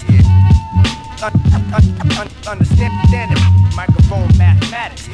Understanding microphone mathematics.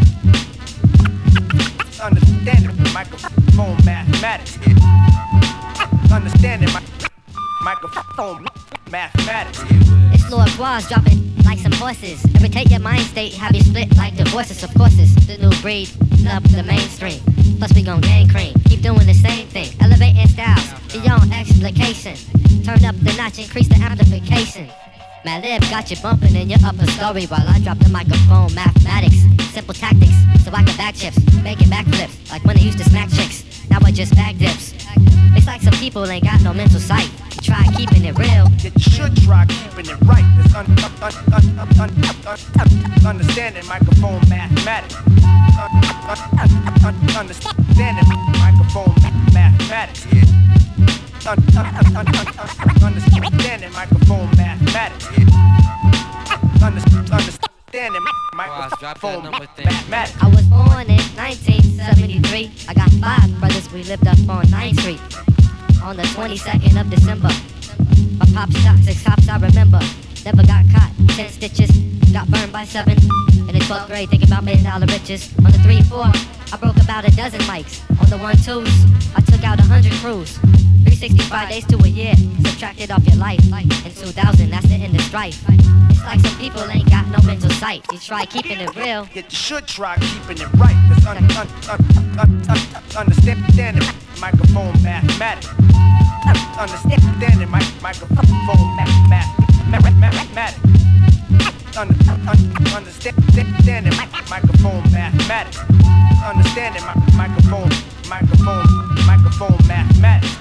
Understanding microphone mathematics. Understanding microphone mathematics. It's Lord Quaz dropping like some horses. Irritate your mind state, have you split like divorces. Of course it's the new breed, up the mainstream. Plus we gon' gang cream, keep doing the same thing. Elevating styles, beyond explication. Turn up the notch, increase the amplification. Madlib got you bumping in your upper story while I drop the microphone mathematics. Simple tactics, so I can back chips, making backflips. Like when I used to smack chicks, now I just back dips. It's like some people ain't got no mental sight. Try keeping it real. You should try keeping it right. It's understanding microphone mathematics. Understanding microphone mathematics. Understanding microphone mathematics. Understanding microphone mathematics. I was born in 1973. I got 5 brothers, we lived up on 9th Street. On the 22nd of December, my pop shot 6 cops I remember. Never got caught, 10 stitches, got burned by 7. In the 12th grade, thinking about $1 million riches. On the 3-4, I broke about a dozen mics. On the 1-2s, I took out 100 crews. 365 days to a year, subtracted off your life. In 2000, that's the end of strife. It's like some people ain't got no mental sight. You try keeping it real. You should try keeping it right. It's understanding microphone mathematics. Understanding microphone mathematics. Understanding microphone mathematics. Understanding microphone mathematics.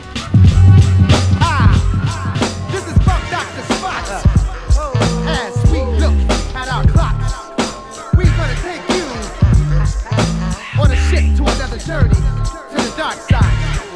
This is Funk Dr. Spots. As we look at our clocks, we're gonna take you on a ship to another journey to the dark side.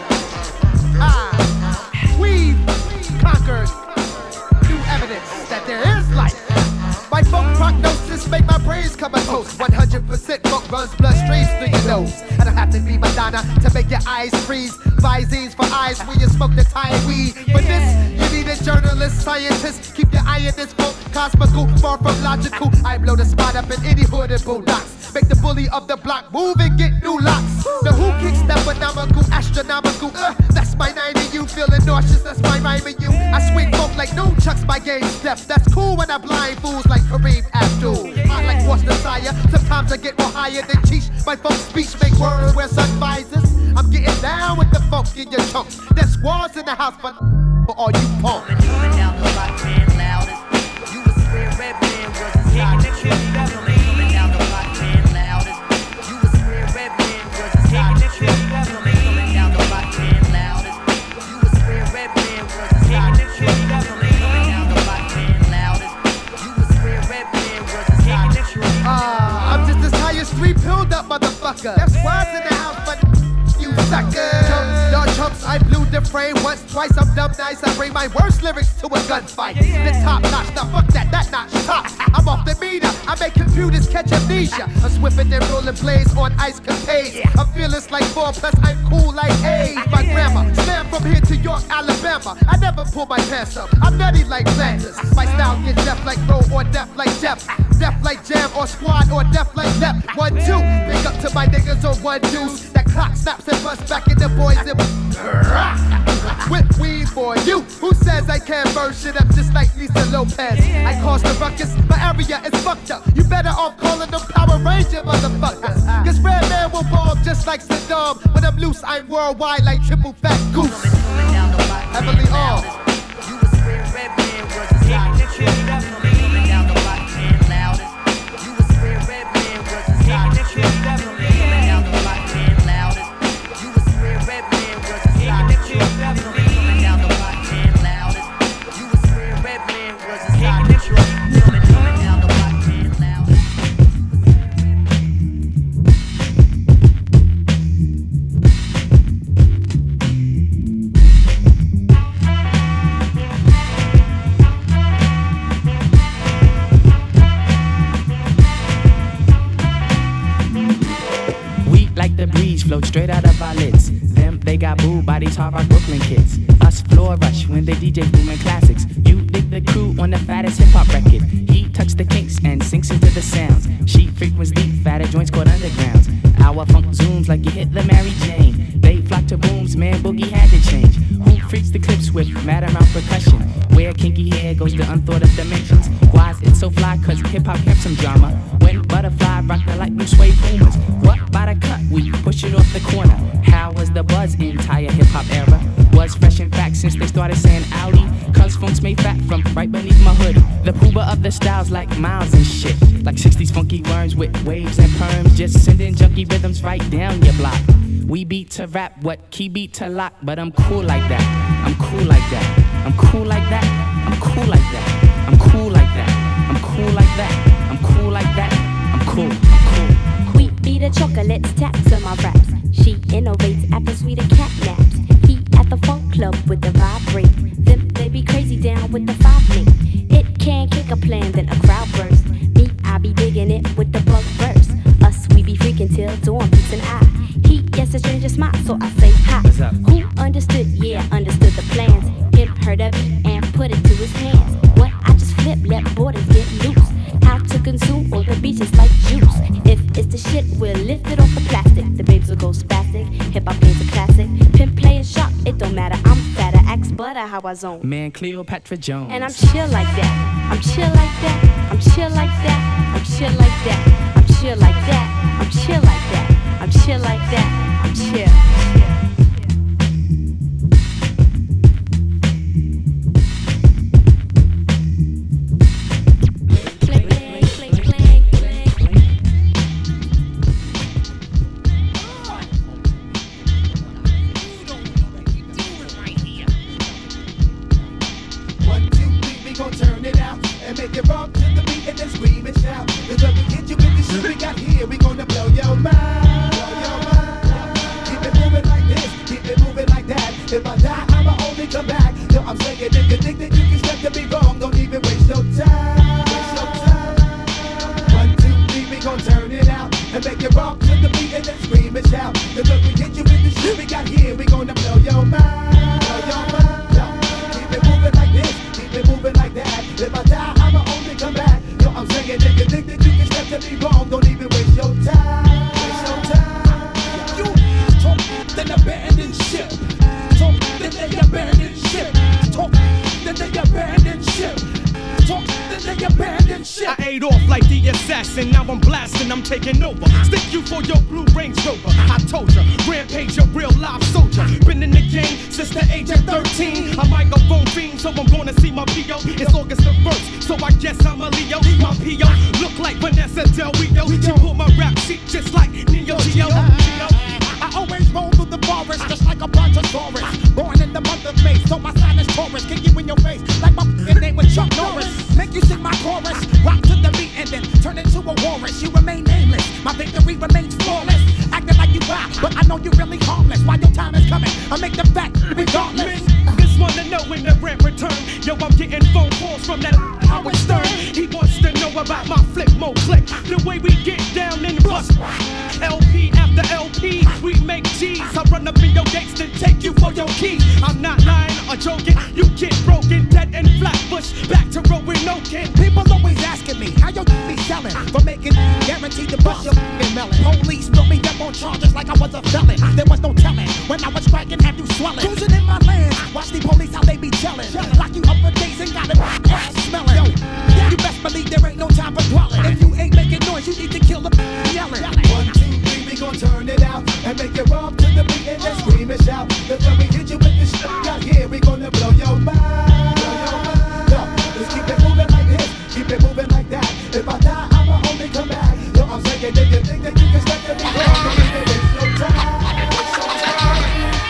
We've conquered new evidence that there is life. My funk prognosis make my brains come a toast. 100% funk runs bloodstreams through your nose. I don't have to be Madonna to make your eyes freeze. Visines for eyes when you smoke the Thai weed. For this, you need a journalist, scientist. Keep your eye in this book, cosmical, far from logical. I blow the spot up in any hood and bulldogs. Make the bully of the block move and get new locks. The who kicks that phenomenal, astronomical. That's my 90, you feeling nauseous, that's my rhyme in you. I swing folk like no chucks, my game step. That's cool when I blind fools like Kareem Abdul. I like What's Desire, sometimes I get more higher than Cheech. My folk speech make words wear sun visors. I'm getting down with the funk in your chunks. There's squads in the house for all you punks. Coming down the block, man, loudest. You was square red man, was his hot. Coming down the block, man, loudest. You was square red man, was his hot. Coming down the block, man, loudest. You was square red man, was his hot. Coming down the block, man, loudest. You was square red man, was his hot. I'm just as high as 3 pilled up, motherfucker. That's why in the house, but you suckers. Dog chumps, I blew the frame once, twice. I'm dumb nice. I bring my worst lyrics to a gunfight. The top notch, now fuck that notch top. I'm off the meter. I make computers catch amnesia. I'm swimming and rolling blades on ice capades. I'm fearless like 4, plus I'm cool like 8. My grandma slam from here to York, Alabama. I never pull my pants up. I'm nutty like Flanders. My style gets deaf like Roe or deaf like Jeff. Deaf like Jam or Squad or deaf like Lep. 1, 2. Big up to my niggas on 1 deuce. That clock snaps and busts back in the boys and with weed for you. Who says I can't burn shit up just like Lisa Lopez? I cause the ruckus, my area is fucked up. You better off calling them Power Ranger motherfuckers. Cause Red Man will bomb just like Saddam. When I'm loose, I'm worldwide like Triple Fat Goose. Heavily armed. You was square red man, was his hot. Coming down the block, man, loudest. You was square red man, was his hot. Coming down the block, man, loudest. You was square red man, was his hot. Coming down the block, man, loudest. You was square red man, was his hot. Coming down the block, man, loudest. Like the breeze, float straight out of our lids. Them, they got booed by these hard rock Brooklyn kids. Us floor rush when they DJ booming classics. You dig the crew on the fattest hip hop record. He tucks the kinks and sinks into the sounds. She frequents deep, fatter joints called undergrounds. Our funk zooms like you hit the Mary Jane. They flock to booms, man, Boogie had to change. Who freaks the clips with mad amount percussion? Where kinky hair goes to unthought of dimensions. Why is it so fly? Cause hip hop kept some drama. When Butterfly rocked the light blue suede Pumas. What by the cut? We push it off the corner. How was the buzz entire hip hop era? Was fresh in fact since they started saying Audi. Cause funk's made fat from right beneath my hood. The pooba of the styles like Miles and shit. Like 60s funky worms with waves and perms. Just sending junky rhythms right down your block. We beat to rap, what key beat to lock. But I'm cool like that, I'm cool like that. I'm cool like that, I'm cool like that. I'm cool like that, I'm cool like that. I'm cool like that, I'm cool, I'm cool. We be the chocolates, taps on my raps. She innovates after sweeter cat naps. He at the funk club with the vibrate. Them they be crazy down with the 5 link. It can kick a plan, then a crowd burst. Me, I be digging it with the bug verse. Us, we be freaking till dawn beats an eye. He gets a stranger smile, so I say hi. Who understood? Yeah, understood the plans. Him heard of it and put it to his hands. What? I just flip, let borders get loose. How to consume all the beaches like juice. If it's the shit, we'll lift it off the plastic. The babes will go spastic. Hip hop is a classic. Pimp playing sharp, it don't matter. I'm fatter, axe butter, how I zone. Man, Cleopatra Jones. And I'm chill like that. I'm chill like that. I'm chill like that. I'm chill like that. I'm chill like that. I'm chill like that. I'm chill like that. I'm chill. If I die, I'ma only come back. Yo, I'm saying if you think that you can step to me wrong, don't even waste your time. Waste your time. 1, 2, 3, we gon' turn it out and make it rock to the beat and then scream and shout. Cause look, we hit you with the shit we got here, we gonna blow your mind. Blow your mind. Yo, keep it moving like this, keep it moving like that. If I die, I'ma only come back. Yo, I'm saying if you think that you can step to me wrong, don't even waste your time. Waste your time. You talk, then abandon ship. Talk, then they abandon ship. Talk, then they abandon ship. Talk, then they abandon ship. I ate off like the assassin, now I'm blasting, I'm taking over. Stick you for your blue Range Rover. I told ya, rampage, a real live soldier. Been in the game since the age of 13. A microphone fiend, so I'm gonna see my P.O. It's August the 1st, so I guess I'm a Leo. My P.O. look like Vanessa Del Rio. She pulled my rap sheet just like Neo Geo. I always roll through the forest just like a brontosaurus. Born in the month of May, so my sign is Taurus. Kick you in your face like my name was Chuck Norris. Make you sing my chorus, rock to the beat and then turn into a walrus. You remain nameless, my victory remains flawless. Acting like you wild, but I know you're really harmless. While your time is coming, I make the fact regardless. Just wanna know when the rent return. Yo, I'm getting phone calls from that Howard Stern. He wants to know about my flip mode click. The way we get down in the bus. LP after LP, we make G's. I run up in your gates and take you for your keys. I'm not lying or joking. You get broken, dead and Flatbush. Back to Rowan Oaken. People always asking me how you be selling for making guaranteed to bust your melon. Police put me up on charges like I was a felon. There was no telling when I was striking, have you swelling? Cruising in my land, watch the police how they be chillin'. Lock you up for days and got an ass smelling. Yo, you best believe there ain't no time for dwelling. If you ain't making noise, you need to kill the yelling. 1, 2, 3, we gon' turn it out and make it rock to the beat and then scream and shout. Cause when we hit you with this shit we got here, we gonna blow your mind. Blow your mind. Yo, just keep it moving like this, keep it moving like that. If I die, I'ma only come back. Yo, I'm saying if you think that you can step to me wrong, don't even waste your time.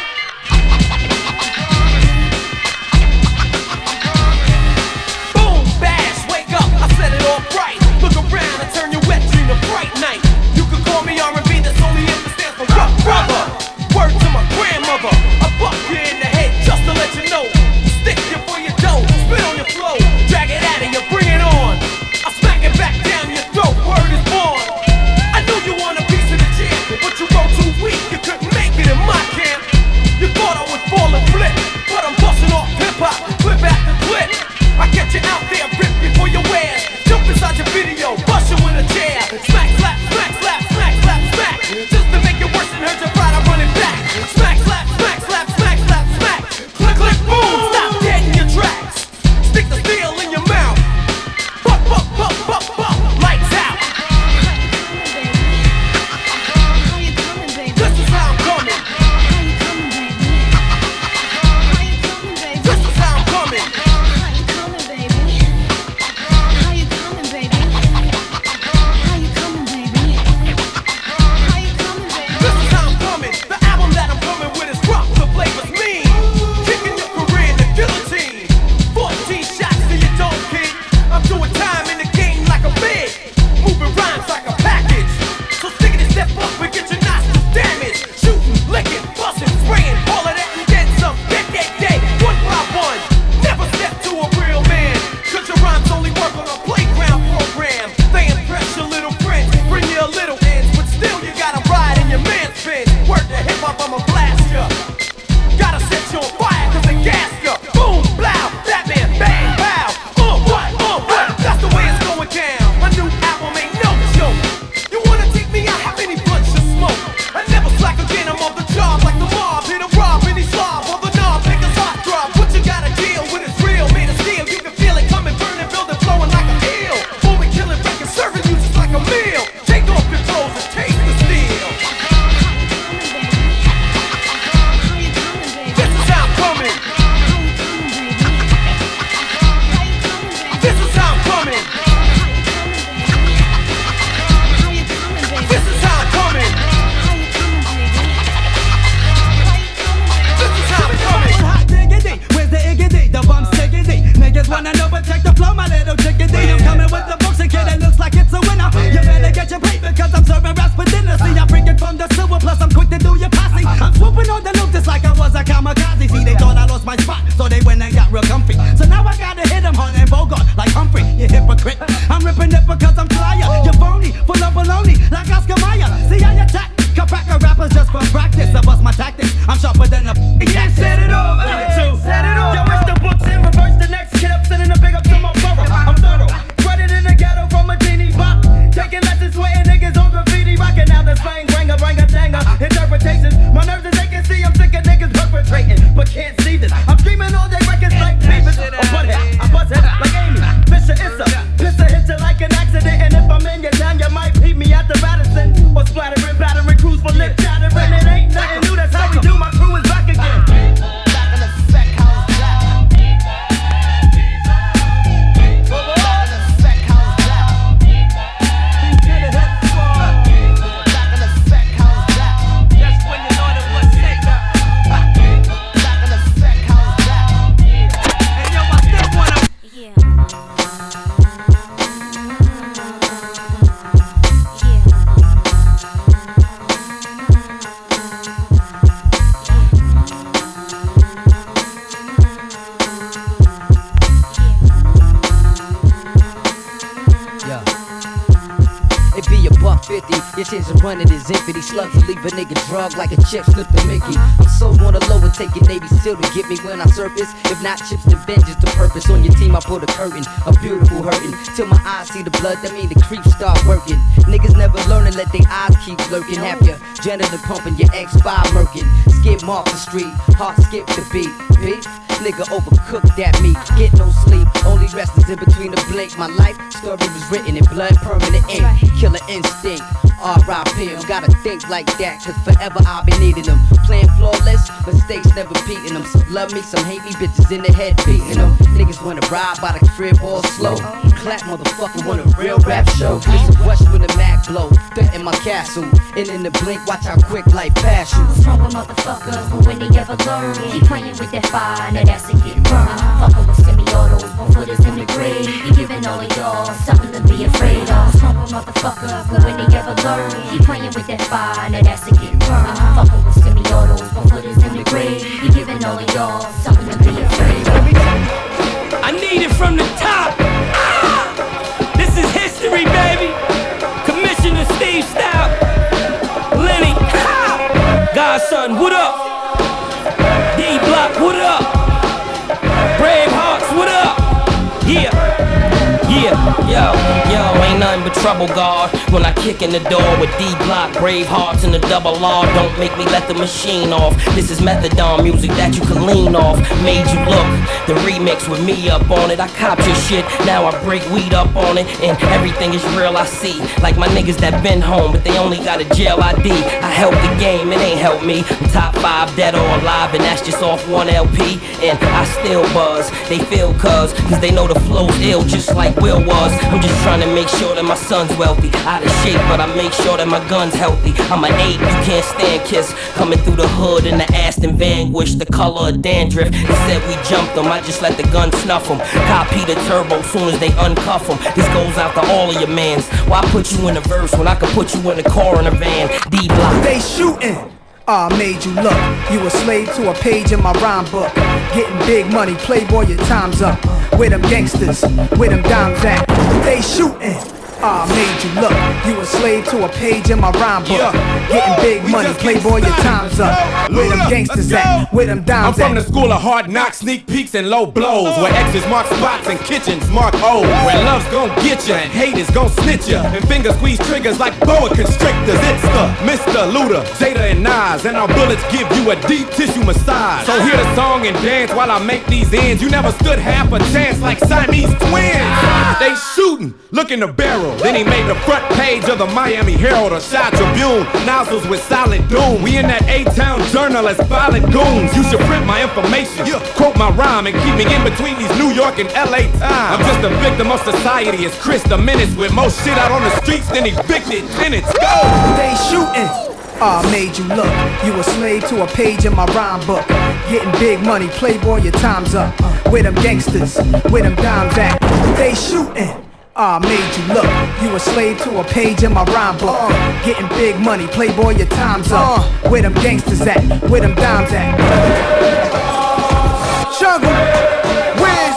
ya. Gotta set you on fire cause they gas ya. Boom, blow, Batman, bang, pow. What? That's the way it's going down. My new album ain't no joke. You wanna take me out, how many blunts you smoke? I never slack again, I'm on the job like the mob. Hit a rob, any slob, on the knob, niggas hot drop. What you gotta deal with is real, made of steel. You can feel it coming, burning, building, flowing like a eel. Moving, killing, breaking, serving you just like a meal. Take off your clothes and taste the steel. This is how I'm coming. This is how I'm coming. This is how I'm coming. This is how I'm coming. Hot diggity, where's the iggity? The bum's tiggity. Niggas wanna know, but check the flow, my little chickadee. I'm coming with the books and kid, it looks like it's a winner. You better get your plate because I'm serving raps for dinner. See, I'm freaking from the sewer, plus I'm quick to do your posse. I'm swooping on the loop just like I was a kamikaze. See, they thought I lost my spot, so they went and got real comfy. So now I gotta hit them hard and Bogart like Humphrey, you hypocrite. I'm ripping it because I'm flyer. You're phony, full of baloney, like Oscar Mayer. See, I attack, cracker rappers just for practice. I bust my tactics, I'm sharper than a Yeah, set it off. Set it off. Yo, it's the books in reverse. The next kid up sending a big up to my borough. I'm thorough. Running in the ghetto from a teeny bop. Taking lessons, sweating niggas on graffiti. Rocking out the slang, ranga, danga. Interpretations. My nerves as they can see. I'm sick of niggas perpetrating, but can't see this. I'm screaming all day records like Beavis or Butthead. I bust head like Amy. Fisher Issa. Pisser hit you like an accident. And if I'm in your town, you might peep me at the Radisson. Or splattering, battering crews for lip chattering. It ain't nothing new, that's how we do. My crew is back again. Your chance of running is infinity. Slugs will leave a nigga drug like a chip slip to Mickey. I'm so on the low and take your Navy SEAL to get me when I surface. If not chips, then vengeance the purpose. On your team, I put a curtain, a beautiful hurting. Till my eyes see the blood, that mean the creeps start working. Niggas never learn and let their eyes keep lurking. Have your janitor pumping, your X5 murking. Skip off the street, heart skip the beat. Beef, nigga overcook that meat. Get no sleep, only rest is in between the blink. My life story was written in blood, permanent ink. Killer instinct. R.I.P. Gotta think like that, cause forever I'll be needing them. Playing flawless, mistakes never beating them. Some love me, some hate me, bitches in the head beating them. Niggas wanna ride by the crib all slow. Clap motherfucker want a real rap show. Listen, rush when the Mac blow. Threat in my castle, and in the blink, watch how quick life pass you. What's wrong with motherfuckers, but when they ever learn? Keep playing with that fire, now that's a get burned. Fucking with semi-autos, 1 footers in the grave. He giving all of y'all something to be afraid of. What's wrong with motherfuckers, but when they ever learn? Keep playing with that fire, now that's a get burned. Fucking with semi-autos, 1 footers in the grave. He giving all of y'all something to be afraid of. I need it from the top. This is history, baby. Commissioner Steve Stout, Lenny, Godson, what up? D Block, what up? Bravehearts, what up? Yeah. Yo, ain't nothing but trouble, God. When I kick in the door with D-Block, Bravehearts, and the double R. Don't make me let the machine off. This is methadone music that you can lean off. Made you look, the remix with me up on it. I copped your shit, now I break weed up on it. And everything is real, I see. Like my niggas that been home, but they only got a jail ID. I help the game, it ain't help me. I'm top 5 dead or alive, and that's just off 1 LP. And I still buzz, they feel cuz they know the flow's ill, just like Will was. I'm just trying to make sure that my son's wealthy. Out of shape, but I make sure that my gun's healthy. I'm an 8, you can't stand Kiss. Coming through the hood in the Aston Vanquish, the color of dandruff. They said we jumped them, I just let the gun snuff them. Copy the turbo soon as they uncuff them. This goes out to all of your mans. Why put you in a verse when I can put you in a car in a van? D-Block. They shooting. I made you look. You a slave to a page in my rhyme book. Getting big money, playboy, your time's up. With them gangsters, with them dimes at. They shooting. I made you look. You a slave to a page in my rhyme book. Getting big money, playboy, your time's up. Where them gangsters at? Where them dimes I'm from at? the school of hard knocks, sneak peeks and low blows. Where X's mark spots and kitchens mark O's. Where love's gon' get ya and hate is gon' snitch ya. And finger squeeze triggers like boa constrictors. It's the Mr. Luda, Jada and Nas. And our bullets give you a deep tissue massage. So hear the song and dance while I make these ends. You never stood half a chance like Siamese twins. They shootin', look in the barrel. Then he made the front page of the Miami Herald or Chi Tribune. Nozzles with silent doom. We in that A-Town journal as violent goons. You should print my information, quote my rhyme, and keep me in between these New York and LA times. I'm just a victim of society as Chris the Menace with more shit out on the streets than evicted tenants. Go! They shooting. I made you look. You a slave to a page in my rhyme book. Getting big money, playboy, your time's up. Where them gangsters? Where them dimes at? They shooting. I made you look. You a slave to a page in my rhyme book. Getting big money, playboy, your time's up. Where them gangsters at? Where them dimes at? Jungle, Wiz,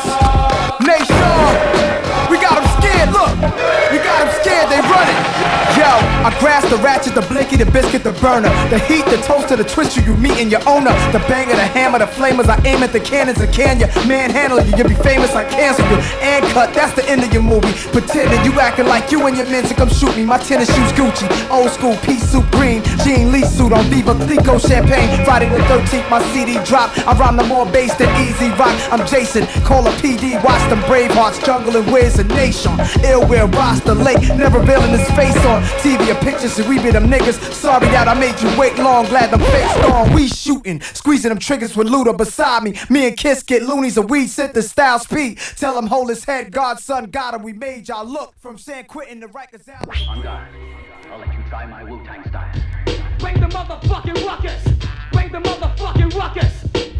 Nation. We got them scared, look. We got them scared, they running. Yo, I grasp the ratchet, the blinky, the biscuit, the burner. The heat, the toaster, the twister, you meet in your owner. The banger, the hammer, the flamers, I aim at the cannons and can ya manhandle you, you'll be famous, I cancel you. And cut, that's the end of your movie. Pretending you acting like you and your men to come shoot me. My tennis shoes Gucci, old school pea suit green, Jean Lee suit on Viva Clico champagne. Friday the 13th, my CD drop. I rhyme the more bass than Easy Rock. I'm Jason, call a PD, watch them Bravehearts, Jungle and Wiz and Nation. Ill will Rasta Lake, never revealing his face on TV or pictures, so we be them niggas. Sorry that I made you wait long, glad them fakes gone. We shooting, squeezing them triggers with Luda beside me. Me and Kiss get loonies and we sit the style speed. Tell him hold his head, Godson got him. We made y'all look from San Quentin to Rikers Island. On guard. I'll let you try my Wu-Tang style. Bring the motherfucking ruckus. Bring the motherfucking ruckus.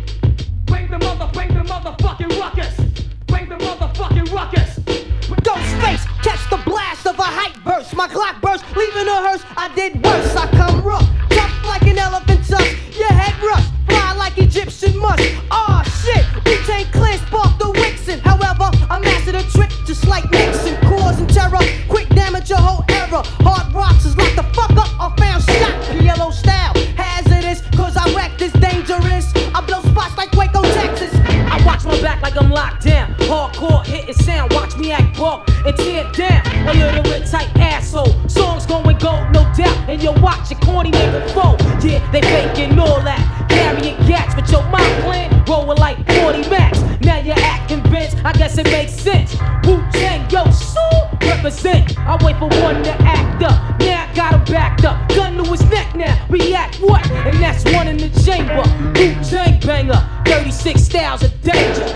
Bring the motherfucking ruckus. Bring the motherfucking ruckus. Ghostface, catch the blast of a hype burst. My clock burst, leaving a hearse. I did worse. I come rough, tough like an elephant tusk. Your head rust, fly like Egyptian musk. Aw shit, we take clear, spark the Wixen. However, I mastered a trick just like Nixon. Causing terror, quick damage your whole era. Hard rocks is locked the fuck up. I found shot, PLO style. Hazardous, cause I wreck this dangerous. I blow spots like Waco, Texas. I watch my back like I'm locked down. Hardcore hitting sound, watch me act broke and tear down. A little bit tight asshole. Songs going gold, no doubt. And you watch your corny nigga foe. Yeah, they faking all that. Carrying gats, but your mind plan rolling like 40 max. Now you act convinced, I guess it makes sense. Wu-Tang, yo, so represent. I wait for one to act up. Now I got him backed up. Gun to his neck now. React what? And that's one in the chamber. Wu-Tang banger. 36 styles of danger.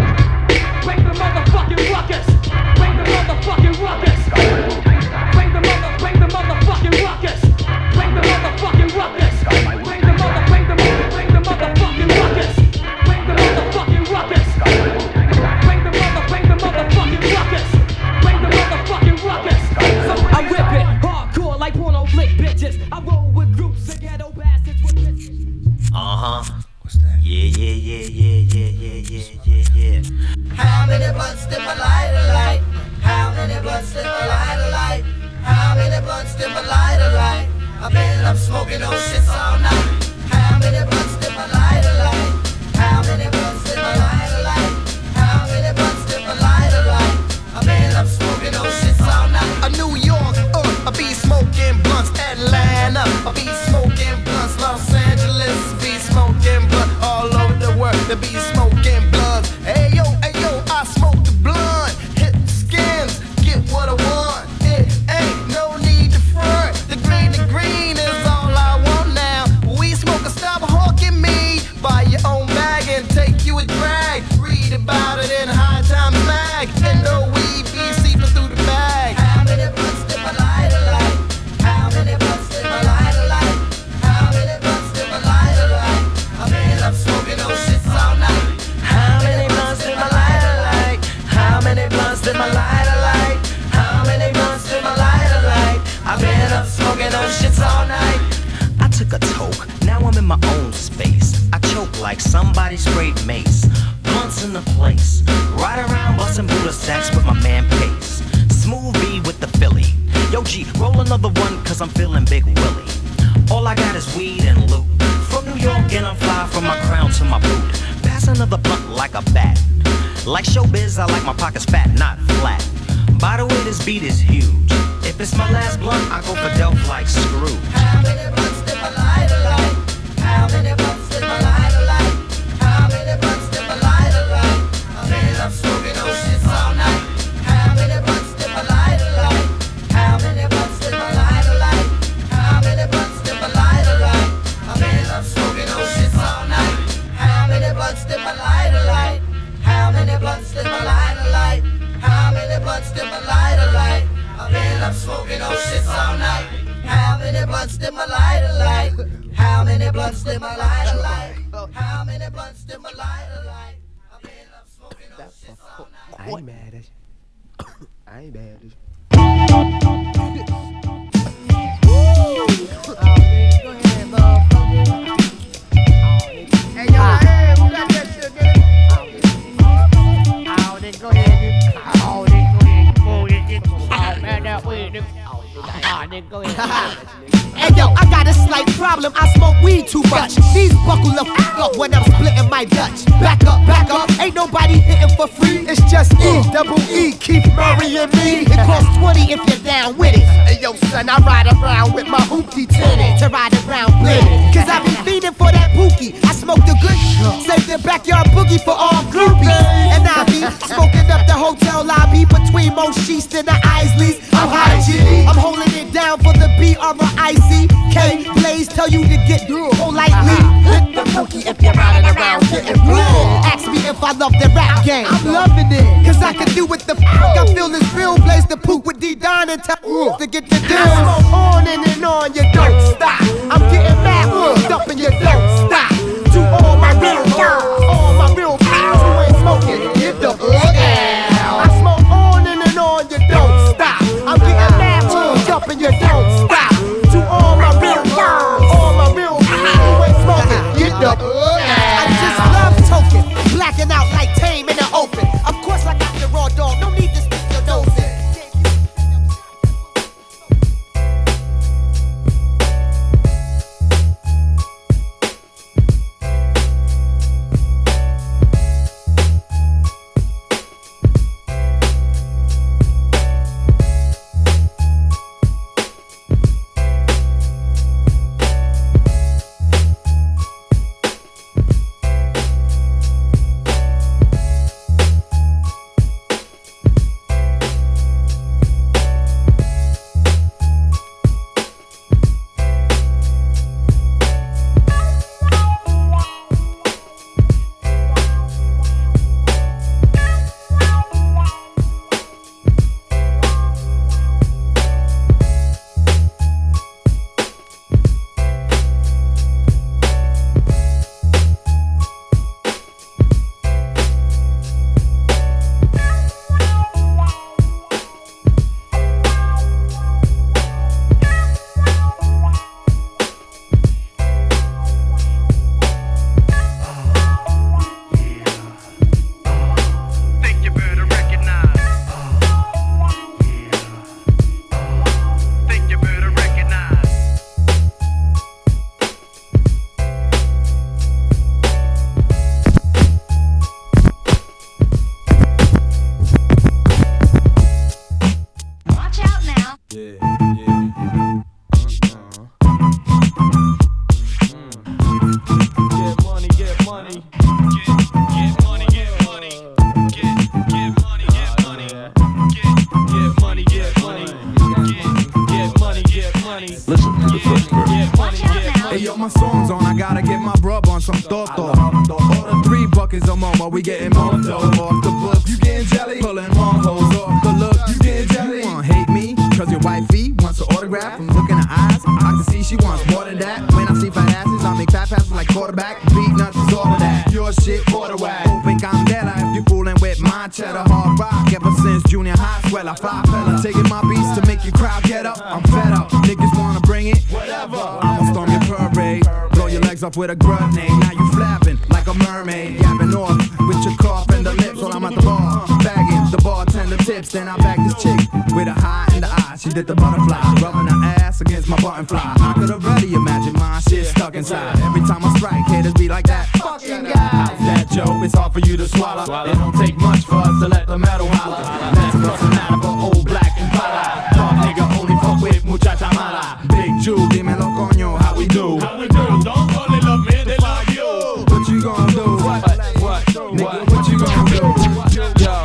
Bring the motherfucking ruckus. Bring the motherfucking ruckus. Bring the motherfucking ruckus. Bring the motherfucking ruckus. Bring the motherfucking ruckus. Bring the motherfucking ruckus. Bring the motherfucking ruckus. Bring the motherfucking ruckus. So I rip it hardcore like porno flick bitches. I roll with groups of ghetto bastards with bitches. What's that? Yeah. How many blunts did my lighter light? How many blunts did my lighter light? How many blunts did my lighter light? I've been up smoking those shits all night. How many blunts did my lighter light? How many blunts did my lighter light? How many blunts did my lighter light? I've been up smoking those shits all night. New York, I be smoking blunts. Atlanta, I be smoking blunts. Los Angeles, be smoking blunt. All over the world, they be smoking blunts. Hey yo, I smoke the blunt. Hit the skins, get what I want. It ain't no need to front. The green is all I want now. We smoke a stop hawking me. Buy your own bag and take you a drag. Read about it in High Times Mag. And no weed be seeping through the bag. How many blunts did my lighter light? How many blunts did my lighter light? How many blunts did my lighter light? I've been up smoking those shits all night. How many blunts did my lighter light? How many blunts did my lighter light? How many blunts did my lighter light? I've been up smoking those shits all night. I took a toke, now I'm in my own space. I choke like somebody sprayed mace. Blunts in the place. Ride around busting Buddha sacks with my man Pace. Smooth B with the the Philly. Yo G, roll another one cause I'm feeling Big Willie. All I got is weed and loot. From New York and I'm fly from my crown to my boot. Pass another blunt like a bat. Like showbiz, I like my pockets fat, not flat. By the way, this beat is huge. If it's my last blunt, I go for dope like Scrooge. How many blunts did my lighter light? How many blunts did my lighter light? How many blunts did my lighter light? I mean, I'm smoking those shits all night. How many blunts did my lighter light? How many blunts did my lighter light? How many blunts did my lighter light? I mean, I'm smoking those shits all night. How many blunts did my lighter light? How many blunts did my lighter light? How many blunts did my lighter light? I mean, I'm smoking those shits all night. How many blunts did my lighter light? How many blunts did my lighter light? How many blunts did my lighter light? I mean, I'm smoking those shits all night. I ain't mad at you. I ain't mad at you. Go ahead, motherfucker. Hey, yo, hey, who got that shit, nigga? Oh, then go ahead. Oh, then go ahead. Oh, man, that way, nigga. Oh, then go ahead. Hey yo, I got a slight problem, I smoke weed too much. These buckle the f up when I'm splitting my Dutch. Back up, ain't nobody hitting for free. It's just E-double-E, Keith Murray and me. It costs 20 if you're down with it. Hey yo son, I ride around with my hoopty tinted to ride around blended. Cause I be feeding for that pookie. I smoke the good, save the backyard boogie for all groupies. And I be smoking up the hotel lobby between Mo Sheets and the Isleys. I'm high G, I'm holding it down for the B-R-I-C-K. Blaze tell you to get politely. Hit the pookie if you're riding around getting bled. Ask me if I love the rap game. I'm loving it, cause I can do what the fuck I feel this real. Blaze the poop with D-Don and tell to get the deal. I smoke on and on, you don't stop. I'm getting mad, up and you don't stop. To all my real pals who ain't smoking, get the hell. I smoke on and on, you don't stop. I'm getting mad, up and you don't stop. To all my real pals who ain't smoking, get the I just love token, blacking out like Tame in the open. Of course I got the raw dog, no need to stick your nose in. My song's on, I gotta get my brub on some Toto. Order 3 buckets of Momo, we getting more dough. Off the books, you getting jelly? Pulling more hoes off the look, you getting jelly? You wanna hate me? Cause your wifey wants an autograph. From looking at eyes, I can see she wants more than that. When I see fat asses, I make fat passes like quarterback. Beat nuts is all of that. Your shit, quarter whack. Open candela if you fooling with my cheddar. Hard rock ever since junior high. Swell, I fly fella. Taking my beats to make your crowd get up. I'm fed up. Niggas wanna bring it? Whatever. I'ma storm your parade. Blow your legs off with a grenade. Now you flapping like a mermaid. Yapping off with your cough and the lips while I'm at the bar. Bagging the bartender tips. Then I bag this chick with a high in the eye. did the butterfly, rubbing her ass against my button fly. I could already imagine my shit stuck inside. Every time I strike, haters be like that fucking guy. How's that, Joe? It's hard for you to swallow. It don't take much for us to let the metal holler. Let's bust an out of old black and pala. Dog nigga only fuck with muchacha mala. Big Jew, dímelo coño, how we do? How we do? Don't only love me, they love you. What you gonna do? What? Nigga, what you gonna do? Yo,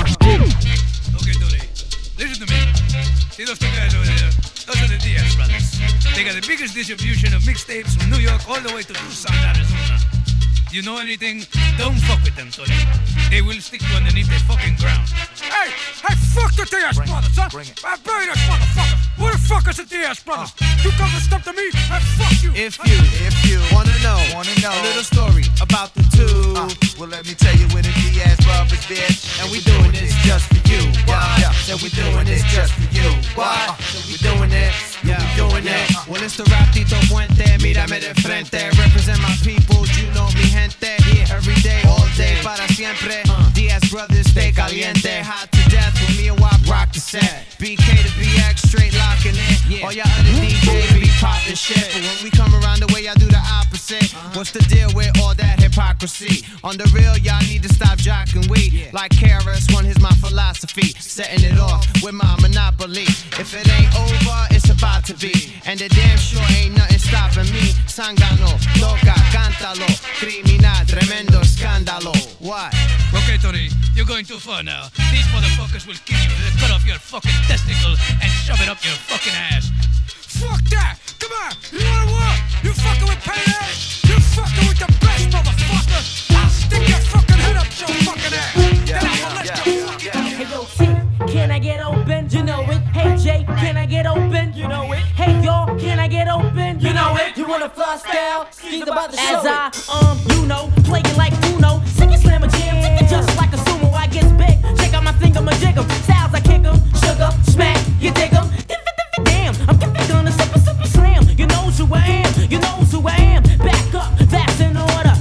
Okay, Tony, listen to me. See those two guys over there? Those are the Diaz brothers. They got the biggest distribution of mixtapes from New York all the way to Tucson, Arizona. You know anything? Don't fuck with them, Tony. They will stick you underneath the fucking ground. Hey, fuck the Diaz brothers, huh? I bury this motherfucker. Who the fuck is the Diaz brothers? You come and step to me, and fuck you. If you wanna know a little story about the two, well let me tell you where the Diaz brothers, bitch. And we doing this just for you. Yeah. Said we doing this just for you. What? We doing it. Yeah, we doing it. Well, it's the Ratito Puente, mírame de frente. Represent my people, you know mi gente. Every day, all day, para siempre. Diaz brothers, stay caliente. Hot to death with me and Wop rock the set. BK to BX, straight locking in. All y'all other DJs be poppin' shit. But when we come around the way, y'all do the opposite. What's the deal with all that hypocrisy? On the real, y'all need to stop jocking we. Like KRS-One, here's my philosophy. Setting it off with my monopoly. If it ain't over, it's about to be. And the damn sure ain't nothing stopping me. Sangano, toca, cántalo. Criminal, tremendo escándalo. What? Okay, Tony, you're going too far now. These motherfuckers will kill you. They'll cut off your fucking testicle and shove it up your fucking ass. Fuck that! Come on! You wanna what? You fucking with Payday? You fucking with the best, motherfucker! I'll stick your fucking head up your fucking ass! Then I'll let you fucking Hey yo, T, can I get open? You know it. Hey Jay, can I get open? You know it. Hey y'all, can I get open? You know it. You wanna fly style? He's about to show it. As playing like Uno, sing it, slam a jam, take it just like a sumo. I get big, check out my finger, my jig 'em. Styles I kick 'em, sugar, smack, you dig 'em. Damn, I'm gonna super slam. You knows who I am, you knows who I am. Back up, that's in order.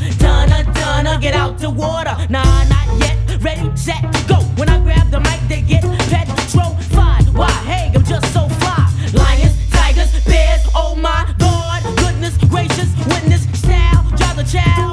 Donna, get out the water. Nah, not yet. Ready, set, go. When I grab the mic, they get petrified. Why? Hey, I'm just so fly. Lions, tigers, bears. Oh my God, goodness gracious, witness style, drive the child.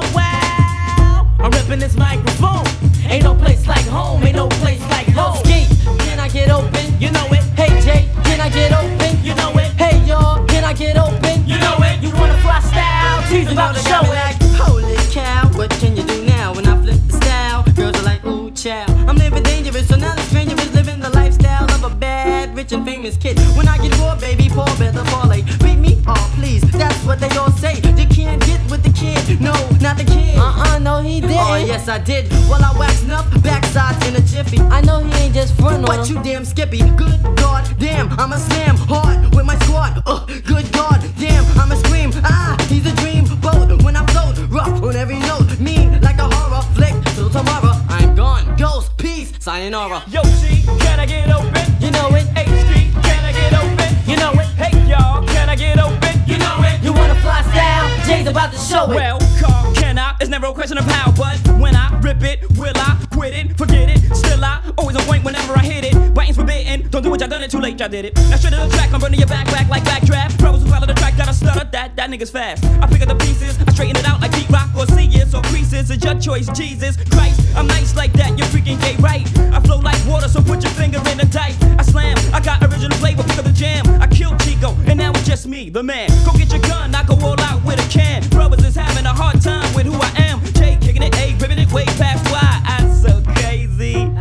Wow, I'm ripping this microphone. Ain't no place like home. Ain't no place like home. Ski, can I get open? You know it. Hey Jay, can I get open? You know it. Hey y'all, can I get open? You know it. You wanna fly style? She's about to show it. Holy cow, what can you do now when I flip the style? Girls are like, ooh, child. I'm living dangerous, so now the stranger is living the lifestyle of a bad, rich and famous kid. When I get raw, baby, pour better parlay. Beat me, oh please, that's what they all say. You can't get with the kid, no, not the kid. No, he didn't. Oh yes, I did. Well, I waxed up, backside in a jiffy. I know he ain't just front on but you damn skippy. Good God, damn, I'm a slam hard with my squad. Good God, damn, I'm a scream. He's a dream boat when I float, rough on every note, mean like a horror flick. Till tomorrow, I'm gone. Ghost, peace, sayonara. Yo, G, can I get open? You know it. H Street, can I get open? You know it. Hey y'all, can I get open? You know it. You wanna fly style? Jay's about to show it. Well, car, can I? It's never a question of how, but when I rip it, will I quit it? Forget it. Still I always on point whenever I hit it. Biting's forbidden. Don't do it, y'all done it too late, y'all did it. Now straight to the track, I'm burning your back like backdraft. Brothers who follow the track, gotta stutter. That nigga's fast. I pick up the pieces, I straighten it out like Pete Rock or C-Is or creases. It's your choice, Jesus Christ. I'm nice like that, you're freaking gay, right? I flow like water, so put your finger in the dike. I slam, I got original flavor, pick up the jam. I killed Chico, and now it's just me, the man. Go get your gun, I go all out with a can. Brothers is having a hard time with who I am. Jay kicking it, A, ripping it way past why I'm so crazy. Did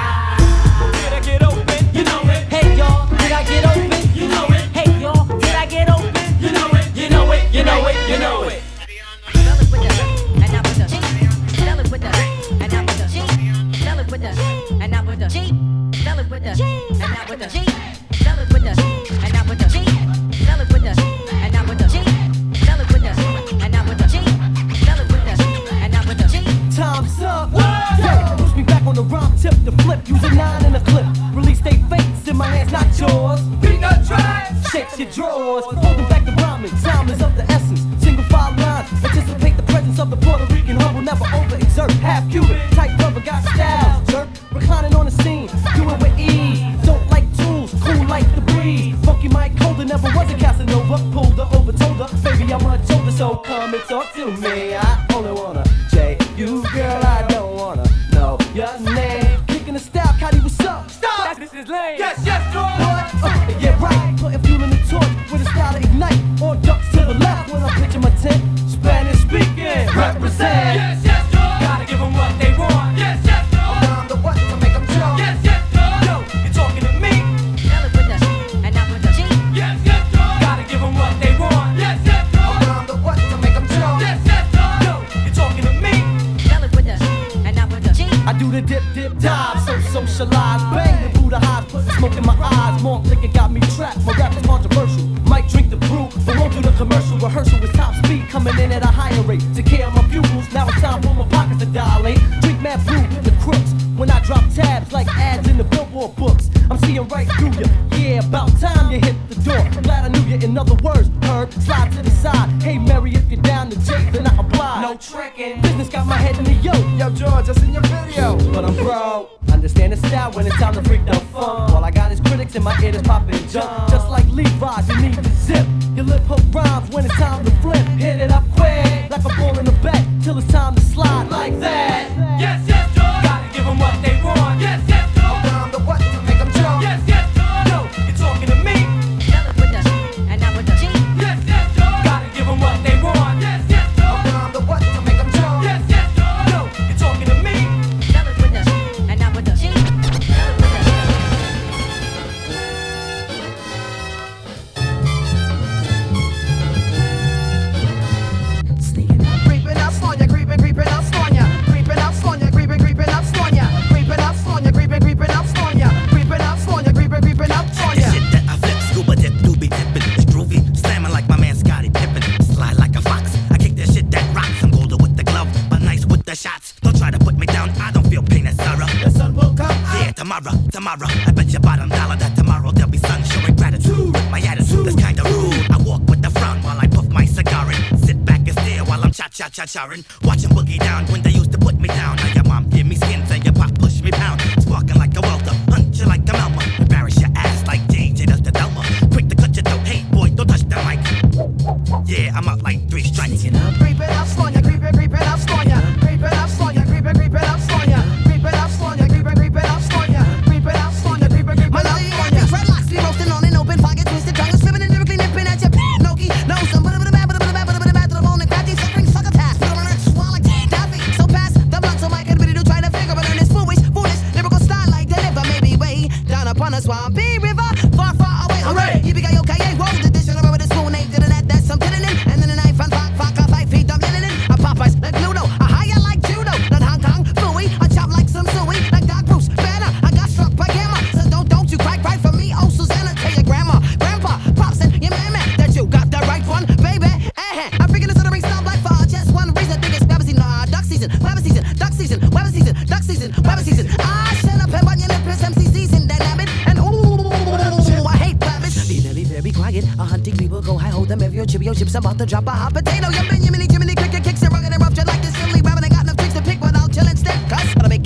I get open? You know it. Hey y'all, did I get open? You know it. Hey y'all, did I get open? You know it. You know it. You know it. You know it. Time's up. Yeah, push me back on the rhyme tip to flip. Use a 9 in a clip. Release they fakes in my hands, not yours. Peanut trash. Shake your drawers. Holding back the rhyming. Time is of the essence. Single file line. Anticipate the presence of the Puerto Rican humble. Never overexert. Half Cuban. Tight rubber. Got style. Jerk. Reclining on the scene. Do it with ease. Don't like tools. Cool like the breeze. breeze. Funky Mike Holder never was a Casanova. Pulled her over, told her, baby, I'm much older, so come and talk to me. I only wanna J you, girl, I don't wanna know your name. Kicking the style, Cuddy, what's up? Stop! This is lame. Yes, George! What? Yeah, right. Putting fuel in the torch with a style to ignite. Or ducks to the left when I'm pitching my tent. Spanish speaking, represent. Yes, George! Gotta give them what they want. Yes, George! I'm the what to make them jump. Yes, George! Yo, you're talking to me. Tell it with the and not with the G. Yes, George! Gotta give them what they want. Yes, George! I'm the what to make them jump. Yes, George! Yo, you're talking to me. Tell it with the and not with the G. I do the dip, dip, dive, so socialize. Bang the Buddha highs, put the smoke in my eyes. More liquor got me trapped, my rap is controversial. Might drink the brew, but won't do the commercial. Rehearsal with top speed, coming in at a higher rate. Take care of my pupils, now it's time for my pockets to dilate. Drink mad brew, the crooks, when I drop tabs like ads in the Billboard books. I'm seeing right through you, yeah, about time you hit the door. Glad I knew you, in other words, Herb, slide to the side. Hey Mary, if you're down to take, then I oblige. No tricking, business got my head in the yoke. Yo George, I seen your video, but I'm broke. Understand the style when it's time to freak the fun. All I got is critics in my ear that's popping junk. Just like Levi's, you need to zip. Your lip hook rhymes when it's time to flip. Hit it up quick, like a ball in the back, till it's time to slide like that. Yes, George. Gotta give them what they want. Yes, George. I'm the what to make them jump. Yes, George. Yo, you're talking to me. Tell it with the and not with the G. Yes, George. Gotta give them what they want. Yes, George. I'm the what to make them jump. Yes, George. Yo, you're talking to me. Tell it with the and not with the G. Creeping up on ya, creeping up on ya, creeping up on ya, creeping up on ya, creeping up on ya, creeping up on ya, creeping up on ya, creeping up on ya. Shit that I flip, scuba dip, doobie dippin', it's groovy, slamming like my man Scottie Pippen, slide like a fox. I kick that shit that rocks. I'm golden with the glove, but nice with the shots. Don't try to put me down, I don't feel pain and sorrow. The sun will come. Yeah, tomorrow. I bet your bottom dollar that tomorrow there'll be sun showing gratitude. With my attitude that's kinda rude, I walk with the frown while I puff my cigar and sit back and stare while I'm cha-cha-cha-charing. Watching boogie down when they used to put me down. Now your mom give me skins and your pop push me pound. Sparking like a welder, hunt you like a Melma. Embarrass your ass like DJ does the Delma. Quick to cut your throat, hey boy, don't touch the mic. Yeah, I'm out like 3 strikes. Creeping up on ya, creeping up on ya, creeping up on ya, creeping up on ya, creeping up on ya, creeping up on ya, creeping up on ya, creeping up on ya. Dreadlocks be roasting on an open pocket, twisted tongue, swimming and lyrically nipping at your Noki. No, some to the bone and crafty suffering sucker task. Put on a swallow like Daffy. So pass the blunt so my ability to try to figure out this foolish lyrical style like deliver. Maybe way down upon a swampy river, far away. Hooray! You got your kaye roll the dish over with a spoon, ain't did that. That's some kidding in. And then a knife and fuck 5 feet. I'm getting in. A Popeyes like Pluto, a higher like judo, not Hong Kong Fooey. I chop like some suey, like Doc Bruce Banner. I got struck by gamma, so don't you cry for me. Oh Susanna, tell your grandma, grandpa, pops and your man that you got the right one, baby. I figured this ring stop like for just one reason. Think it's weather season, duck season, weather season, duck season, weather season, duck season, weather season. I shut up and bun your lips, MC season, dynamic, and ooh, I hate rabbits. Be very quiet. A hunting people go high, hold them if your chibio chips about to drop a hot potato. Your Benjamin, Jiminy, cricket kicks and rugged and rough, just like this silly rabbit. Ain't got no tricks to pick, but I'll chill instead. Cause what I make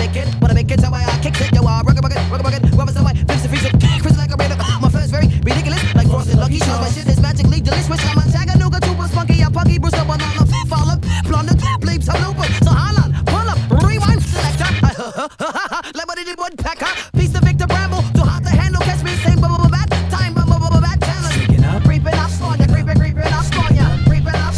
it, so I kick it. Yo, rugged, rubber, so I fix the freezer, crazy like a radar. My first very ridiculous, like frosted lucky shows. My shit is magically delicious. I'm a Chattanooga, super spunky, a punky, Bruce up on the follow, blonde, bleeps, a looper. So hold on, pull up, rewind, selector. Like what did it woodpecker? Piece of Victor Bramble, too hot to handle. Catch me, same bubble bat, time bubble bat challenge. Creeping up on ya, creeping up on ya, creeping up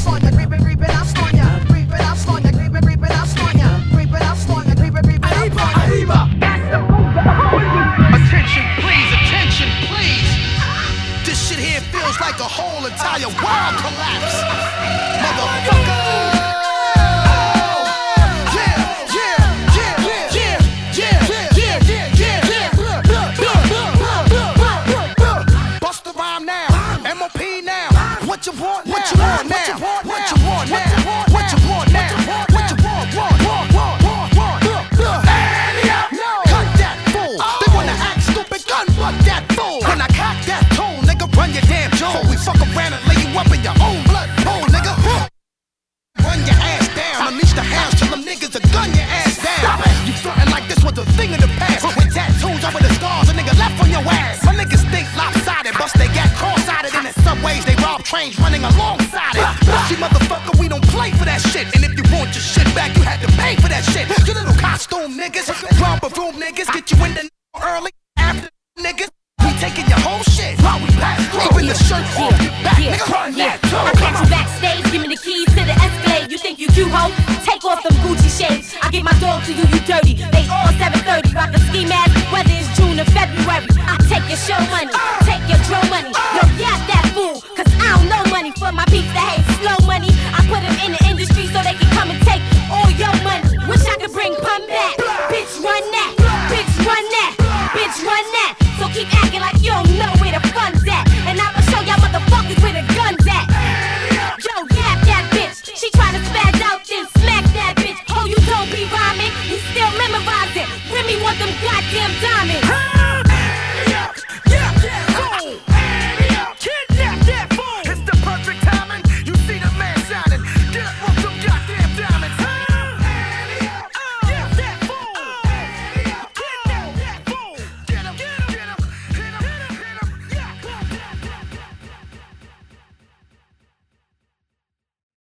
that shit. You little costume niggas, romper room niggas, get you in the early after niggas. We taking your whole shit while we pass through. Even the shirt off your back, nigga, run that too. I catch you backstage, give me the keys to the Escalade. You think you cute, ho? Take off them Gucci shades. I get my dog to you dirty. They all 730, rock a ski mask, whether it's June or February. I take your show money.